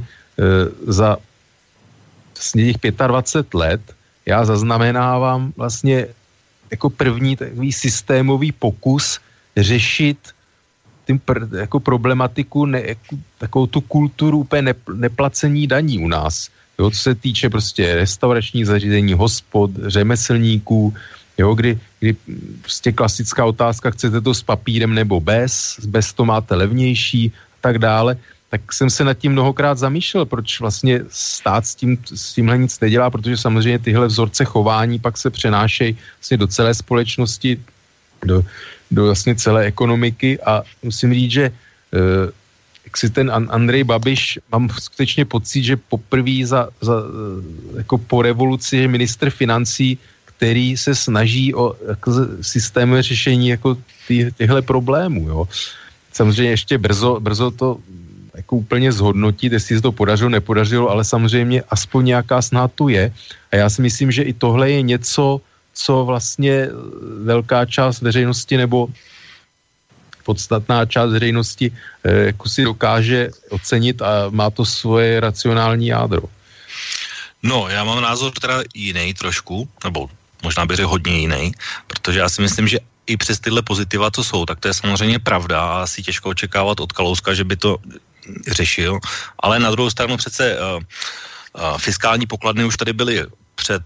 za vlastně těch dvacet pět let já zaznamenávám vlastně jako první takový systémový pokus řešit tím pr- jako problematiku, ne, jako, takovou tu kulturu úplně ne, neplacení daní u nás. Jo, co se týče prostě restauračních zařízení, hospod, řemeslníků, jo, kdy, kdy prostě klasická otázka, chcete to s papírem nebo bez, bez to máte levnější a tak dále, tak jsem se nad tím mnohokrát zamýšlel, proč vlastně stát s, tím, s tímhle nic nedělá, protože samozřejmě tyhle vzorce chování pak se přenášejí vlastně do celé společnosti, do, do vlastně celé ekonomiky a musím říct, že eh, jak si ten Andrej Babiš, mám skutečně pocit, že poprvé za, za, jako po revoluci je ministr financí, který se snaží o jako systémové řešení jako ty, těchto problémů. Jo. Samozřejmě ještě brzo, brzo to jako úplně zhodnotit, jestli se to podařilo, nepodařilo, ale samozřejmě aspoň nějaká snaha tu je. A já si myslím, že i tohle je něco, co vlastně velká část veřejnosti nebo podstatná část veřejnosti eh, jako si dokáže ocenit a má to svoje racionální jádro. No, já mám názor teda jiný trošku, nebo možná bych řekl hodně jiný, protože já si myslím, že i přes tyhle pozitiva, co jsou, tak to je samozřejmě pravda a asi těžko očekávat od Kalouska, že by to řešil, ale na druhou stranu přece uh, uh, fiskální pokladny už tady byly před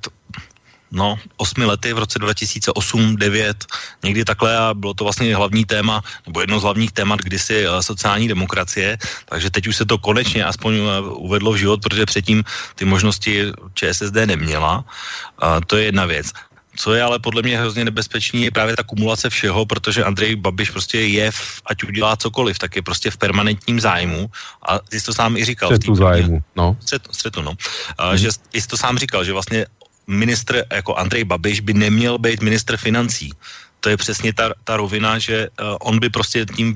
no, osmi lety, v roce dva tisíce osm devět, někdy takhle a bylo to vlastně hlavní téma, nebo jedno z hlavních témat kdysi uh, sociální demokracie, takže teď už se to konečně aspoň uh, uvedlo v život, protože předtím ty možnosti ČSSD neměla. Uh, to je jedna věc. Co je ale podle mě hrozně nebezpečný, je právě ta kumulace všeho, protože Andrej Babiš prostě je, v, ať udělá cokoliv, tak je prostě v permanentním zájmu. A ty jsi to sám i říkal. Střetu zájmu, no. Střetu, střetu no. A, hmm. Že jsi to sám říkal, že vlastně ministr jako Andrej Babiš by neměl být ministr financí. To je přesně ta, ta rovina, že uh, on by prostě tím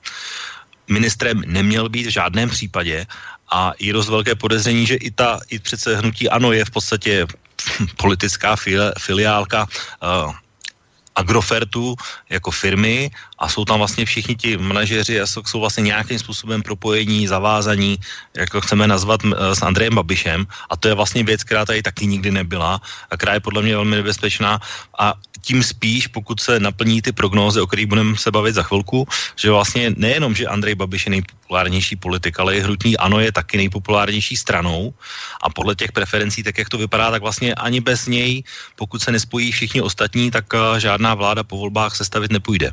ministrem neměl být v žádném případě a je dost velké podezření, že i ta, i přece hnutí ANO je v podstatě politická filiálka uh, Agrofertu jako firmy a jsou tam vlastně všichni ti manažeři a jsou vlastně nějakým způsobem propojení, zavázaní, jak to chceme nazvat, uh, s Andrejem Babišem a to je vlastně věc, která tady taky nikdy nebyla a která je podle mě velmi nebezpečná a tím spíš, pokud se naplní ty prognózy, o kterých budeme se bavit za chvilku, že vlastně nejenom, že Andrej Babiš je nejpopulárnější politik, ale i hnutí ANO je taky nejpopulárnější stranou a podle těch preferencí, tak jak to vypadá, tak vlastně ani bez něj, pokud se nespojí všichni ostatní, tak uh, žádná vláda po volbách sestavit nepůjde.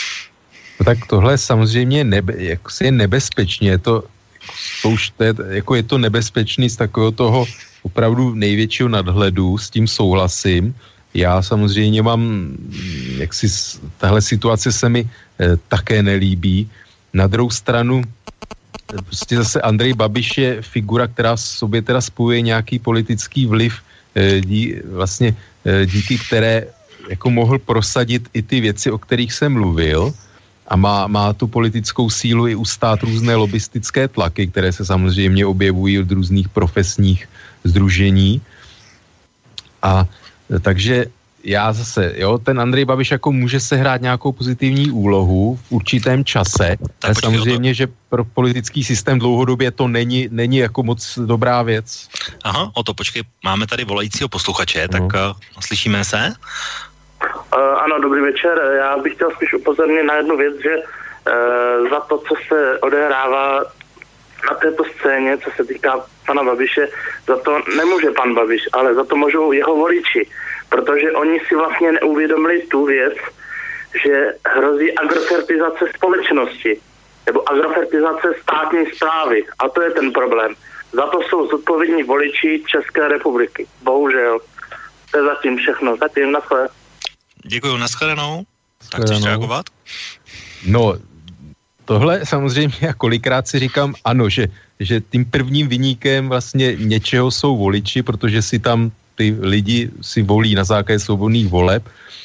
No tak tohle samozřejmě nebe, jako je nebezpečně, je to, to už je, jako je to nebezpečný z takového toho opravdu největšího nadhledu, s tím souhlasím. Já samozřejmě mám, jak si tahle situace se mi eh, také nelíbí. Na druhou stranu, prostě zase Andrej Babiš je figura, která v sobě teda spojuje nějaký politický vliv, eh, dí, vlastně eh, díky které jako mohl prosadit i ty věci, o kterých jsem mluvil a má, má tu politickou sílu i ustát různé lobistické tlaky, které se samozřejmě objevují od různých profesních sdružení. A takže já zase, jo, ten Andrej Babiš jako může sehrát nějakou pozitivní úlohu v určitém čase, ale samozřejmě, že pro politický systém dlouhodobě to není, není jako moc dobrá věc. Aha, o to počkej, máme tady volajícího posluchače, tak no. uh, slyšíme se? Uh, ano, dobrý večer. Já bych chtěl spíš upozornit na jednu věc, že uh, za to, co se odehrává na této scéně, co se týká pana Babiše, za to nemůže pan Babiš, ale za to můžou jeho voliči, protože oni si vlastně neuvědomili tu věc, že hrozí agrofertizace společnosti nebo agrofertizace státní správy a to je ten problém. Za to jsou zodpovědní voliči České republiky. Bohužel. To je zatím všechno. Zatím, naschle. Děkuju, nashledanou. Tak chceš reagovat? No, tohle samozřejmě, já kolikrát si říkám, ano, že, že tím prvním viníkem vlastně něčeho jsou voliči, protože si tam ty lidi si volí na základě svobodných voleb.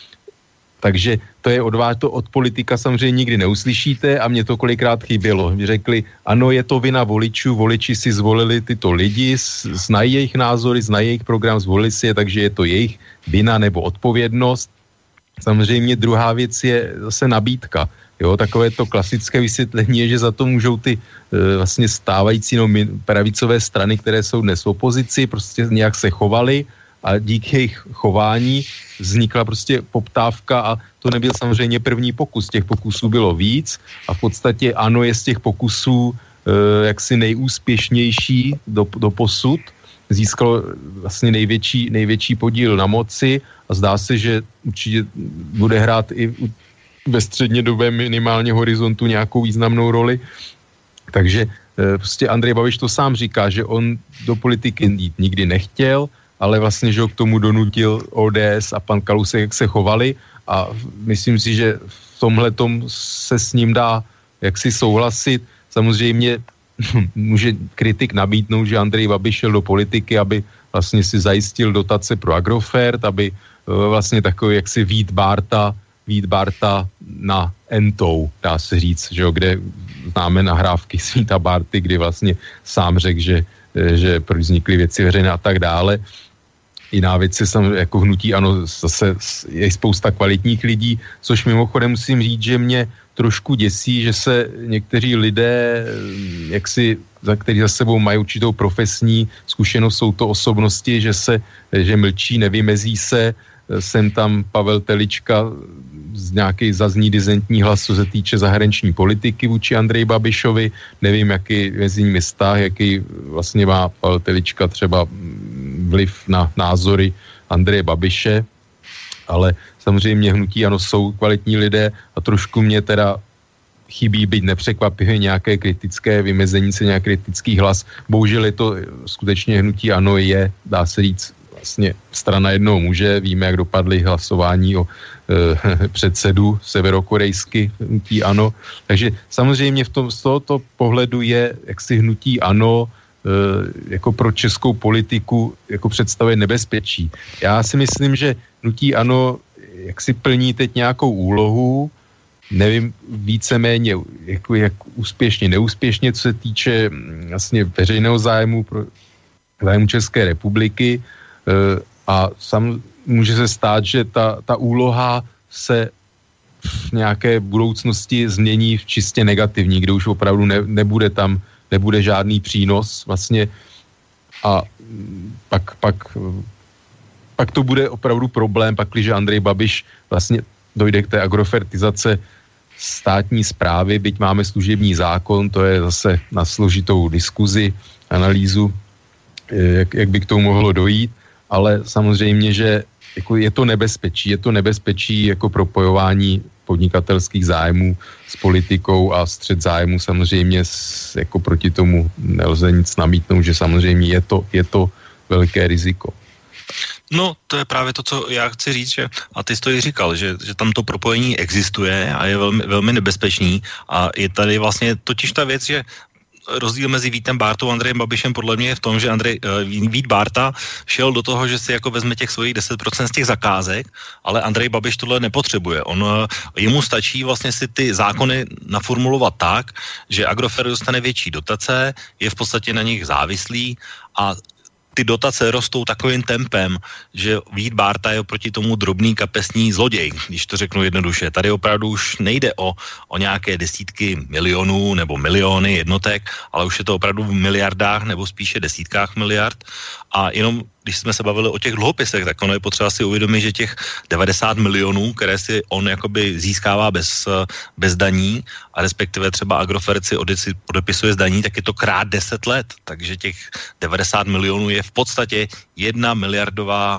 Takže to je od vás, to od politika samozřejmě nikdy neuslyšíte a mě to kolikrát chybělo. Řekli, ano, je to vina voličů, voliči si zvolili tyto lidi, znají jejich názory, znají jejich program, zvolili si je, takže je to jejich vina nebo odpovědnost. Samozřejmě druhá věc je zase nabídka. Jo, takové to klasické vysvětlení je, že za to můžou ty e, vlastně stávající no, pravicové strany, které jsou dnes v opozici, prostě nějak se chovaly a díky jejich chování vznikla prostě poptávka a to nebyl samozřejmě první pokus. Těch pokusů bylo víc a v podstatě ANO je z těch pokusů e, jaksi nejúspěšnější do, do posud. Získalo vlastně největší, největší podíl na moci a zdá se, že určitě bude hrát i ve střednědobém minimálně horizontu nějakou významnou roli. Takže e, prostě Andrej Babiš to sám říká, že on do politiky jít nikdy nechtěl, ale vlastně, že ho k tomu donutil O D S a pan Kalousek, jak se chovali a myslím si, že v tomhletom se s ním dá jaksi souhlasit. Samozřejmě může kritik nabídnout, že Andrej Babiš šel do politiky, aby vlastně si zajistil dotace pro Agrofert, aby vlastně takový jaksi Vít Bárta, Vít Bárta na Entou, dá se říct, že jo, kde známe nahrávky z Víta Bárty, kdy vlastně sám řekl, že, že vznikly věci veřejné a tak dále. Jiná věc je samozřejmě jako hnutí, ano, zase je spousta kvalitních lidí, což mimochodem musím říct, že mě trošku děsí, že se někteří lidé, jaksi, za který za sebou mají určitou profesní zkušenost, jsou to osobnosti, že se, že mlčí, nevymezí se, sem tam Pavel Telička z nějaký zazní dizentní hlas, co se týče zahraniční politiky vůči Andreji Babišovi, nevím, jaký mezi nimi vztah, jaký vlastně má Pavel Telička třeba vliv na názory Andreje Babiše, ale samozřejmě hnutí ano, jsou kvalitní lidé a trošku mě teda chybí, byť nepřekvapivě nějaké kritické vymezení se, nějaký kritický hlas. Bohužel je to skutečně hnutí ano je, dá se říct, vlastně strana jednoho muže, víme, jak dopadly hlasování o e, předsedu severokorejsky hnutí ANO. Takže samozřejmě v tom, z tohoto pohledu je jaksi hnutí ANO e, jako pro českou politiku jako představuje nebezpečí. Já si myslím, že hnutí ANO jak si plní teď nějakou úlohu, nevím víceméně jako, jak úspěšně, neúspěšně, co se týče vlastně veřejného zájmu pro zájmu České republiky, a sam může se stát, že ta, ta úloha se v nějaké budoucnosti změní v čistě negativní, kde už opravdu ne, nebude tam, nebude žádný přínos vlastně a pak, pak, pak to bude opravdu problém, pak když Andrej Babiš vlastně dojde k té agrofertizace státní správy, byť máme služební zákon, to je zase na složitou diskuzi, analýzu, jak, jak by k tomu mohlo dojít, ale samozřejmě, že jako je to nebezpečí, je to nebezpečí jako propojování podnikatelských zájmů s politikou a střet zájmů samozřejmě s, jako proti tomu nelze nic namítnout, že samozřejmě je to, je to velké riziko. No, to je právě to, co já chci říct, že, a ty jsi to i říkal, že, že tam to propojení existuje a je velmi, velmi nebezpečný a je tady vlastně totiž ta věc, že rozdíl mezi Vítem Bártou a Andrejem Babišem podle mě je v tom, že Andrej, uh, Vít Bárta šel do toho, že si jako vezme těch svojich deset procent z těch zakázek, ale Andrej Babiš tohle nepotřebuje. On, uh, jemu stačí vlastně si ty zákony naformulovat tak, že Agrofert dostane větší dotace, je v podstatě na nich závislý a ty dotace rostou takovým tempem, že Vít Bárta je oproti tomu drobný kapesní zloděj, když to řeknu jednoduše. Tady opravdu už nejde o, o nějaké desítky milionů nebo miliony jednotek, ale už je to opravdu v miliardách nebo spíše desítkách miliard. A jenom když jsme se bavili o těch dluhopisech, tak ono je potřeba si uvědomit, že těch devadesát milionů, které si on jakoby získává bez, bez daní a respektive třeba Agrofert si odepisuje z daní, tak je to krát deset let. Takže těch devadesát milionů je v podstatě jedna miliardová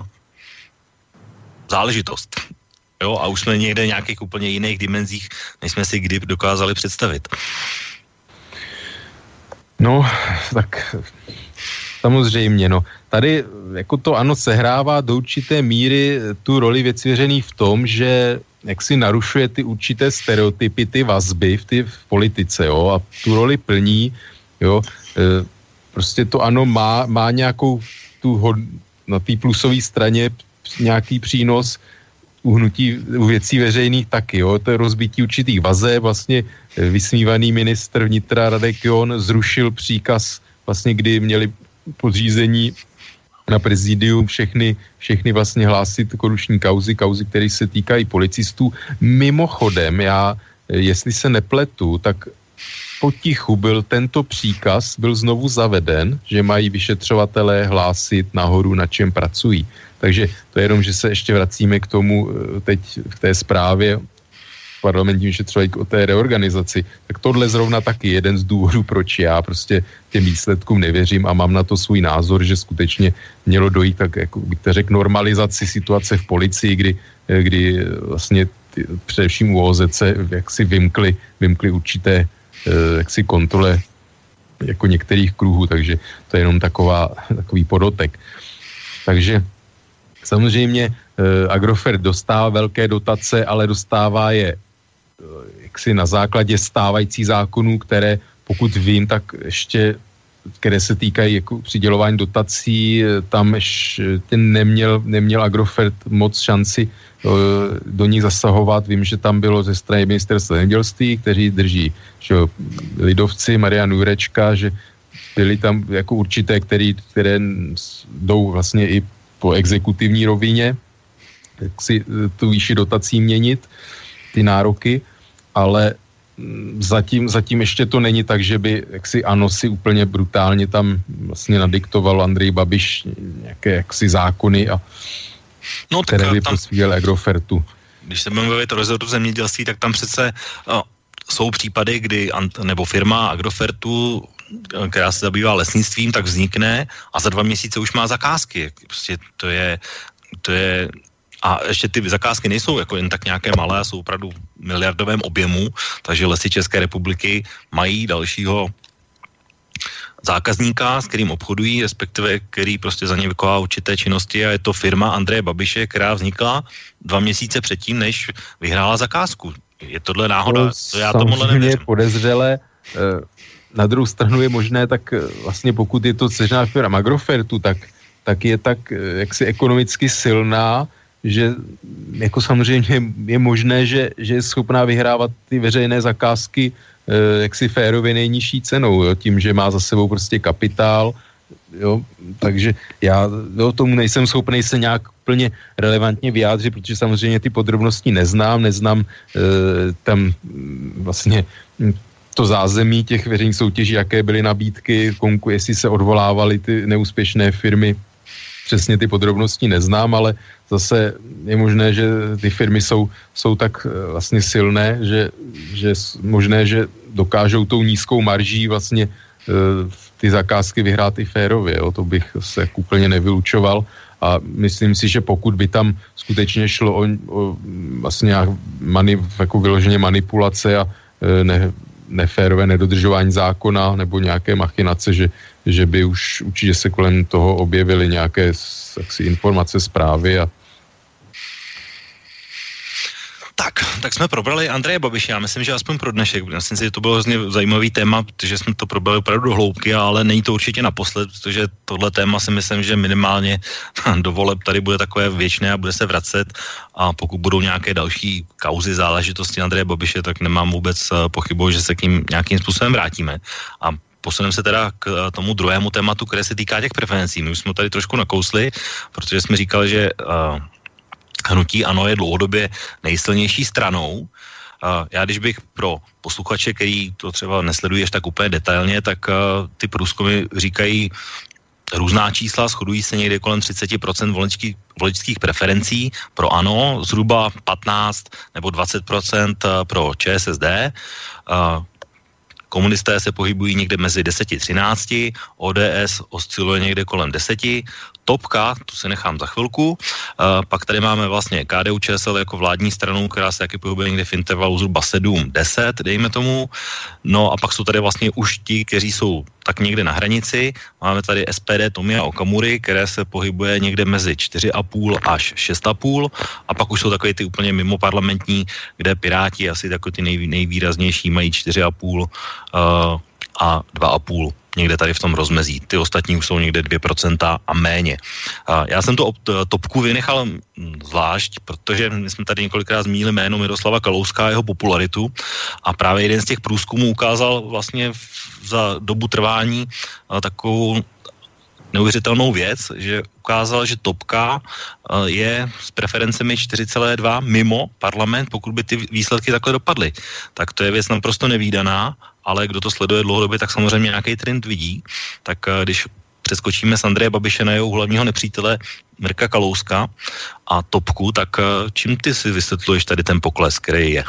záležitost. Jo, a už jsme někde v nějakých úplně jiných dimenzích, než jsme si kdy dokázali představit. No, tak samozřejmě, no. Tady jako to ANO sehrává do určité míry tu roli věcí veřejných v tom, že jak si narušuje ty určité stereotypy, ty vazby v, ty, v politice, jo, a tu roli plní, jo, e, prostě to ANO má, má nějakou tu hod, na té plusové straně nějaký přínos u hnutí u věcí veřejných taky, jo, to je rozbití určitých vazeb, vlastně vysmívaný ministr vnitra Radek John zrušil příkaz, vlastně kdy měli podřízení na prezidium všechny, všechny vlastně hlásit korupční kauzy, kauzy, které se týkají policistů. Mimochodem, já, jestli se nepletu, tak potichu byl tento příkaz, byl znovu zaveden, že mají vyšetřovatelé hlásit nahoru, na čem pracují. Takže to je jenom, že se ještě vracíme k tomu teď v té zprávě parlamentní vyšetřování o té reorganizaci. Tak tohle zrovna taky jeden z důvodů, proč já prostě těm výsledkům nevěřím a mám na to svůj názor, že skutečně mělo dojít tak, jako bych to řekl, normalizaci situace v policii, kdy, kdy vlastně ty, především u O Z C jak si vymkli, vymkli určité jak si kontrole jako některých kruhů, takže to je jenom taková, takový podotek. Takže samozřejmě eh, Agrofert dostává velké dotace, ale dostává je eh, jaksi na základě stávajících zákonů, které pokud vím, tak ještě, které se týkají jako přidělování dotací, eh, tam ještě neměl, neměl Agrofert moc šanci eh, do nich zasahovat. Vím, že tam bylo ze strany ministerstva zemědělství, kteří drží že, lidovci, Marian Jurečka, že byly tam jako určité, který, které jdou vlastně i po exekutivní rovině, jak si tu výši dotací měnit, ty nároky, ale zatím, zatím ještě to není tak, že by jaksi ANO si úplně brutálně tam vlastně nadiktoval Andrej Babiš nějaké jaksi zákony, a no, které by prospívaly Agrofertu. Když se budeme bavit o rezortu zemědělství, tak tam přece no, jsou případy, kdy nebo firma Agrofertu, která se zabývá lesnictvím, tak vznikne a za dva měsíce už má zakázky. Prostě to je, to je a ještě ty zakázky nejsou jako jen tak nějaké malé, jsou opravdu v miliardovém objemu, takže Lesy České republiky mají dalšího zákazníka, s kterým obchodují, respektive který prostě za ně vykonává určité činnosti, a je to firma Andreje Babiše, která vznikla dva měsíce předtím, než vyhrála zakázku. Je tohle náhoda? To já tomuhle nevěřím. Podezřele. Na druhou stranu je možné, tak vlastně pokud je to dceřiná firma Agrofertu, tak, tak je tak jaksi ekonomicky silná, že jako samozřejmě je možné, že, že je schopná vyhrávat ty veřejné zakázky jaksi férově nejnižší cenou, jo, tím, že má za sebou prostě kapitál, jo, takže já jo, tomu nejsem schopný se nějak plně relevantně vyjádřit, protože samozřejmě ty podrobnosti neznám, neznám e, tam vlastně to zázemí těch veřejných soutěží, jaké byly nabídky, konku, jestli se odvolávaly ty neúspěšné firmy, přesně ty podrobnosti neznám, ale zase je možné, že ty firmy jsou, jsou tak vlastně silné, že, že možné, že dokážou tou nízkou marží vlastně ty zakázky vyhrát i férově, jo? To bych se úplně nevylučoval, a myslím si, že pokud by tam skutečně šlo o, o vlastně mani, jako vyloženě manipulace a ne, neférové nedodržování zákona nebo nějaké machinace, že, že by už určitě se kolem toho objevily nějaké jaksi, informace, zprávy a Tak, tak jsme probrali Andreje Babiše, já myslím, že aspoň pro dnešek. Myslím si, že to bylo hrozně zajímavý téma, protože jsme to probrali opravdu do hloubky, ale není to určitě naposled, protože tohle téma si myslím, že minimálně do voleb tady bude takové věčné a bude se vracet, a pokud budou nějaké další kauzy, záležitosti Andreje Babiše, tak nemám vůbec pochybu, že se k ním nějakým způsobem vrátíme. A posuneme se teda k tomu druhému tématu, které se týká těch preferencí. My už jsme tady trošku nakousli, protože jsme říkali, že uh, hnutí ANO je dlouhodobě nejsilnější stranou. Já když bych pro posluchače, který to třeba nesleduješ tak úplně detailně, tak ty průzkumy říkají různá čísla, shodují se někde kolem třicet procent voličských, voličských preferencí pro ANO, zhruba patnáct nebo dvacet procent pro ČSSD. Komunisté se pohybují někde mezi deset a třináct, O D S osciluje někde kolem deset, Topka, tu se nechám za chvilku, uh, pak tady máme vlastně K D U Č S L jako vládní stranu, která se taky pohybuje někde v intervalu zhruba sedm deset, dejme tomu, no a pak jsou tady vlastně už ti, kteří jsou tak někde na hranici. Máme tady S P D Tomia Okamury, které se pohybuje někde mezi čtyři a půl až šest a půl a pak už jsou takové ty úplně mimo parlamentní, kde Piráti asi takový ty nej, nejvýraznější mají čtyři a půl uh, a dva a půl. Někde tady v tom rozmezí. Ty ostatní už jsou někde dvě procenta a méně. Uh, já jsem to topku vynechal zvlášť, protože my jsme tady několikrát zmínili jméno Miroslava Kalouska a jeho popularitu a právě jeden z těch průzkumů ukázal vlastně za dobu trvání uh, takovou neuvěřitelnou věc, že ukázal, že topka uh, je s preferencemi čtyři celá dva mimo parlament, pokud by ty výsledky takhle dopadly. Tak to je věc naprosto nevídaná, ale kdo to sleduje dlouhodobě, tak samozřejmě nějaký trend vidí. Tak uh, když přeskočíme z Andreje Babiše na jeho hlavního nepřítele Mirka Kalouska a topku, tak uh, čím ty si vysvětluješ tady ten pokles, který je?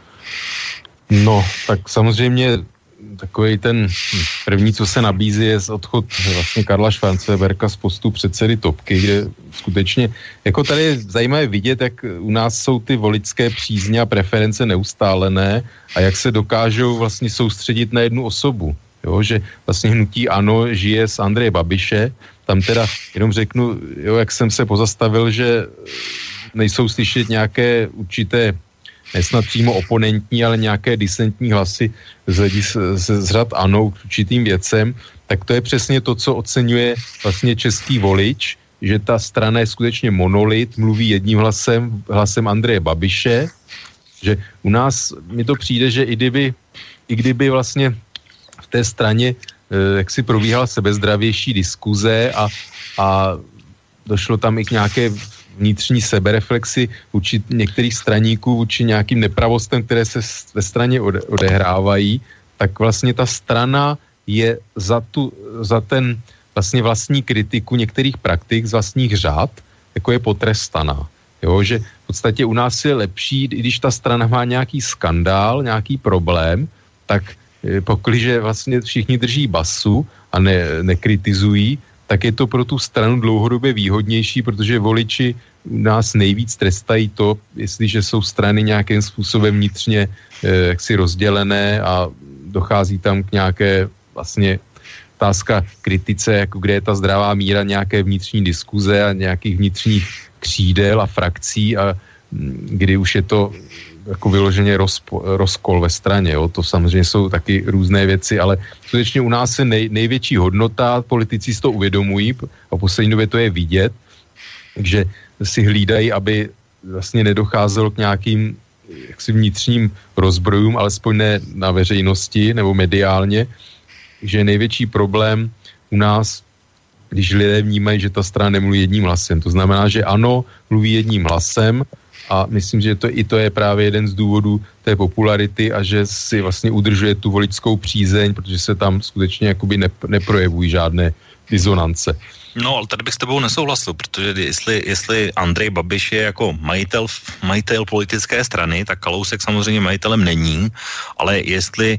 No, tak samozřejmě takový ten první, co se nabízí, je odchod vlastně Karla Schwarzenberga z postu předsedy topky, kde skutečně, jako tady je zajímavé vidět, jak u nás jsou ty voličské přízně a preference neustálené a jak se dokážou vlastně soustředit na jednu osobu. Jo, že vlastně hnutí ANO žije z Andreje Babiše, tam teda jenom řeknu, jo, jak jsem se pozastavil, že nejsou slyšet nějaké určité nesnad přímo oponentní, ale nějaké disentní hlasy z, z, z řad ANO k určitým věcem, tak to je přesně to, co oceňuje vlastně český volič, že ta strana je skutečně monolit, mluví jedním hlasem, hlasem Andreje Babiše, že u nás mi to přijde, že i kdyby, i kdyby vlastně v té straně eh, jak si probíhala sebezdravější diskuze a, a došlo tam i k nějaké vnitřní sebereflexi vůči některých straníků, vůči nějakým nepravostem, které se ve straně ode, odehrávají, tak vlastně ta strana je za, tu, za ten vlastně vlastní kritiku některých praktik z vlastních řád, jako je potrestaná. Jo, že v podstatě u nás je lepší, když ta strana má nějaký skandál, nějaký problém, tak pokliže vlastně všichni drží basu a ne, nekritizují, tak je to pro tu stranu dlouhodobě výhodnější, protože voliči nás nejvíc trestají to, jestliže jsou strany nějakým způsobem vnitřně eh, jaksi rozdělené a dochází tam k nějaké vlastně otázka kritice, jako kde je ta zdravá míra nějaké vnitřní diskuze a nějakých vnitřních křídel a frakcí a kdy už je to jako vyloženě rozpo, rozkol ve straně, jo. To samozřejmě jsou taky různé věci, ale skutečně u nás je nej, největší hodnota, politici si to uvědomují a v poslední době to je vidět, takže si hlídají, aby vlastně nedocházelo k nějakým jaksi vnitřním rozbrojům, alespoň ne na veřejnosti nebo mediálně, že je největší problém u nás, když lidé vnímají, že ta strana nemluví jedním hlasem. To znamená, že ano, mluví jedním hlasem a myslím, že to, i to je právě jeden z důvodů té popularity a že si vlastně udržuje tu voličskou přízeň, protože se tam skutečně jakoby nep- neprojevují žádné disonance. No, ale tady bych s tebou nesouhlasil, protože jestli, jestli Andrej Babiš je jako majitel, majitel politické strany, tak Kalousek samozřejmě majitelem není, ale jestli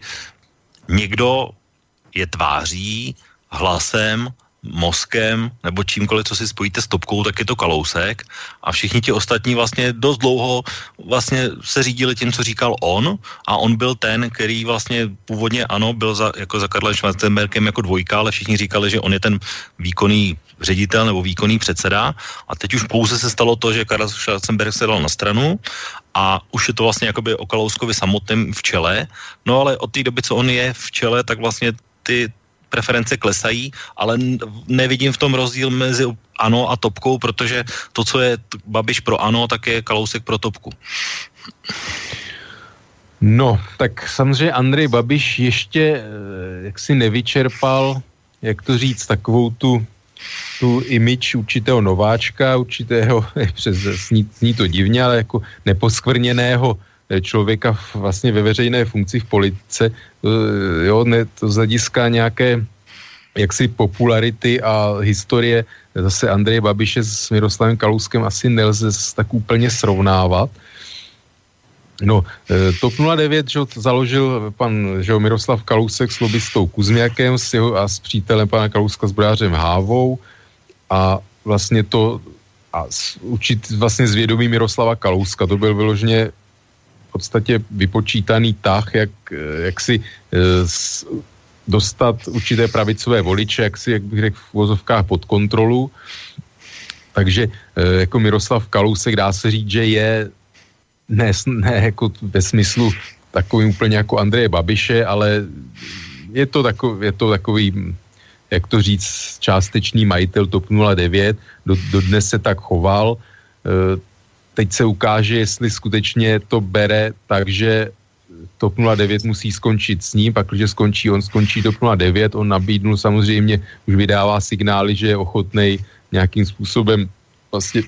někdo je tváří, hlasem, mozkem nebo čímkoliv, co si spojíte s topkou, tak je to Kalousek a všichni ti ostatní vlastně dost dlouho vlastně se řídili tím, co říkal on a on byl ten, který vlastně původně ano, byl za, jako za Karlem Schwarzenbergem jako dvojka, ale všichni říkali, že on je ten výkonný ředitel nebo výkonný předseda a teď už pouze se stalo to, že Karel Schwarzenberg se dal na stranu a už je to vlastně jakoby o Kalouskovi samotném v čele, no ale od té doby, co on je v čele, tak vlastně ty preference klesají, ale nevidím v tom rozdíl mezi ANO a topkou, protože to, co je Babiš pro ANO, tak je Kalousek pro topku. No, tak samozřejmě Andrej Babiš ještě jaksi nevyčerpal, jak to říct, takovou tu, tu image určitého nováčka, určitého, přes, sní, sní to divně, ale jako neposkvrněného člověka vlastně ve veřejné funkci v politice, jo, ne, to z hlediska nějaké jaksi popularity a historie zase Andreje Babiše s Miroslavem Kalouskem asi nelze tak úplně srovnávat. No, TOP nula devět, že založil pan že Miroslav Kalousek s lobbystou Kuzmiakem s jeho, a s přítelem pana Kalouska s Brářem Hávou a vlastně to a určitě vlastně z vědomí Miroslava Kalouska, to byl vyloženě v podstatě vypočítaný tah, jak, jak si s, dostat určité pravicové voliče, jak si, jak bych řekl, v vozovkách pod kontrolu. Takže jako Miroslav Kalousek dá se říct, že je ne, ne jako ve smyslu takový úplně jako Andreje Babiše, ale je to takový, je to takový, jak to říct, částečný majitel TOP nula devět, do, do dnes se tak choval. Teď se ukáže, jestli skutečně to bere, takže TOP nula devět musí skončit s ním, pak když skončí, on skončí TOP nula devět, on nabídnul samozřejmě, už vydává signály, že je ochotnej nějakým způsobem vlastně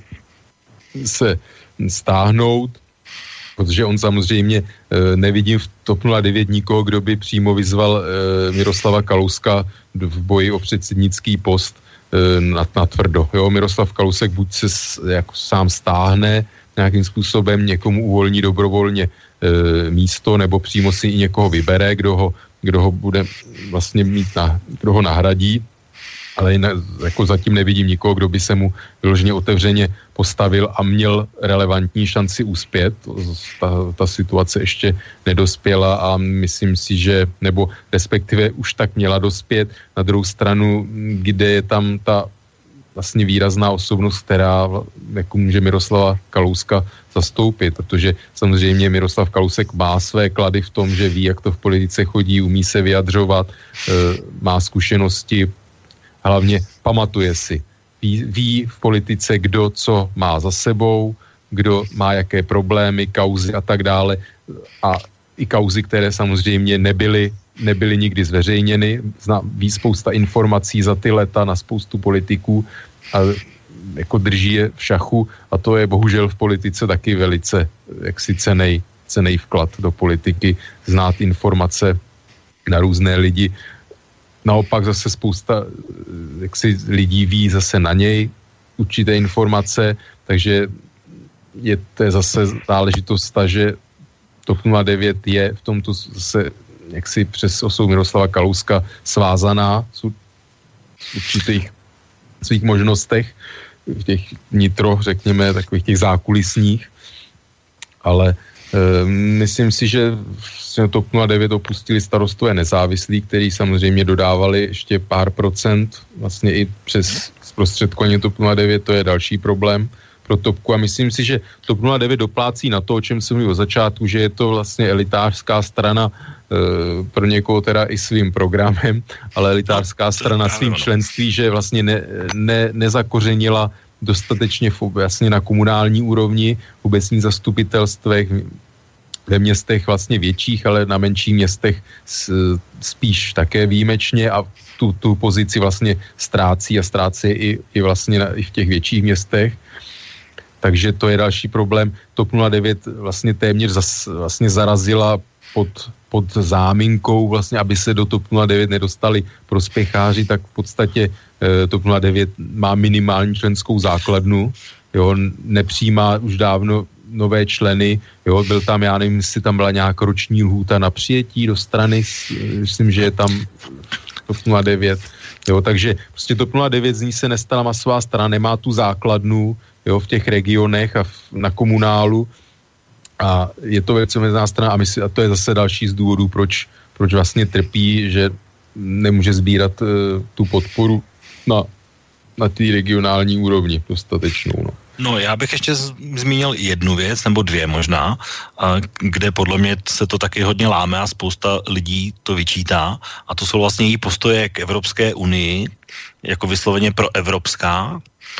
se stáhnout, protože on samozřejmě e, nevidím v TOP nula devět nikoho, kdo by přímo vyzval e, Miroslava Kalouska v boji o předsednický post e, na, na tvrdo. Jo, Miroslav Kalousek buď se s, jako sám stáhne, nějakým způsobem někomu uvolní dobrovolně e, místo, nebo přímo si i někoho vybere, kdo ho, kdo ho bude vlastně mít, na, kdo ho nahradí. Ale jinak, jako zatím nevidím nikoho, kdo by se mu vyloženě otevřeně postavil a měl relevantní šanci uspět. Ta, ta situace ještě nedospěla a myslím si, že, nebo respektive už tak měla dospět. Na druhou stranu, kde je tam ta vlastně výrazná osobnost, která jako může Miroslava Kalouska zastoupit, protože samozřejmě Miroslav Kalousek má své klady v tom, že ví, jak to v politice chodí, umí se vyjadřovat, má zkušenosti, hlavně pamatuje si, ví, ví v politice, kdo co má za sebou, kdo má jaké problémy, kauzy a tak dále. A i kauzy, které samozřejmě nebyly, nebyly nikdy zveřejněny. Zná, ví spousta informací za ty leta na spoustu politiků a jako drží je v šachu a to je bohužel v politice taky velice jaksi cenej, cenej vklad do politiky, znát informace na různé lidi. Naopak zase spousta jaksi lidí ví zase na něj určité informace, takže je to zase záležitost ta, že TOP nula devět je v tomto zase jaksi přes osobu Miroslava Kalouska svázaná v určitých svých možnostech, v těch nitro, řekněme, takových těch zákulisních, ale e, myslím si, že TOP nula devět opustili Starostové nezávislí, který samozřejmě dodávali ještě pár procent, vlastně i přes zprostředkování TOP nula devět, to je další problém pro Topku a myslím si, že TOP nula devět doplácí na to, o čem jsem mluvil od začátku, že je to vlastně elitářská strana e, pro někoho teda i svým programem, ale elitářská strana svým členství, že vlastně ne, ne, nezakořenila dostatečně vlastně na komunální úrovni, v obecních zastupitelstvech, ve městech vlastně větších, ale na menších městech spíš také výjimečně a tu, tu pozici vlastně ztrácí a ztrácí i, i vlastně na, i v těch větších městech. Takže to je další problém. TOP nula devět vlastně téměř zas, vlastně zarazila pod, pod záminkou, vlastně, aby se do TOP nula devět nedostali prospěcháři, tak v podstatě eh, TOP nula devět má minimální členskou základnu, jo, nepřijímá už dávno nové členy, jo, byl tam, já nevím, jestli tam byla nějaká roční lhůta na přijetí do strany, myslím, že je tam TOP nula devět, jo, takže prostě TOP nula devět z ní se nestala masová strana, nemá tu základnu, jo, v těch regionech a v, na komunálu a je to velice omezená strana a, mysl, a to je zase další z důvodů, proč, proč vlastně trpí, že nemůže sbírat uh, tu podporu na, na té regionální úrovni dostatečnou, no. No, já bych ještě zmínil jednu věc, nebo dvě možná, kde podle mě se to taky hodně láme a spousta lidí to vyčítá, a to jsou vlastně její postoje k Evropské unii, jako vysloveně proevropská.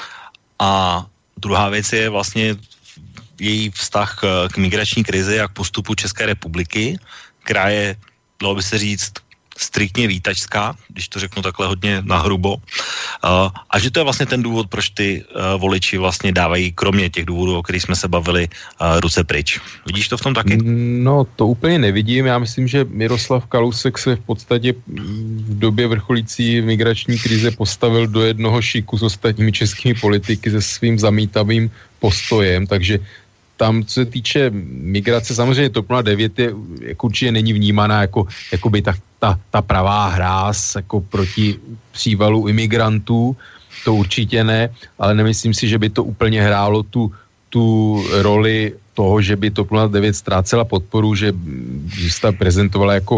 A druhá věc je vlastně její vztah k migrační krizi a k postupu České republiky, která je, dalo by se říct, striktně vítačská, když to řeknu takhle hodně nahrubo. A že to je vlastně ten důvod, proč ty voliči vlastně dávají, kromě těch důvodů, o kterých jsme se bavili, ruce pryč. Vidíš to v tom taky? No, to úplně nevidím. Já myslím, že Miroslav Kalousek se v podstatě v době vrcholící migrační krize postavil do jednoho šiku s ostatními českými politiky se svým zamítavým postojem, takže tam, co se týče migrace, samozřejmě TOP nula devět je, jako určitě není vnímaná jako, jako by ta, ta, ta pravá hráz jako proti přívalu imigrantů, to určitě ne, ale nemyslím si, že by to úplně hrálo tu, tu roli toho, že by TOP nula devět ztrácela podporu, že, že se ta prezentovala jako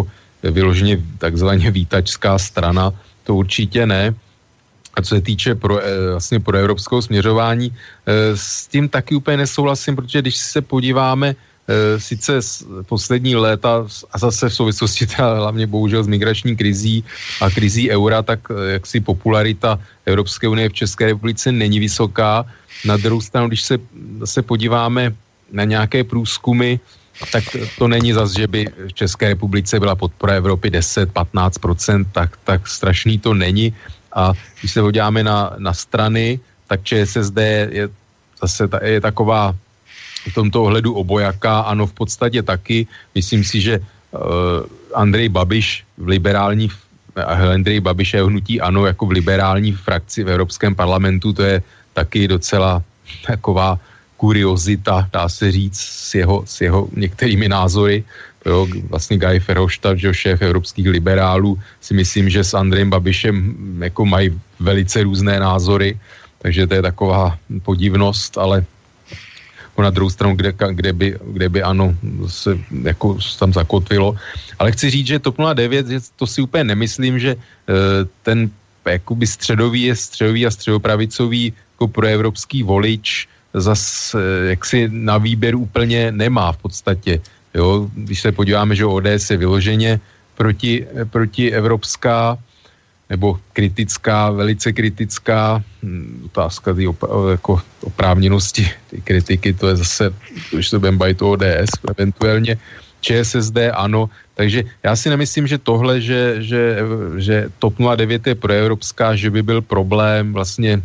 vyloženě takzvaně výtačská strana, to určitě ne. A co se týče pro, vlastně pro evropského směřování, s tím taky úplně nesouhlasím, protože když se podíváme sice poslední léta a zase v souvislosti teda hlavně bohužel s migrační krizí a krizí eura, tak jaksi popularita Evropské unie v České republice není vysoká. Na druhou stranu, když se, se podíváme na nějaké průzkumy, tak to není zas, že by v České republice byla podpora Evropy deset až patnáct procent, tak, tak strašný to není. A když se podíváme na, na strany, tak ČSSD je zase ta, je taková v tomto ohledu obojaká, ano, v podstatě taky. Myslím si, že uh, Andrej Babiš v liberální, Andrej Babiš je hnutí ANO jako v liberální frakci v Evropském parlamentu, to je taky docela taková kuriozita, dá se říct, s jeho, s jeho některými názory. Jo, vlastně Guy Verhofstadt, že šéf evropských liberálů, si myslím, že s Andrejem Babišem jako mají velice různé názory, takže to je taková podivnost, ale na druhou stranu, kde, kde, by, kde by ano, se jako tam zakotvilo. Ale chci říct, že TOP nula devět, to si úplně nemyslím, že ten jakoby středový je středový a středopravicový jako proevropský volič zas jaksi na výběr úplně nemá v podstatě. Jo, když se podíváme, že O D S je vyloženě proti, proti evropská nebo kritická, velice kritická, otázka tý op- jako oprávněnosti ty kritiky, to je zase, když to budeme bavit o O D S, eventuálně ČSSD, ano, takže já si nemyslím, že tohle, že, že, že TOP nula devět je proevropská, že by byl problém vlastně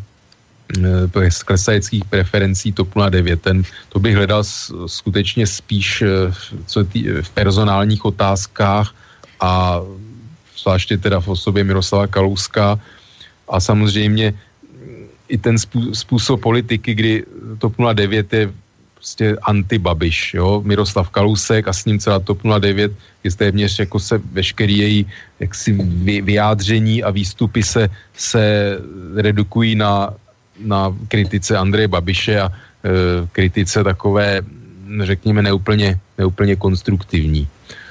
z klesajících preferencí TOP nula devět. Ten, to bych hledal skutečně spíš co tý, v personálních otázkách a zvláště teda v osobě Miroslava Kalouska a samozřejmě i ten způsob politiky, kdy TOP nula devět je prostě anti-Babiš, jo, Miroslav Kalousek a s ním celá TOP nula devět je téměř jako se veškerý její jaksi vyjádření a výstupy se, se redukují na na kritice Andreje Babiše a e, kritice takové, řekněme, neúplně, neúplně konstruktivní.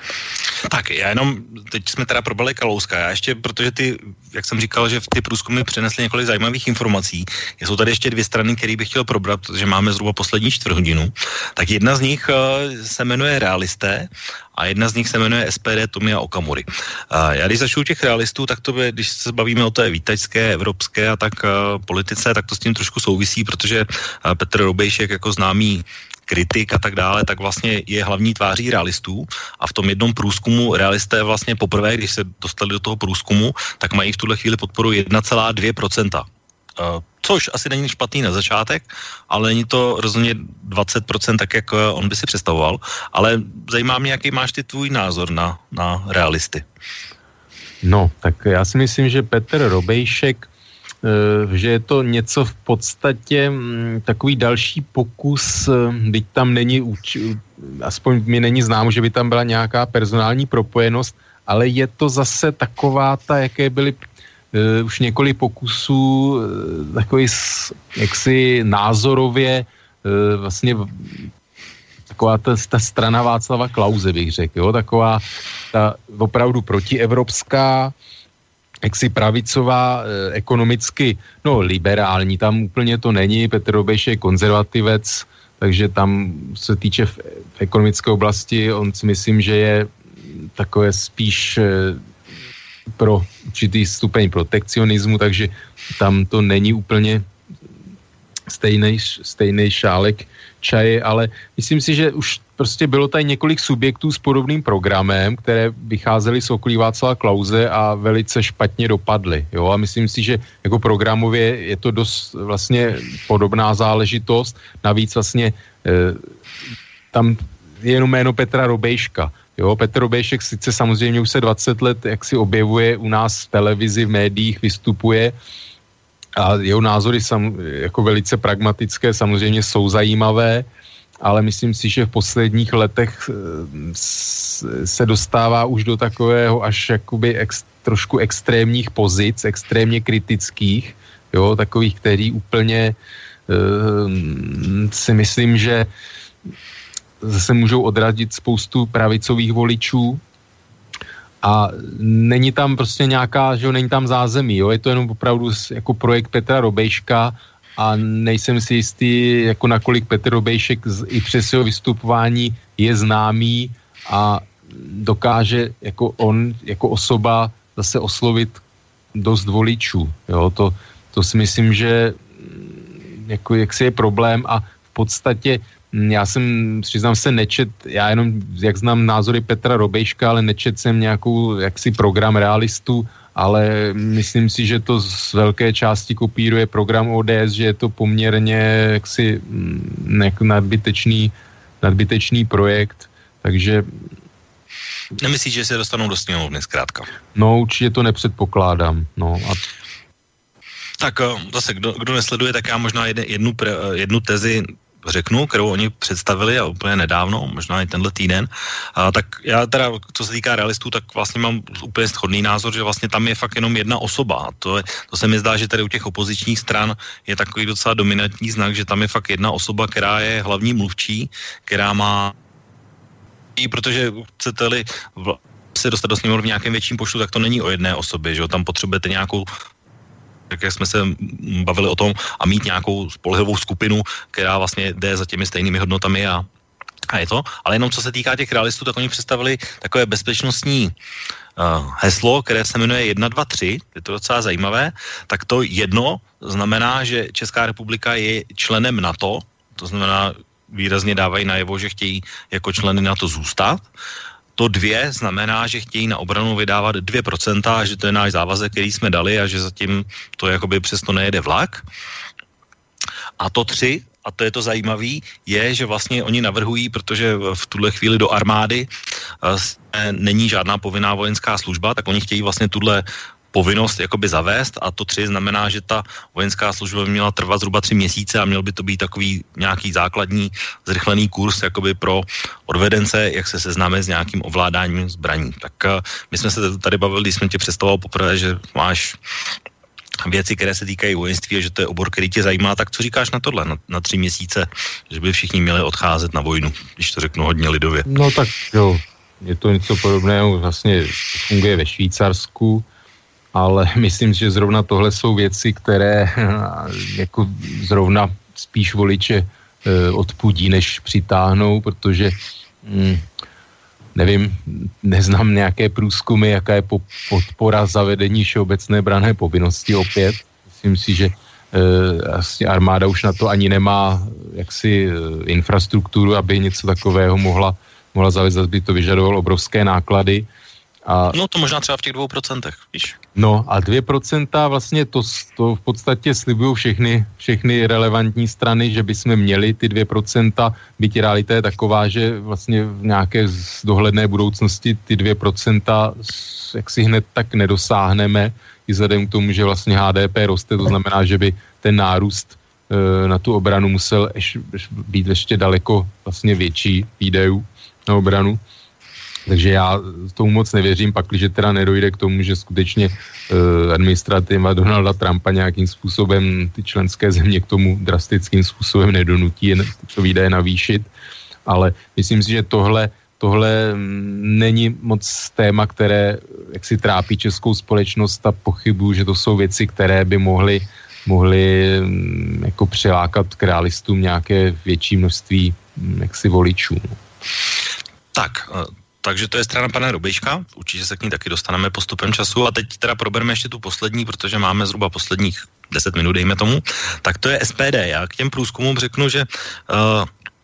Tak, já jenom, teď jsme teda probrali Kalouska, já ještě, protože ty, jak jsem říkal, že v ty průzkumy přinesly několik zajímavých informací, jsou tady ještě dvě strany, které bych chtěl probrat, protože máme zhruba poslední čtvrt hodinu, tak jedna z nich uh, se jmenuje Realisté a jedna z nich se jmenuje S P D Tomia Okamury. Uh, já když začnu těch realistů, tak to by, když se bavíme o té výtačské, evropské a tak uh, politice, tak to s tím trošku souvisí, protože uh, Petr Robejšek jako známý kritik a tak dále, tak vlastně je hlavní tváří realistů a v tom jednom průzkumu realisté vlastně poprvé, když se dostali do toho průzkumu, tak mají v tuhle chvíli podporu jedna celá dvě procenta. Uh, což asi není špatný na začátek, ale není to rozhodně dvacet procent tak, jak on by si představoval. Ale zajímá mě, jaký máš ty tvůj názor na, na realisty. No, tak já si myslím, že Petr Robejšek že je to něco v podstatě takový další pokus, byť tam není, aspoň mi není známo, že by tam byla nějaká personální propojenost, ale je to zase taková ta, jaké byly uh, už několik pokusů, uh, takový jaksi názorově uh, vlastně taková ta, ta strana Václava Klause, bych řekl, jo, taková ta opravdu protievropská, jaksi pravicová, eh, ekonomicky, no liberální, tam úplně to není, Petr Robeš je konzervativec, takže tam se týče v, v ekonomické oblasti, on si myslím, že je takové spíš eh, pro určitý stupeň protekcionismu, takže tam to není úplně stejný, stejný šálek čaje, ale myslím si, že už prostě bylo tady několik subjektů s podobným programem, které vycházely z okolí Václava Klause a velice špatně dopadly. Jo? A myslím si, že jako programově je to dost vlastně podobná záležitost. Navíc vlastně e, tam je jenom jméno Petra Robejška. Jo? Petr Robejšek sice samozřejmě už se dvacet let jak si objevuje u nás v televizi, v médiích, vystupuje a jeho názory sam, jako velice pragmatické samozřejmě jsou zajímavé, ale myslím si, že v posledních letech se dostává už do takového až jakoby ex, trošku extrémních pozic, extrémně kritických, jo, takových, který úplně uh, si myslím, že zase můžou odradit spoustu pravicových voličů a není tam prostě nějaká, že jo, není tam zázemí, jo, je to jenom opravdu jako projekt Petra Robejška a nejsem si jistý, jako nakolik Petr Robejšek i přes jeho vystupování je známý a dokáže jako on, jako osoba zase oslovit dost voličů, jo, to, to si myslím, že jako jaksi je problém a v podstatě já jsem, přiznám se, nečet, já jenom, jak znám názory Petra Robejška, ale nečet jsem nějakou jaksi program realistů, ale myslím si, že to z velké části kopíruje program O D S, že je to poměrně jaksi nadbytečný, nadbytečný projekt, takže... Nemyslíš, že se dostanou do sněmovny zkrátka? No, určitě to nepředpokládám, no a... Tak zase, kdo, kdo nesleduje, tak já možná jedne, jednu, pre, jednu tezi řeknu, kterou oni představili a úplně nedávno, možná i tenhle týden. A, tak já teda, co se týká realistů, tak vlastně mám úplně shodný názor, že vlastně tam je fakt jenom jedna osoba. A to, je, to se mi zdá, že tady u těch opozičních stran je takový docela dominantní znak, že tam je fakt jedna osoba, která je hlavní mluvčí, která má, protože chcete-li se dostat do sněmovny v nějakém větším počtu, tak to není o jedné osobě, že jo? Tam potřebujete nějakou, tak jak jsme se bavili o tom, a mít nějakou spolehlivou skupinu, která vlastně jde za těmi stejnými hodnotami a, a je to. Ale jenom co se týká těch realistů, tak oni představili takové bezpečnostní uh, heslo, které se jmenuje jedna, dva, tři, je to docela zajímavé. Tak to jedno znamená, že Česká republika je členem NATO, to znamená, výrazně dávají najevo, že chtějí jako členy NATO zůstat. To dvě znamená, že chtějí na obranu vydávat dvě procenta, že to je náš závazek, který jsme dali a že zatím to jakoby přesto nejede vlak. A to tři, a to je to zajímavé, je, že vlastně oni navrhují, protože v tuhle chvíli do armády není žádná povinná vojenská služba, tak oni chtějí vlastně tuhle povinnost jakoby zavést a to tři znamená, že ta vojenská služba by měla trvat zhruba tři měsíce a měl by to být takový nějaký základní zrychlený kurz jakoby pro odvedence, jak se seznáme s nějakým ovládáním zbraní. Tak uh, my jsme se tady bavili, když jsme tě představoval poprvé, že máš věci, které se týkají vojenství a že to je obor, který tě zajímá, tak co říkáš na tohle, na, na tři měsíce, že by všichni měli odcházet na vojnu, když to řeknu hodně lidově. No tak jo, je to něco podobného, vlastně funguje ve Švýcarsku, ale myslím, že zrovna tohle jsou věci, které jako zrovna spíš voliče e, odpudí, než přitáhnou, protože mm, nevím, neznám nějaké průzkumy, jaká je po, podpora zavedení všeobecné branné povinnosti opět. Myslím si, že e, vlastně armáda už na to ani nemá jaksi e, infrastrukturu, aby něco takového mohla, mohla zavést, aby to vyžadovalo obrovské náklady. A, no to možná třeba v těch dvou procentech, víš. No a dvě procenta vlastně to, to v podstatě slibují všechny, všechny relevantní strany, že bychom měli ty dvě procenta, byť realita je taková, že vlastně v nějaké dohledné budoucnosti ty dvě procenta jak si hned tak nedosáhneme, i vzhledem k tomu, že vlastně H D P roste, to znamená, že by ten nárůst e, na tu obranu musel eš, být ještě daleko vlastně větší výdajů na obranu. Takže já tomu moc nevěřím, pakliže teda nedojde k tomu, že skutečně uh, administrativa Donalda Trumpa nějakým způsobem ty členské země k tomu drastickým způsobem nedonutí tyto výdaje navýšit. Ale myslím si, že tohle, tohle není moc téma, které jaksi trápí českou společnost a pochybuju, že to jsou věci, které by mohly, mohly jako přilákat k realistům nějaké větší množství jaksi voličů. Tak, takže to je strana pana Robejška, určitě se k ní taky dostaneme postupem času a teď teda probereme ještě tu poslední, protože máme zhruba posledních deset minut, dejme tomu, tak to je S P D. Já k těm průzkumům řeknu, že uh,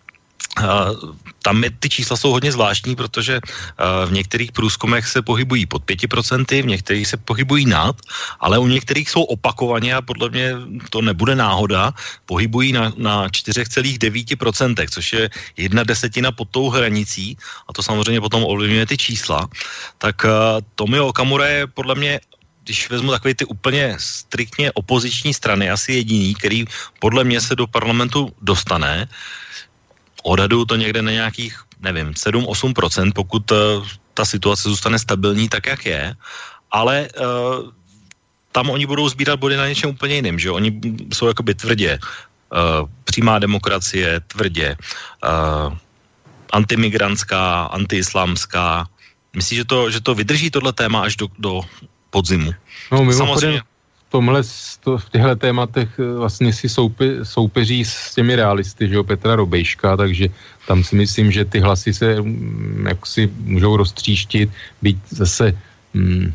Uh, tam je, ty čísla jsou hodně zvláštní, protože uh, v některých průzkumech se pohybují pod pět procent, v některých se pohybují nad, ale u některých jsou opakovaně a podle mě to nebude náhoda, pohybují na, na čtyři celá devět procent, což je jedna desetina pod tou hranicí a to samozřejmě potom ovlivňuje ty čísla. Tak uh, Tomio Okamura je podle mě, když vezmu takové ty úplně striktně opoziční strany, asi jediný, který podle mě se do parlamentu dostane. Odhaduju to někde na nějakých, nevím, sedm až osm procent, pokud uh, ta situace zůstane stabilní tak, jak je, ale uh, tam oni budou sbírat body na něčem úplně jiným, že oni jsou jakoby tvrdě uh, přímá demokracie, tvrdě uh, antimigrantská, antiislámská, Myslíš, že to, že to vydrží tohle téma až do, do podzimu? No mimochodem v tomhle, to, v těchto tématech vlastně si soupe, soupeří s těmi realisty, že jo, Petra Robejška, takže tam si myslím, že ty hlasy se jak si můžou roztříštit, být zase hm,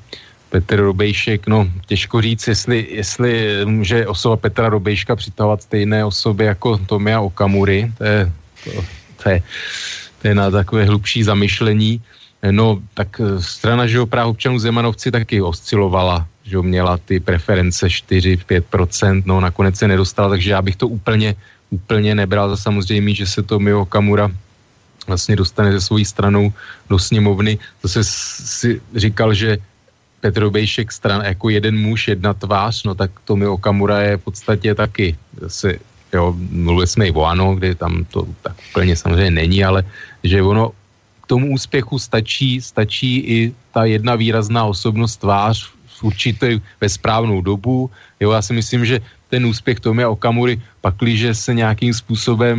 Petr Robejšek, no těžko říct, jestli, jestli může osoba Petra Robejška přitahovat stejné osoby jako Tomia Okamury, to je, to, to je, to je na takové hlubší zamyšlení. No, tak strana, že jo, práv občanů Zemanovci taky oscilovala, že jo, měla ty preference čtyři až pět procent, no nakonec se nedostala, takže já bych to úplně, úplně nebral za samozřejmé, že se Tomio Okamura vlastně dostane se svojí stranou do sněmovny. Zase si říkal, že Petr Robejšek stran jako jeden muž, jedna tvář, no tak Tomio Okamura je v podstatě taky zase, jo, mluvili jsme i o ANO, kde tam to tak úplně samozřejmě není, ale že ono k tomu úspěchu stačí, stačí i ta jedna výrazná osobnost tvář v určitě ve správnou dobu. Jo, já si myslím, že ten úspěch Tomia Okamury, pakliže se nějakým způsobem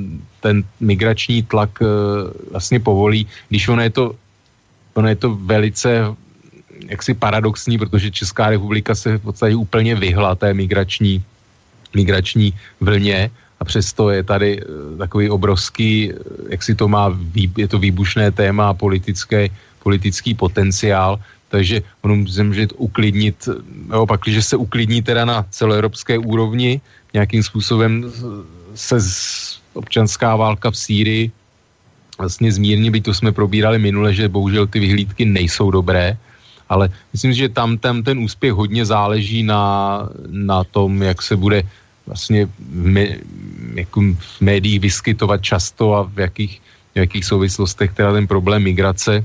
ten migrační tlak e, vlastně povolí, když ono je to, ono je to velice jaksi paradoxní, protože Česká republika se v podstatě úplně vyhla té migrační, migrační vlně a přesto je tady takový obrovský, jak si to má, je to výbušné téma, politické, politický potenciál, takže ono může uklidnit, jo, pak, když se uklidní teda na celoevropské úrovni, nějakým způsobem se občanská válka v Sýrii vlastně zmírní, byť to jsme probírali minule, že bohužel ty vyhlídky nejsou dobré, ale myslím, že tam, tam ten úspěch hodně záleží na, na tom, jak se bude vlastně v, me, jako v médiích vyskytovat často a v jakých, v jakých souvislostech teda ten problém migrace.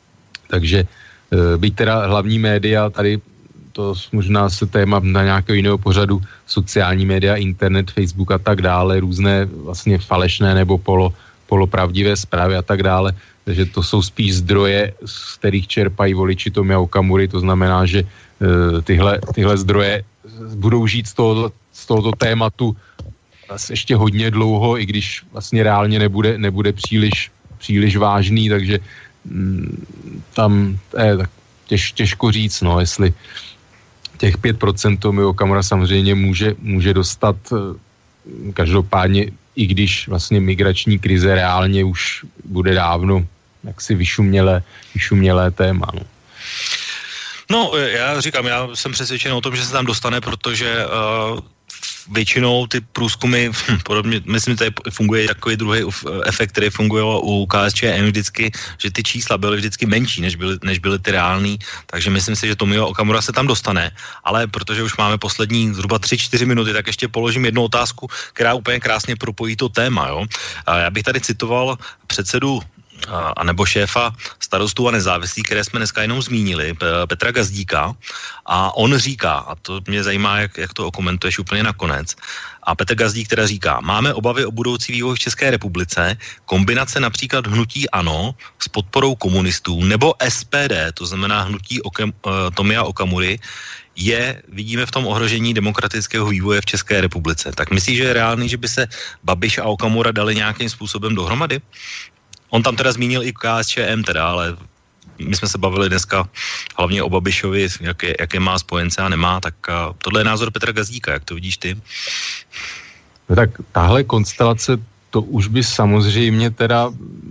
Takže byť teda hlavní média, tady to možná se téma na nějakého jiného pořadu, sociální média, internet, Facebook a tak dále, různé vlastně falešné nebo polo, polopravdivé zprávy a tak dále, takže to jsou spíš zdroje, z kterých čerpají voliči Tomia Okamury, to znamená, že uh, tyhle, tyhle zdroje budou žít z tohoto, z tohoto tématu ještě hodně dlouho, i když vlastně reálně nebude, nebude příliš, příliš vážný, takže mm, tam je tak těž, těžko říct, no, jestli těch pět procent Tomio Okamura samozřejmě může, může dostat každopádně, i když vlastně migrační krize reálně už bude dávno jaksi vyšumělé, vyšumělé téma. No. No, já říkám, já jsem přesvědčen o tom, že se tam dostane, protože uh, většinou ty průzkumy, hm, podobně, myslím, že tady funguje takový druhý efekt, který funguje u K S Č M vždycky, že ty čísla byly vždycky menší, než byly, než byly ty reální, takže myslím si, že Tomio Okamura se tam dostane, ale protože už máme poslední zhruba tři čtyři minuty, tak ještě položím jednu otázku, která úplně krásně propojí to téma, jo. A já bych tady citoval předsedu a nebo šéfa Starostů a nezávislých, které jsme dneska jenom zmínili, Petra Gazdíka, a on říká, a to mě zajímá, jak, jak to okomentuješ úplně nakonec, a Petr Gazdík teda říká, máme obavy o budoucí vývoj v České republice, kombinace například hnutí ANO s podporou komunistů nebo S P D, to znamená hnutí Okem, uh, Tomia Okamury, je, vidíme v tom ohrožení demokratického vývoje v České republice. Tak myslíš, že je reálný, že by se Babiš a Okamura dali nějakým způsobem dohromady? On tam teda zmínil i K S Č M teda, ale my jsme se bavili dneska hlavně o Babišovi, jaké, jaké má spojence a nemá, tak uh, tohle je názor Petra Gazdíka, jak to vidíš ty? No tak tahle konstelace, to už by samozřejmě teda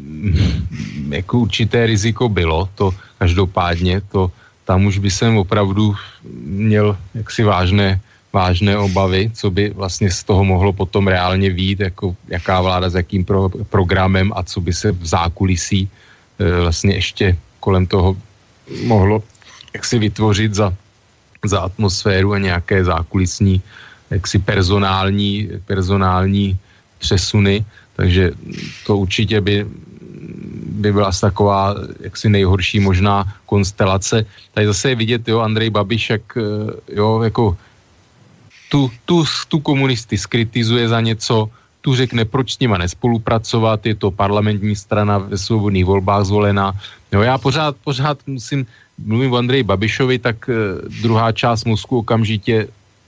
jako určité riziko bylo, to každopádně, to tam už by jsem opravdu měl jaksi vážné, vážné obavy, co by vlastně z toho mohlo potom reálně vyjít, jako jaká vláda s jakým pro, programem a co by se v zákulisí e, vlastně ještě kolem toho mohlo jaksi vytvořit za, za atmosféru a nějaké zákulisní jaksi personální, personální přesuny, takže to určitě by by byla taková jaksi nejhorší možná konstelace. Tady zase je vidět, jo, Andrej Babiš, jak jo, jako tu, tu, tu komunisty skritizuje za něco, tu řekne, proč s nima nespolupracovat, je to parlamentní strana ve svobodných volbách zvolená. Jo, já pořád, pořád musím, mluvím o Andreji Babišovi, tak eh, druhá část mozku okamžitě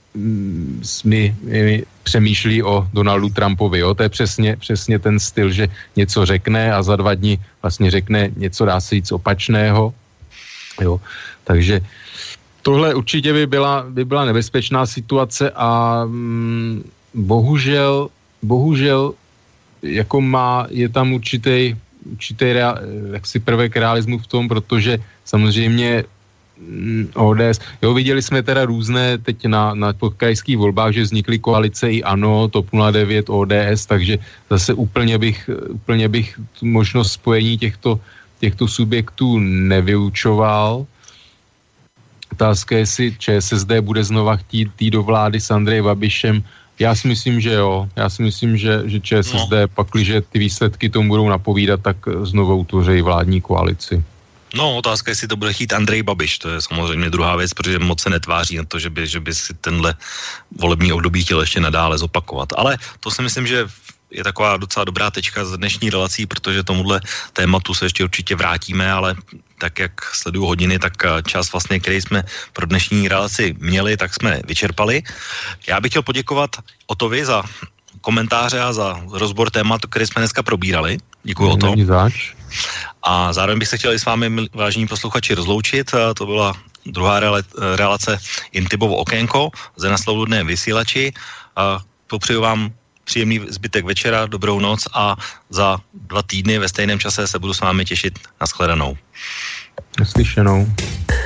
mi, mi přemýšlí o Donaldu Trumpovi. Jo? To je přesně, přesně ten styl, že něco řekne a za dva dny vlastně řekne něco, dá se říct, opačného. Jo? Takže tohle určitě by byla, by byla nebezpečná situace a mm, bohužel, bohužel jako má, je tam určitý, určitý rea, jaksi prvek realismu v tom, protože samozřejmě O D S, jo, viděli jsme teda různé teď na, na podkrajských volbách, že vznikly koalice i ANO, TOP nula devět, O D S, takže zase úplně bych, úplně bych tu možnost spojení těchto, těchto subjektů nevyučoval. Otázka je, jestli ČSSD bude znova chtít jít do vlády s Andrejem Babišem. Já si myslím, že jo. Já si myslím, že, že ČSSD, no. pakliže ty výsledky tomu budou napovídat, tak znovu utvoří vládní koalici. No, otázka je, jestli to bude chtít Andrej Babiš, to je samozřejmě druhá věc, protože moc se netváří na to, že by, že by si tenhle volební období chtěl ještě nadále zopakovat. Ale to si myslím, že je taková docela dobrá tečka z dnešní relací, protože tomuhle tématu se ještě určitě vrátíme, ale tak, jak sleduju hodiny, tak čas vlastně, který jsme pro dnešní relaci měli, tak jsme vyčerpali. Já bych chtěl poděkovat Otovi za komentáře a za rozbor tématu, který jsme dneska probírali. Děkuji, Oto. A zároveň bych se chtěl i s vámi, vážení posluchači, rozloučit. To byla druhá relace Intibovo okénko zde na Svobodném vysílači. Popřeju vám příjemný zbytek večera, dobrou noc a za dva týdny ve stejném čase se budu s vámi těšit. Nashledanou. Naslyšenou.